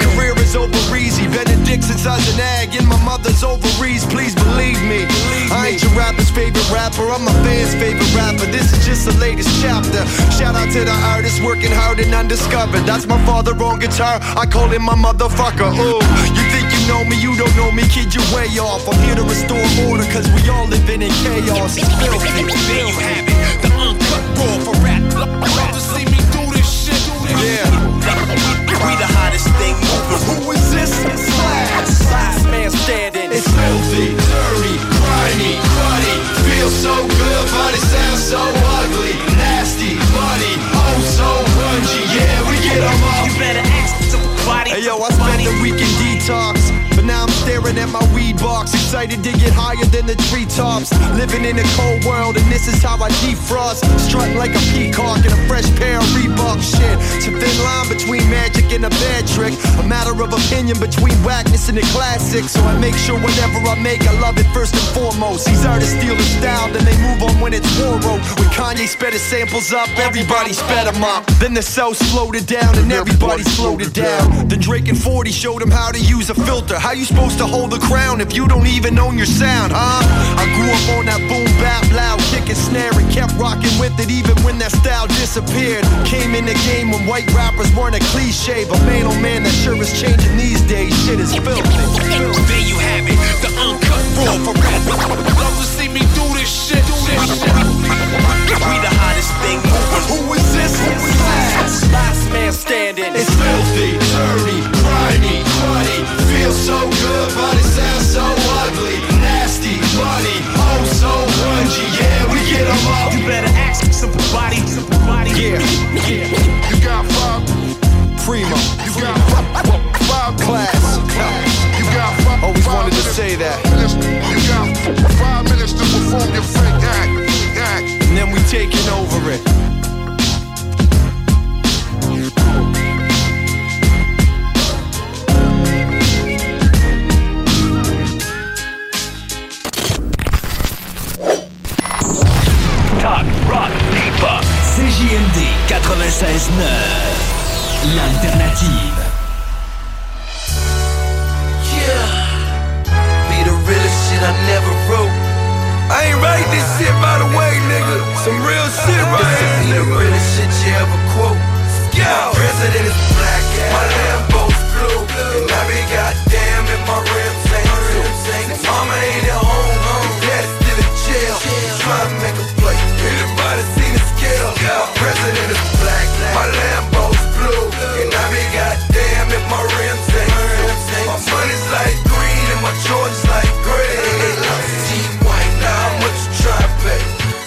is over easy. Benedict since I was an egg in my mother's ovaries. Please believe me. I ain't your rapper's favorite rapper. I'm my fans' favorite rapper. This is just the latest chapter. Shout out to the artists working hard and undiscovered. That's my father on guitar. I call him my motherfucker. Ooh, you think you know me? You don't know me, kid. You're way off. I'm here to restore order, cause we all living in chaos. It's filthy. There you have it. The uncut raw for rap. Love to see me do this shit. Yeah. We the hottest thing moving. Who is this? It's Slash. Last man standing. It's filthy, dirty, grimy, cruddy. Feels so good, but it sounds so ugly. Nasty, muddy, oh so grungy. Yeah, we get 'em up. You better ask somebody. Hey yo, I spent the weekend detox, but now I'm staring at my weed box. Excited to get higher than the treetops. Living in a cold world, and this is how I defrost. Strutting like a peacock in a fresh pair of Reebok. Shit, it's a thin line between magic and a bad trick. A matter of opinion between whackness and the classic. So I make sure whatever I make, I love it first and foremost. These artists steal the style, then they move on when it's war road. When Kanye sped his samples up, everybody sped them up. Then the South slowed it down, and everybody slowed it down. Then Drake and 40 showed them how to use a filter. How you supposed to hold the crown if you don't even own your sound, huh? I grew up on that boom bap, loud kick and snare, and kept rocking with it even when that style disappeared. Came in the game when white rappers weren't a cliche, but man oh man, that sure is changing these days. Shit is filthy. There you have it, the uncut raw for rap. Love to see me do this shit. We the hottest thing moving. Who is this? Last man standing. It's filthy, dirty, grimy, cruddy. Feels so good, but it sounds so ugly. Nasty, muddy, oh so grungy. Yeah, we get 'em up. You better ask somebody. Yeah. You got five. Primo. You got five. Class. You got five. Always wanted to say that. You got 5 minutes to perform your fake act. And then we taking over it. Talk, rock, hip-hop. CJMD 96.9. L'alternative. Yeah. Be the realest shit I never wrote. I ain't write this shit by the way, nigga. Some real shit right here. Be the realest shit you ever quote. My president is black, my Lambo's blue, and I be goddamn if my rims ain't true. Mama ain't at home, dad's still in jail. Trying to make a play. Anybody seen the scale? My president is black, my Lambo's blue, and I be goddamn if my rims ain't true. My money's like green and my Jordans like gray. Team white, now how much you try to pay?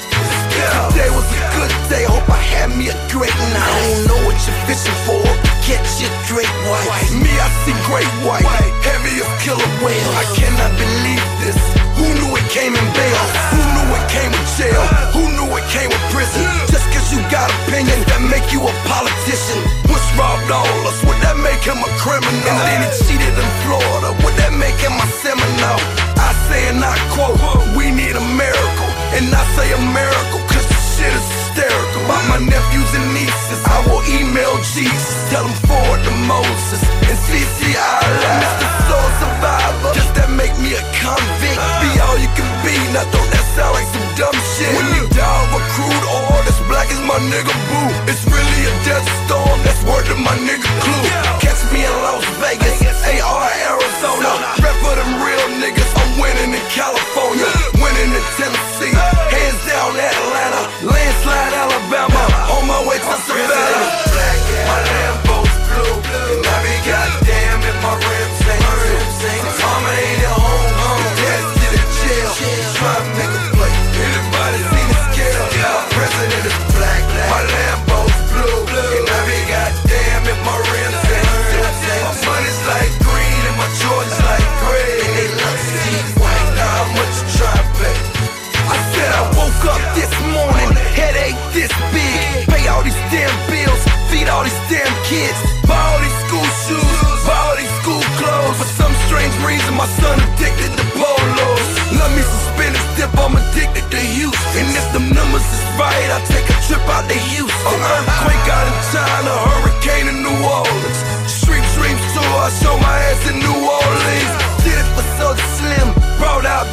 Today was a good day, hope I had me a great night. I don't know what you're fishing for, catch your great white. Me, I see great white, heavy as killer whale. I cannot believe this. Who knew it came in bail? Who knew it came with jail? Who knew it came with prison? Just cause you got opinion, that make you a politician. Bush robbed all us, would that make him a criminal? And then he cheated in Florida, would that make him a Seminole? I say and I quote, we need a miracle. And I say a miracle cause the shit is hysterical. About my nephews and nieces, I will email Jesus, tell them forward to Moses and CC Allah. Mr. Soul Survivor, does that make me a convict? Be all you can be, now don't that sound like some dumb shit? When you die of a crude oil that's black as my nigga Boo, it's really a death storm, that's word to my nigga Clue. Catch me in Las Vegas, AR Arizona, rep for them real niggas, I'm winning in California, winning in Tennessee, hands down Atlanta, landslide Alabama, on my way to Savannah. Black, my Lambo's blue, and I be goddamn if my rims ain't true. Mama ain't at home, dad's still in jail, try to make a play. Anybody seen the scale? My president is black, my Lambo's blue, and I be goddamn if my rims ain't true. My money's like green and my Jordans like gray. They love to see white, now how much you try to pay? I said I woke up this morning, headache this big. Pay all these damn bills, feed all these damn kids. Buy all these school shoes, buy all these school clothes. For some strange reason, my son addicted to polos. Love me some Spanish dip, I'm addicted to Houston. And if them numbers is right, I'll take a trip out to Houston. Earthquake out in China, hurricane in New Orleans. Street dreams tour, I show my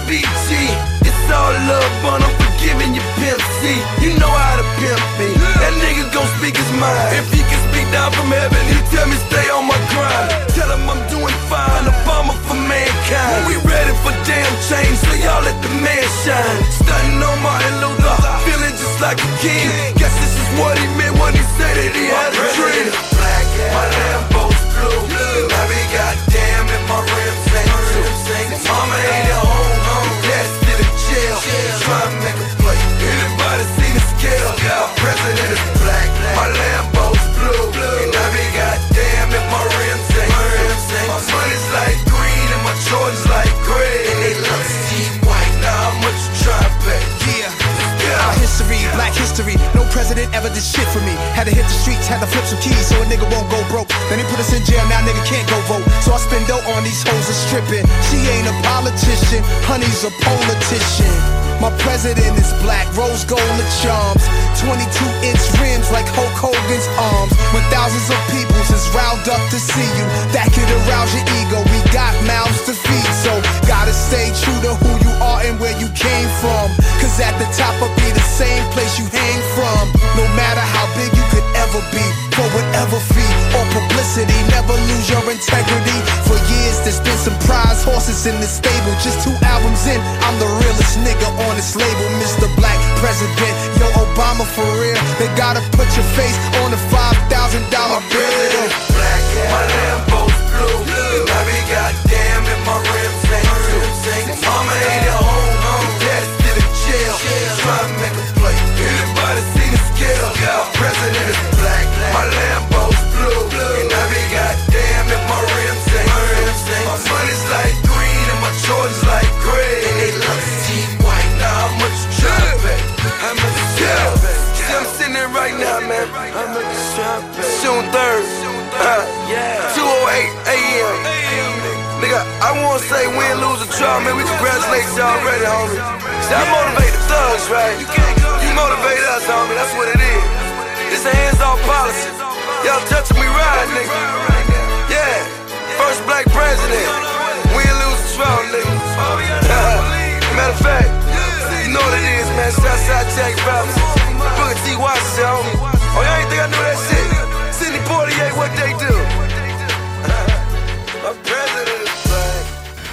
BG. It's all love, but I'm forgiving you, Pimp C. You know how to pimp me. That nigga gon' speak his mind. If he can speak down from heaven, he tell me stay on my grind. Tell him I'm doing fine, a bomber for mankind. We ready for damn change, so y'all let the man shine. Stunting on Martin Luther, feeling just like a king. Guess this is what he meant when he said that he had a dream. Black, my Lambo's blue. And I be goddamn if my rims ain't too. Mama ain't at home, dad's still in jail. Try to make a play. Anybody see the scale? My president is black, my Lambo's blue. And I be goddamn if my rims ain't too. My money's like green and my Jordans like gray. And they love Steve White. Now how much you try to pay? My history, black history. No president ever did shit for me. Had to hit the streets, had to flip some keys so a nigga won't go broke. Then they put us in jail, now nigga can't go vote. So I spend dough on these hoes and stripping. She ain't a politician, honey's a politician. My president is black, rose gold and charms. 22-inch rims like Hulk Hogan's arms. When thousands of peoples is riled up to see you, that could arouse your ego. We got mouths to feed, so gotta stay true to who you are and where you came from. Cause at the top will be the same place you hang from. No matter how big you could ever be, for whatever fee or publicity, never lose your integrity. For years there's been some prize horses in the stable. Just 2 albums in, I'm the realest nigga on this label. Mr. Black President, yo Obama for real. They gotta put your face on a $5,000 bill. Black, my Lambo's blue. And I be goddamn if my rims ain't too. Mama ain't at home, dad's still in jail. Try to make a play. Anybody see the scale? My president is black, my Lambo's blue. And I be goddamn if my rims ain't too. My money's like green and my Jordans like gray. And they love Steve White. Now how much you try to pay? How much you try to pay? See, I'm sitting there right now, man. How much you try to pay? June 3rd, 2:08 a.m. Nigga, I wanna say win, lose, or draw, man. We congratulate y'all already, homie. See, I motivate the thugs, right? You motivate us, homie. That's what it is. It's a hands-off policy. Y'all touching me right, nigga. Yeah, first black president. Win, lose, or draw, nigga. Matter of fact, you know what it is, man. Southside Jack Brothers. Booker T. Washington, homie. Oh, y'all ain't think I knew that shit? Sidney Poitier, what they do? My president is black.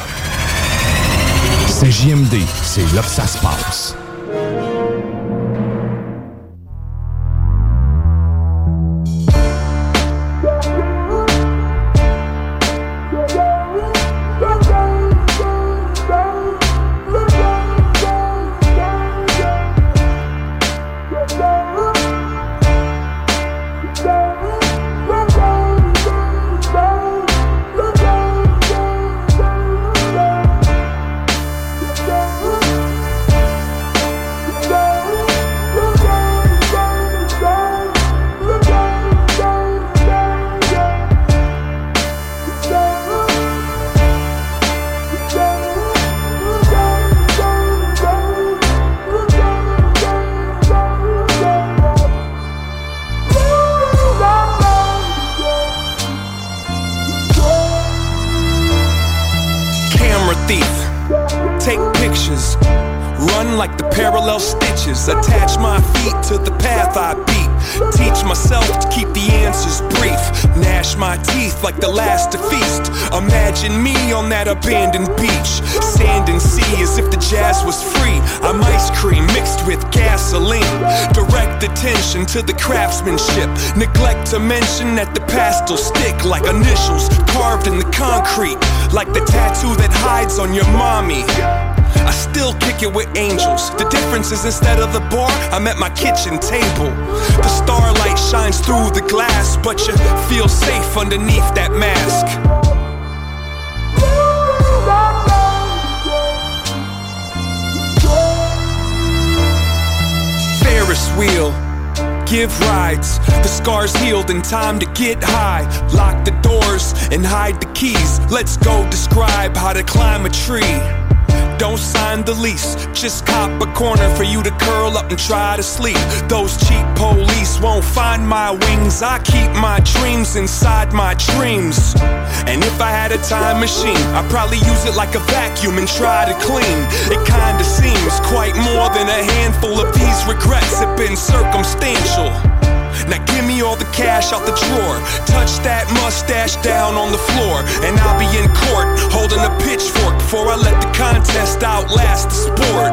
C'est JMD, c'est là que ça se passe. Like the parallel stitches, attach my feet to the path I beat. Teach myself to keep the answers brief. Gnash my teeth like the last to feast. Imagine me on that abandoned beach. Sand and sea as if the jazz was free. I'm ice cream mixed with gasoline. Direct attention to the craftsmanship. Neglect to mention that the past will stick like initials carved in the concrete. Like the tattoo that hides on your mommy. I still kick it with angels. The difference is instead of the bar, I'm at my kitchen table. The starlight shines through the glass, but you feel safe underneath that mask. Ferris wheel, give rides. The scars healed in time to get high. Lock the doors and hide the keys. Let's go describe how to climb a tree. don't sign the lease. Just cop a corner for you to curl up and try to sleep. Those cheap police won't find my wings. I keep my dreams inside my dreams. And if I had a time machine, I'd probably use it like a vacuum and try to clean. It kinda seems quite more than a handful of these regrets have been circumstantial. Now give me all the cash out the drawer. Touch that mustache down on the floor, and I'll be in court holding a pitchfork before I let the contest outlast the sport.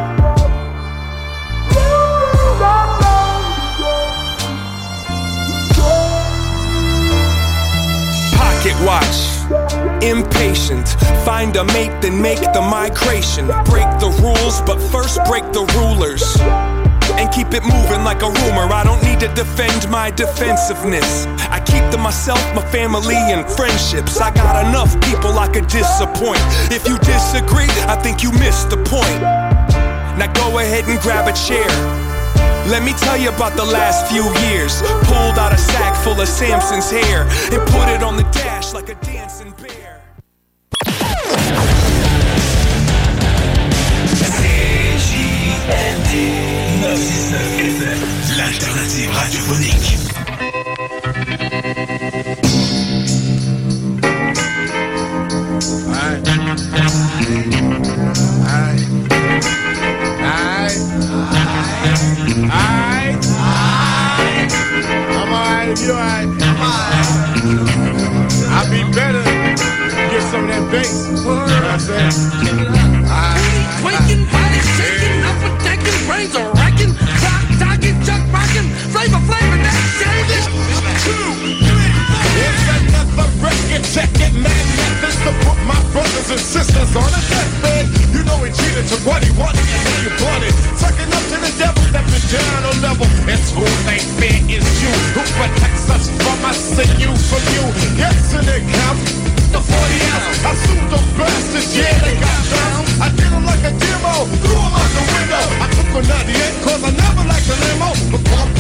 Pocket watch, impatient. Find a mate, then make the migration. Break the rules, but first break the rulers. And keep it moving like a rumor. I don't need to defend my defensiveness. I keep to myself, my family, and friendships. I got enough people I could disappoint. If you disagree, I think you missed the point. Now go ahead and grab a chair. Let me tell you about the last few years. Pulled out a sack full of Samson's hair and put it on the dash like a dancing bear. CJMD 969 FM, l'alternative radiophonique. I'm alright, you alright? I'll be better. Get some of that bass. You know what I'm saying? Quaking, body shaking, up attacking, brains are racking, clock talking, chuck rocking, flavor, that changes. 2, 3, 4. It's another record, check it, mad methods to put my brothers and sisters on a deathbed. You know he cheated to what he wanted, and then you bought it. Sucking up to the devil, stepping down a level. It's who they fear is you, who protects us from us and you from you. Yes, and it counts. The 40 ounce, I sued those bastards, yeah, they got down. I did them like a demo, threw them out the window. I took a 98 cause I never liked the limo. But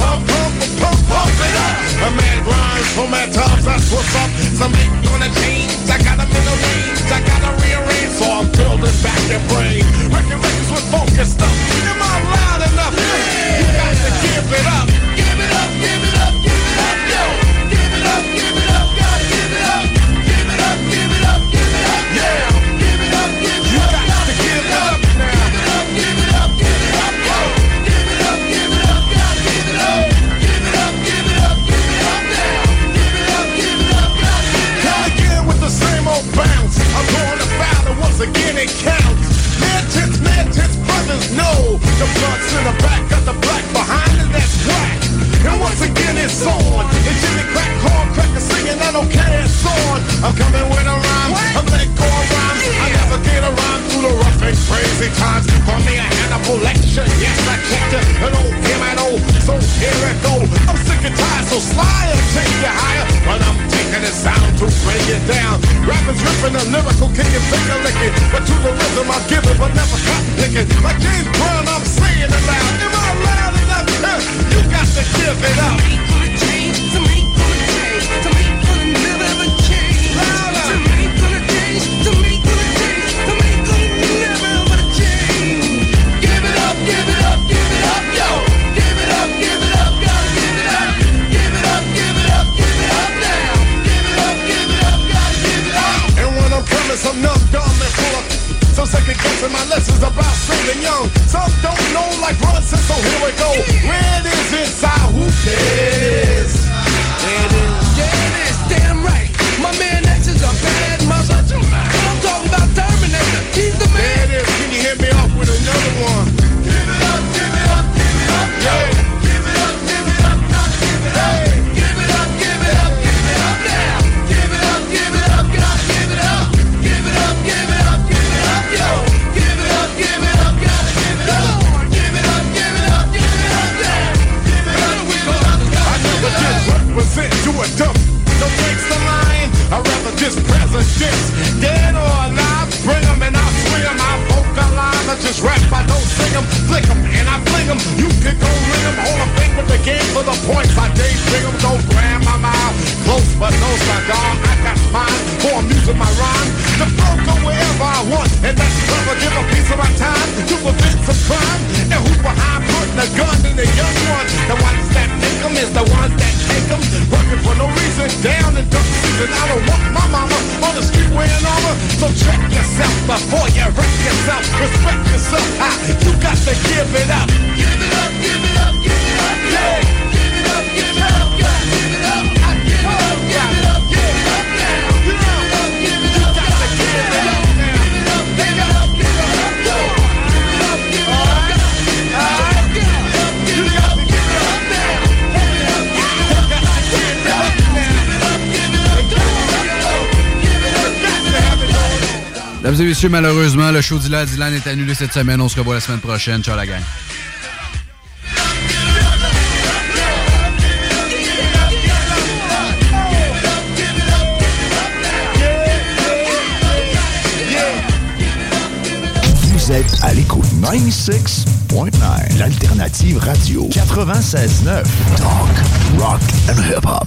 pump it up. A man grinds for mad times, that's what's up. Some ain't gonna change, I got them in the range. I gotta rearrange, so I'm building back their brain. Records with focus stuff. Am I loud enough? You got to give it up. Give it up, give it up, give it up, yo. Give it up, gotta give it up. Give it up, give it up, give it up, yeah. Give it up, you got to give it up now. Give it up, give it up, yo. Give it up, gotta give it up. Give it up, give it up, give it up now. Give it up, gotta give it up. Come again with the same old bounce. I'm going to battle once again, it counts. Mad tits, brothers know. The blunts in the back, got the black behind it, that's whack. And once again it's on. It's Jimmy Crack, corn cracker singing, I don't care, it's on. I'm coming with a rhyme, I'm letting go of rhymes. I never get a rhyme through the rough and crazy times. Call me a Hannibal lecture, yes I checked it. And old him and old, so here it go. I'm sick and tired, so Sly will take you higher. But I'm taking it sound to bring it down. Rappers ripping a lyrical, kicking, finger licking. But to the rhythm I give it, but never cotton picking. Like James Brown, I'm saying it loud. Am I loud enough? You got to give it up. To me, gonna change. To me, gonna never ever change. Louder. To me, gonna change. To me, gonna change. To me, gonna never ever change. Give it up, give it up, give it up, yo. Give it up, gotta give it up. Give it up, give it up, give it up now. Give it up, gotta give it up. And when I'm coming, some numb, dumb, and full of some second guessing my lessons about saving young. Some don't know like Brunson, so here we go. Where it is inside, who cares? There it is. Yeah, it is, damn right. My man X is a bad mother. I'm talking about Terminator. He's the man. There it is. Can you hit me off with another one? Give it up, give it up, give it up, yo. Give it up, gotta give it up. Give it up, give it up, give it up now. Give it up, gotta give it up. Give it up, give it up, give it up, yo. Give it up, gotta give it up. Give it up, give it up, give it up now. Give it up, rap, I don't sing them, flick them, and I fling them. You can go ring them, hold a finger with the game for the points. I daydream them, don't grab my mouth. Close but no cigar, I got mine for amusing my rhyme. The flow go wherever I want, and that's clever. Give a piece of my time to prevent some crime. And who's behind putting a gun in the young ones? The ones that make them is the ones that take them. Working for no reason, down in duck season. I don't want my mama on the street wearing armor. So check yourself before you wreck yourself. Respect yourself, you got to give it up. Give it up, give it up, give it up, yeah. Give it up, give it up, yeah. Give it up, I give it up, give it up, give it up now. Give it up, give it up, you got to give it up now. Give it up, give it up, give it up, yo. Give it up, give it up, give it up, give it up, you got to give it up now. Give it up, you got to give it up now. Give it up, give it up, give it up, got to have it all. Mesdames et messieurs, malheureusement, le show d'Ilan est annulé cette semaine. On se revoit la semaine prochaine. Ciao la gang. Vous êtes à l'écoute 96.9, l'alternative radio 96.9, talk, rock and hip-hop.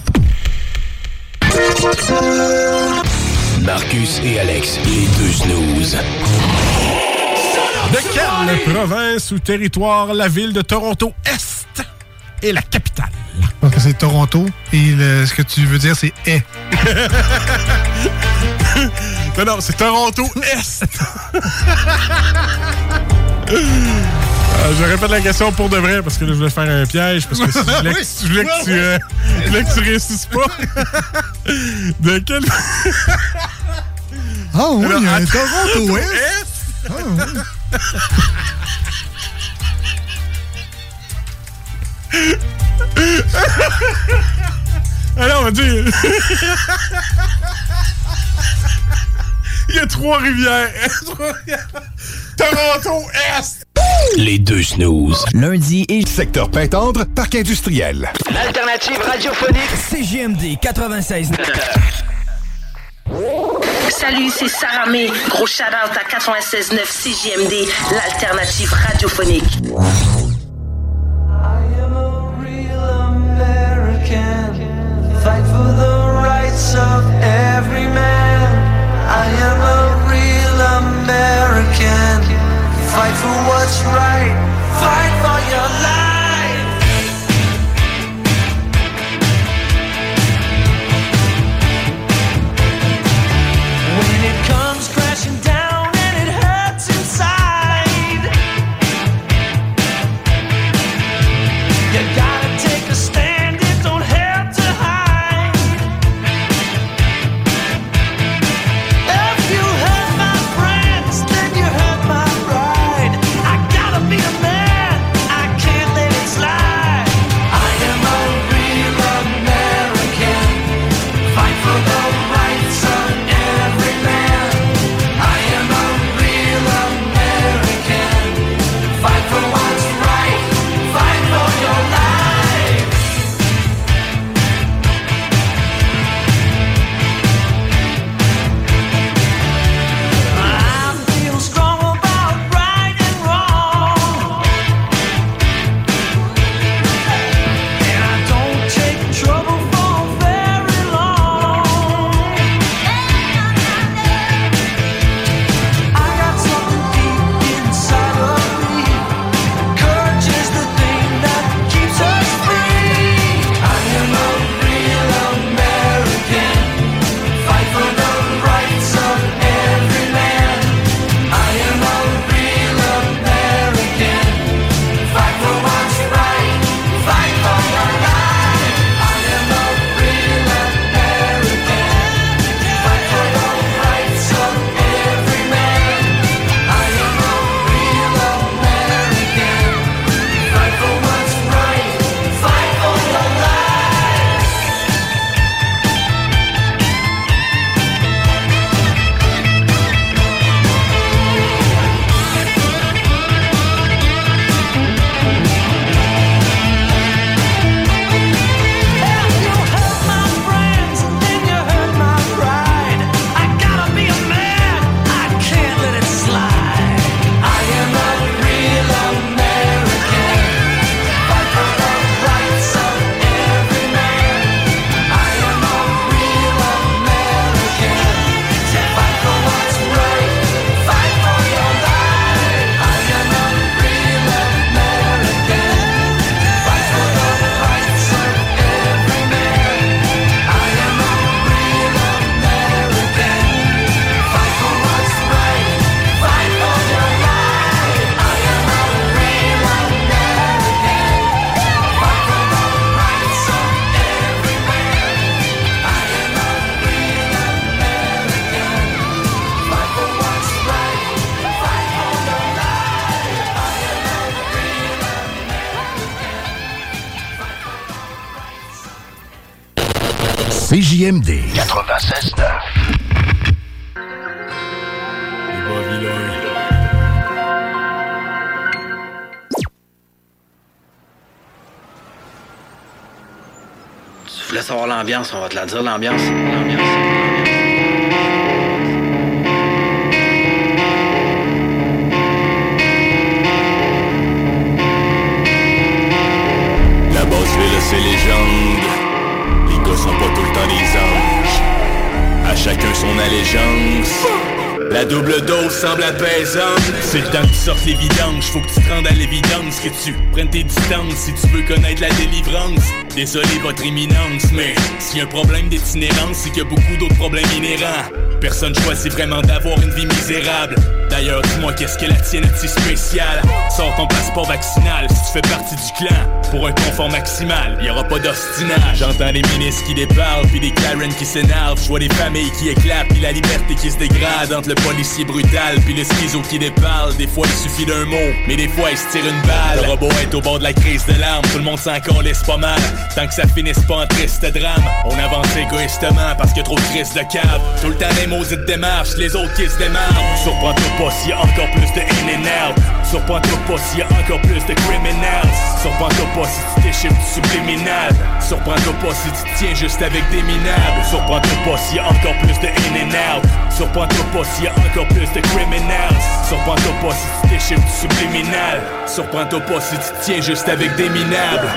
Marcus et Alex, les deux snooze. De quelle province ou territoire la ville de Toronto-Est est la capitale? Donc c'est Toronto et ce que tu veux dire c'est « est ». Non, c'est Toronto-Est. Je répète la question pour de vrai parce que là, je voulais faire un piège parce que je voulais que tu réussisses pas. De quel... Ah oui, il y a un Toronto-Est. Ah oui. Alors, on va dire... Il y a Trois-Rivières. Toronto-Est. Les deux snooze. Lundi et secteur Pintendre, parc industriel. L'alternative radiophonique CJMD 96. Salut, c'est Sarah May. Gros shout-out à 96.9 CJMD, l'alternative radiophonique. Fight for the rights of every man. I am a real American. Fight for what's right. Fight for your life. When it comes crashing down and it hurts inside, you gotta take a stand. It don't have to hide. CJMD 96.9. Tu voulais savoir l'ambiance, on va te la dire, l'ambiance. La Basse-Ville, c'est légende. Les gars sont pas tout le temps des anges. À chacun son allégeance. La double dose semble apaisante. C'est le temps que tu sortes les vidanges. Faut que tu te rendes à l'évidence, que tu prennes tes distances si tu veux connaître la délivrance. Désolé votre éminence, mais s'il y a un problème d'itinérance, c'est qu'il y a beaucoup d'autres problèmes inhérents. Personne choisit vraiment d'avoir une vie misérable. D'ailleurs, dis-moi qu'est-ce que la tienne est si spéciale. Sors ton passeport vaccinal si tu fais partie du clan. Pour un confort maximal, y'aura pas d'ostinage. J'entends les ministres qui déparlent, puis des Karen qui s'énervent. Je vois des familles qui éclatent, puis la liberté qui se dégrade. Entre le policier brutal, puis le schizo qui déparle. Des fois il suffit d'un mot, mais des fois il se tire une balle. Le robot est au bord de la crise de larmes, tout le monde s'en calisse pas mal. Tant que ça finisse pas en triste drame, on avance égoïstement parce qu'il y a trop de crises de cave. Tout le temps les maudites démarches, les autres qui se démarrent. Surprends-toi pas s'il y a encore plus de in and out. Surprends-toi pas s'il y a encore plus de criminals. Surprends-toi pas si tu t'échippes du subliminal. Surprends-toi pas si tu te tiens juste avec des minables. Surprends-toi pas s'il y a encore plus de in and out. Surprends-toi pas s'il y a encore plus de criminals. Surprends-toi pas si tu t'échippes du subliminal. Surprends-toi pas si tu te tiens juste avec des minables.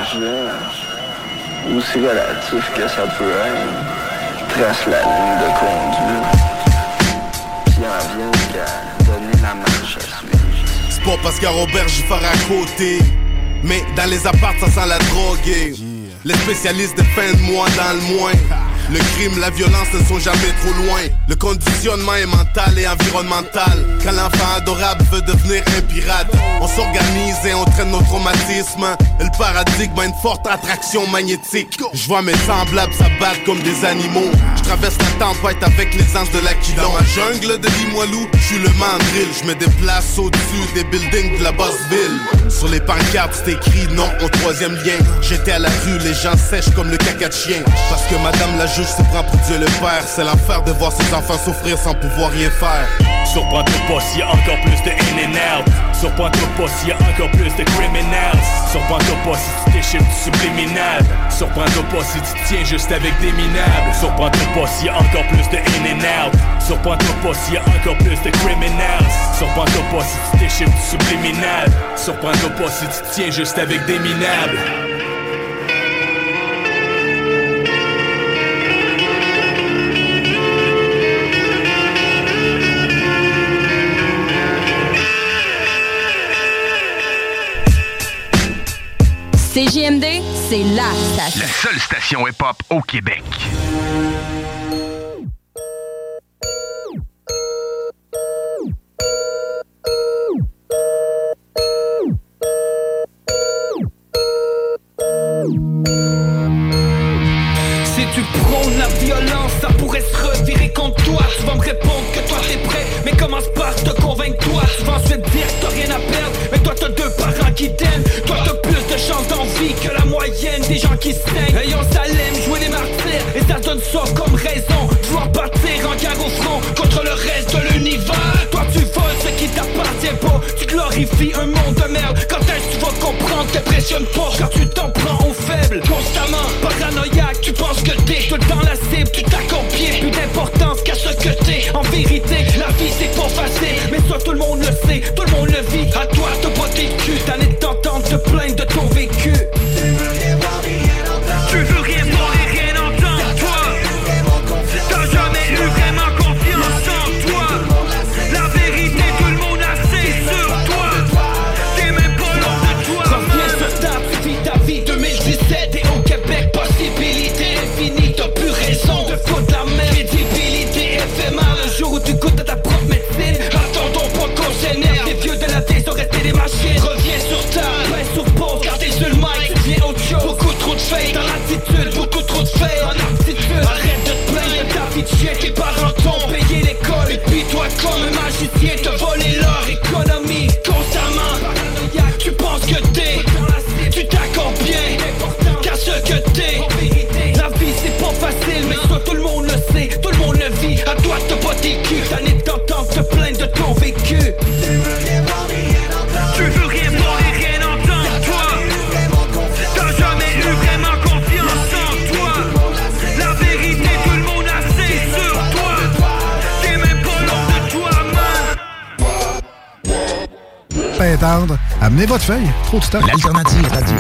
Aussi relatif que ça peut être, trace la ligne de conduite, puis en vient qu'à donner la marche à suivre. C'est pas parce qu'à Robert j'y ferai à côté, mais dans les apparts ça sent la drogue. Les spécialistes défendent moi dans le moins. Le crime, la violence ne sont jamais trop loin. Le conditionnement est mental et environnemental. Quand l'enfant adorable veut devenir un pirate, on s'organise et on traîne nos traumatismes. Et le paradigme a une forte attraction magnétique. Je vois mes semblables s'abattre comme des animaux. Je traverse la tempête avec les anges de l'Aquilon. Dans la jungle de Limoilou, je suis le mandrill. Je me déplace au-dessus des buildings de la Basse-Ville. Sur les pancartes c'est écrit non au troisième lien. J'étais à la rue, les gens sèchent comme le caca de chien. Parce que madame la juge se prend pour Dieu le Père. C'est l'enfer de voir ses enfants souffrir sans pouvoir rien faire. Surprends-toi pas s'il y a encore plus de in and out. Surprends-toi pas s'il y a encore plus de criminals. Surprends-toi pas si tu t'échippes du subliminal. Surprends-toi pas si tu te tiens juste avec des minables. Surprends-toi pas s'il y a encore plus de in and out. Surprends-toi pas s'il y a encore plus de criminals. Surprends-toi pas si tu t'échippes du subliminal. Surprends-toi pas si tu te tiens juste avec des minables. CJMD, c'est la station. La seule station hip-hop au Québec. Si tu prônes la violence, ça pourrait se revirer contre toi. Tu vas me répondre que toi t'es prêt, mais commence par te convaincre toi. Tu vas ensuite dire que t'as rien à perdre, mais toi t'as deux parents qui t'aiment. Toi t'as plus de chances d'envie que la moyenne des gens qui saignent. Et on s'aime jouer les martyrs, et ça donne ça comme raison. Vouloir partir en guerre au front contre le reste de l'univers. Toi tu voles ce qui t'appartient pas, tu glorifies un monde de merde. Quand est-ce que tu vas comprendre, t'impressionnes pas quand tu t'en prends aux faibles. Constamment paranoïaque, tu penses que t'es tout dans la cible, tu t'accomplis, plus d'importance qu'à ce que t'es. En vérité, la vie c'est pas facile, mais ça tout le monde le sait, tout le monde le vit. À toi t'as pas tes culs, t'en es t'entendre te plaindre de ton vécu. Tu veux rien voir et rien entendre, toi. T'as jamais eu vraiment confiance en toi. La vérité, tout le monde a c'est sur toi. T'es même pas l'homme de toi. Reviens sur table, tu vis ta vie 2000 détendre. Amenez votre feuille. Trop de stock. L'Alternative Radio.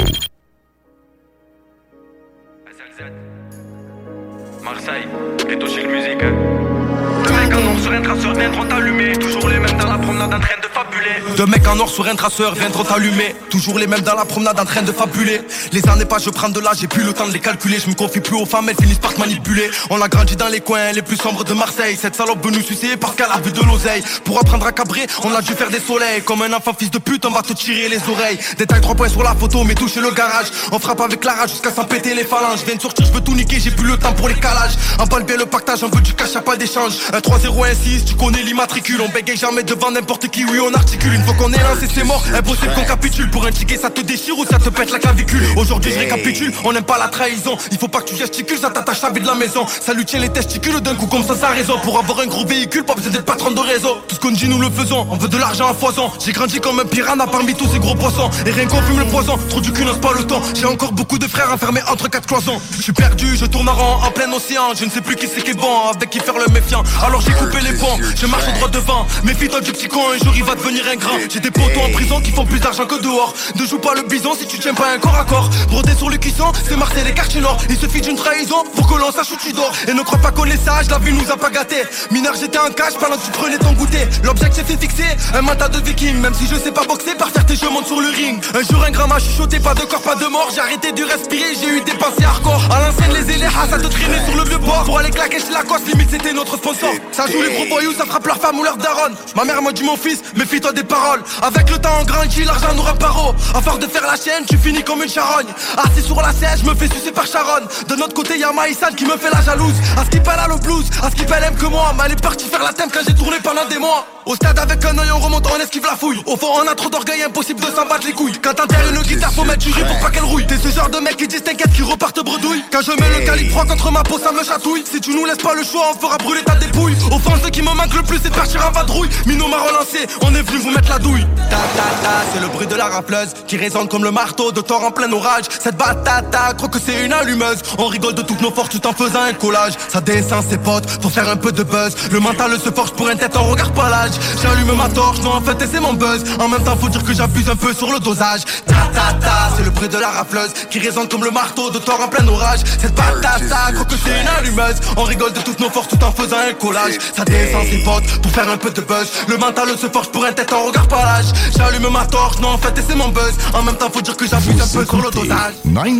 Marseille, plutôt chez le musique. Deux mecs en or sur un traceur viendront t'allumer. Toujours les mêmes dans la promenade en train de fabuler. Deux mecs en or sur un traceur viendront t'allumer. Toujours les mêmes dans la promenade en train de fabuler. Les années passent, je prends de l'âge, j'ai plus le temps de les calculer. Je me confie plus aux femmes, elles finissent par te manipuler. On a grandi dans les coins les plus sombres de Marseille. Cette salope veut nous sucer parce qu'elle a vu de l'oseille. Pour apprendre à cabrer, on a dû faire des soleils. Comme un enfant fils de pute, on va te tirer les oreilles. Détail 3 points sur la photo, mais toucher le garage. On frappe avec la rage jusqu'à s'en péter les phalanges. Je viens de sortir, je veux tout niquer, j'ai plus le temps pour les calages. Emballe bien le pactage, on veut du cash, y'a pas d'échange. Un 3-0, 1-6, tu connais l'immatricule. On bégaye jamais devant n'importe qui, oui on articule. Une fois qu'on est lancé c'est mort, impossible qu'on capitule. Pour un ticket ça te déchire ou ça te pète la clavicule. Aujourd'hui je récapitule, on n'aime pas la trahison. Il faut pas que tu gesticules, ça t'attache à vie de la maison. Ça lui tient les testicules d'un coup comme ça raison. Pour avoir un gros véhicule, pas besoin d'être patron de réseau. Tout ce qu'on dit nous le faisons, on veut de l'argent à foison. J'ai grandi comme un piranha parmi tous ces gros poissons. Et rien qu'on fume le poison, trop du cul n'ose pas le temps. J'ai encore beaucoup de frères enfermés entre 4 cloisons. Je suis perdu, je tourne en rond en plein océan. Je ne sais plus qui c'est qui est bon, avec qui faire le méfiant. Alors j'ai coupé les ponts, je marche au droit devant. Méfie-toi du petit con, un jour il va devenir un grand. J'ai des potos en prison qui font plus d'argent que dehors. Ne joue pas le bison si tu tiens pas un corps à corps. Brodé sur le cuisson, c'est Marseille les quartiers nord. Il suffit d'une trahison pour que l'on sache où tu dors. Et ne crois pas qu'on est sage, la vie nous a pas gâtés. Mineur j'étais en cage pendant que tu prenais ton goûter. L'objectif est fixé, un mental de viking. Même si je sais pas boxer, par fierté je monte sur le ring. Un jour un grand m'a chuchoté, pas de corps, pas de mort. J'ai arrêté de respirer, j'ai eu des pensées hardcore. À l'ancienne les éléas, ça te traînait sur le vieux port. Pour aller claquer chez Lacoste, limite c'était notre sponsor. Ça joue les gros voyous, ça frappe leur femme ou leur daronne. Ma mère m'a dit mon fils, méfie-toi des paroles. Avec le temps on grandit, l'argent nous rend paro. À force de faire la chaîne, tu finis comme une charogne. Assis sur la siège, je me fais sucer par Sharon. De notre côté y'a Maïsan qui me fait la jalouse. À ce qu'il elle a le blues, à ce qu'il aime que moi. Mais elle est partie faire la thème quand j'ai tourné pendant des mois. Au stade avec un œil on remonte, on esquive la fouille. Au fond on a trop d'orgueil, impossible de s'en battre les couilles. Quand t'enterres une guitare faut mettre du riz pour pas qu'elle rouille. T'es ce genre de mec qui disent t'inquiète qui repartent bredouille. Quand je mets le calibre 3 contre ma peau ça me chatouille. Si tu nous laisses pas le choix on fera brûler ta dépouille. Au fond ce qui me manque le plus c'est de partir en vadrouille. Mino m'a relancé, on est venu vous mettre la douille. Ta ta ta, c'est le bruit de la rafleuse qui résonne comme le marteau de Thor en plein orage. Cette batata, crois que c'est une allumeuse. On rigole de toutes nos forces tout en faisant un collage. Ça descend ses potes pour faire un peu de buzz. Le mental se forge pour un tête, on regarde pas l'âge. J'allume ma torche, non en fait c'est mon buzz. En même temps faut dire que j'abuse un peu sur le dosage. Ta ta ta, c'est le bruit de la rafleuse qui résonne comme le marteau de Thor en plein orage. Cette batata, crois que c'est une allumeuse. On rigole de toutes nos forces tout en faisant un collage. Ça descend ses potes pour faire un peu de buzz. Le mental se forge pour un tête, on regarde pas l'âge. J'allume ma torche, non en fait c'est mon buzz. En même temps faut dire que j'abuse un peu sur le dosage.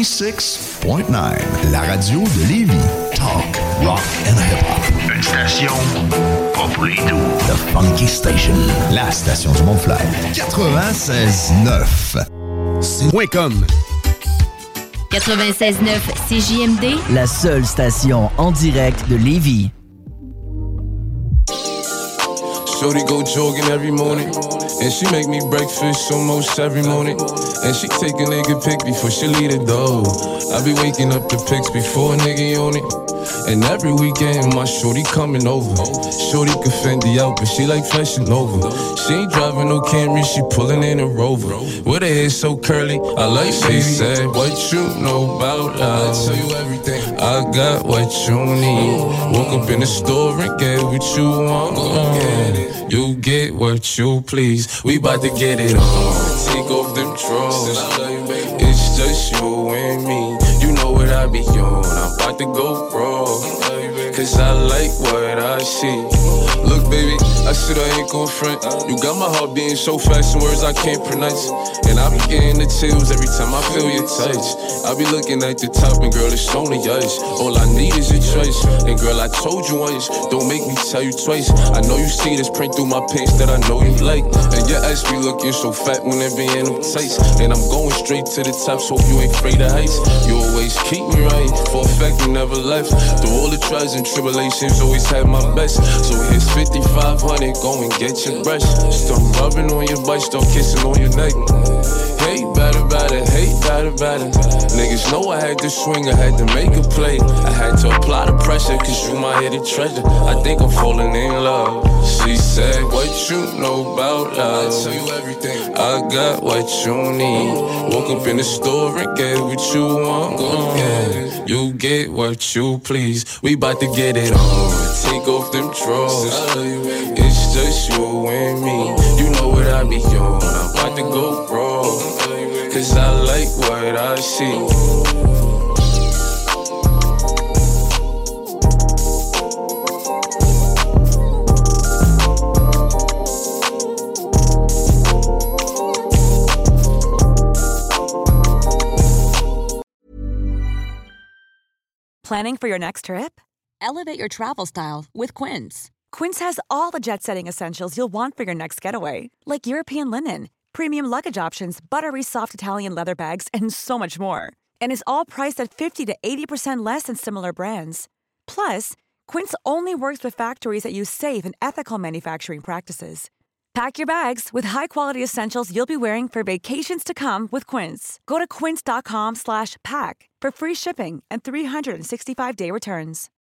96.9, la radio de Lévis. Talk, rock and hip-hop. Une station pas pour les doux. The Funky Station, la station du Mont-Flair. 96.9. C'est.com 96.9 CJMD, la seule station en direct de Lévis. Shorty go jogging every morning, and she make me breakfast almost every morning. And she take a nigga pic before she leave the door. I be waking up the pics before a nigga on it. And every weekend my shorty coming over. Shorty can Fendi out, but she like Fashion Nova. She ain't driving no Camry, she pulling in a Rover. With her hair so curly, I like she said, what you know about love? I tell you everything. I got what you need. Woke up in the store and get what you want. You get what you please. We bout to get it on. Take off them drawers. It's just you and me. You know what I be on. I'm about to go raw. Cause I like what I see. Look, baby, I said I ain't gon' front. You got my heart beating so fast in words I can't pronounce. And I be getting the chills every time I feel your touch. I be looking at the top and girl, it's only us. All I need is your choice. And girl, I told you once, don't make me tell you twice. I know you see this print through my pants that I know you like. And your ass be looking so fat when it be in them tights. And I'm going straight to the top, so you ain't afraid of heights. You always keep me right, for a fact you never left. Through all the trials and tribulations, always had my best. So here's 5,500, go and get your brush. Start rubbing on your butt, start kissing on your neck. Hate better, hate got it better. Niggas know I had to swing, I had to make a play. I had to apply the pressure, cause you my hidden treasure. I think I'm falling in love. She said, what you know about love? I tell you everything. I got what you need. Woke up in the store and get what you want. Yeah. You get what you please. We bout to get it on. Take off them drawers. It's just you and me. You know what I be on. I'm about to go raw. Cause I like what I see. Planning for your next trip? Elevate your travel style with Quince. Quince has all the jet-setting essentials you'll want for your next getaway, like European linen, premium luggage options, buttery soft Italian leather bags, and so much more. And is all priced at 50 to 80% less than similar brands. Plus, Quince only works with factories that use safe and ethical manufacturing practices. Pack your bags with high-quality essentials you'll be wearing for vacations to come with Quince. Go to quince.com/pack for free shipping and 365-day returns.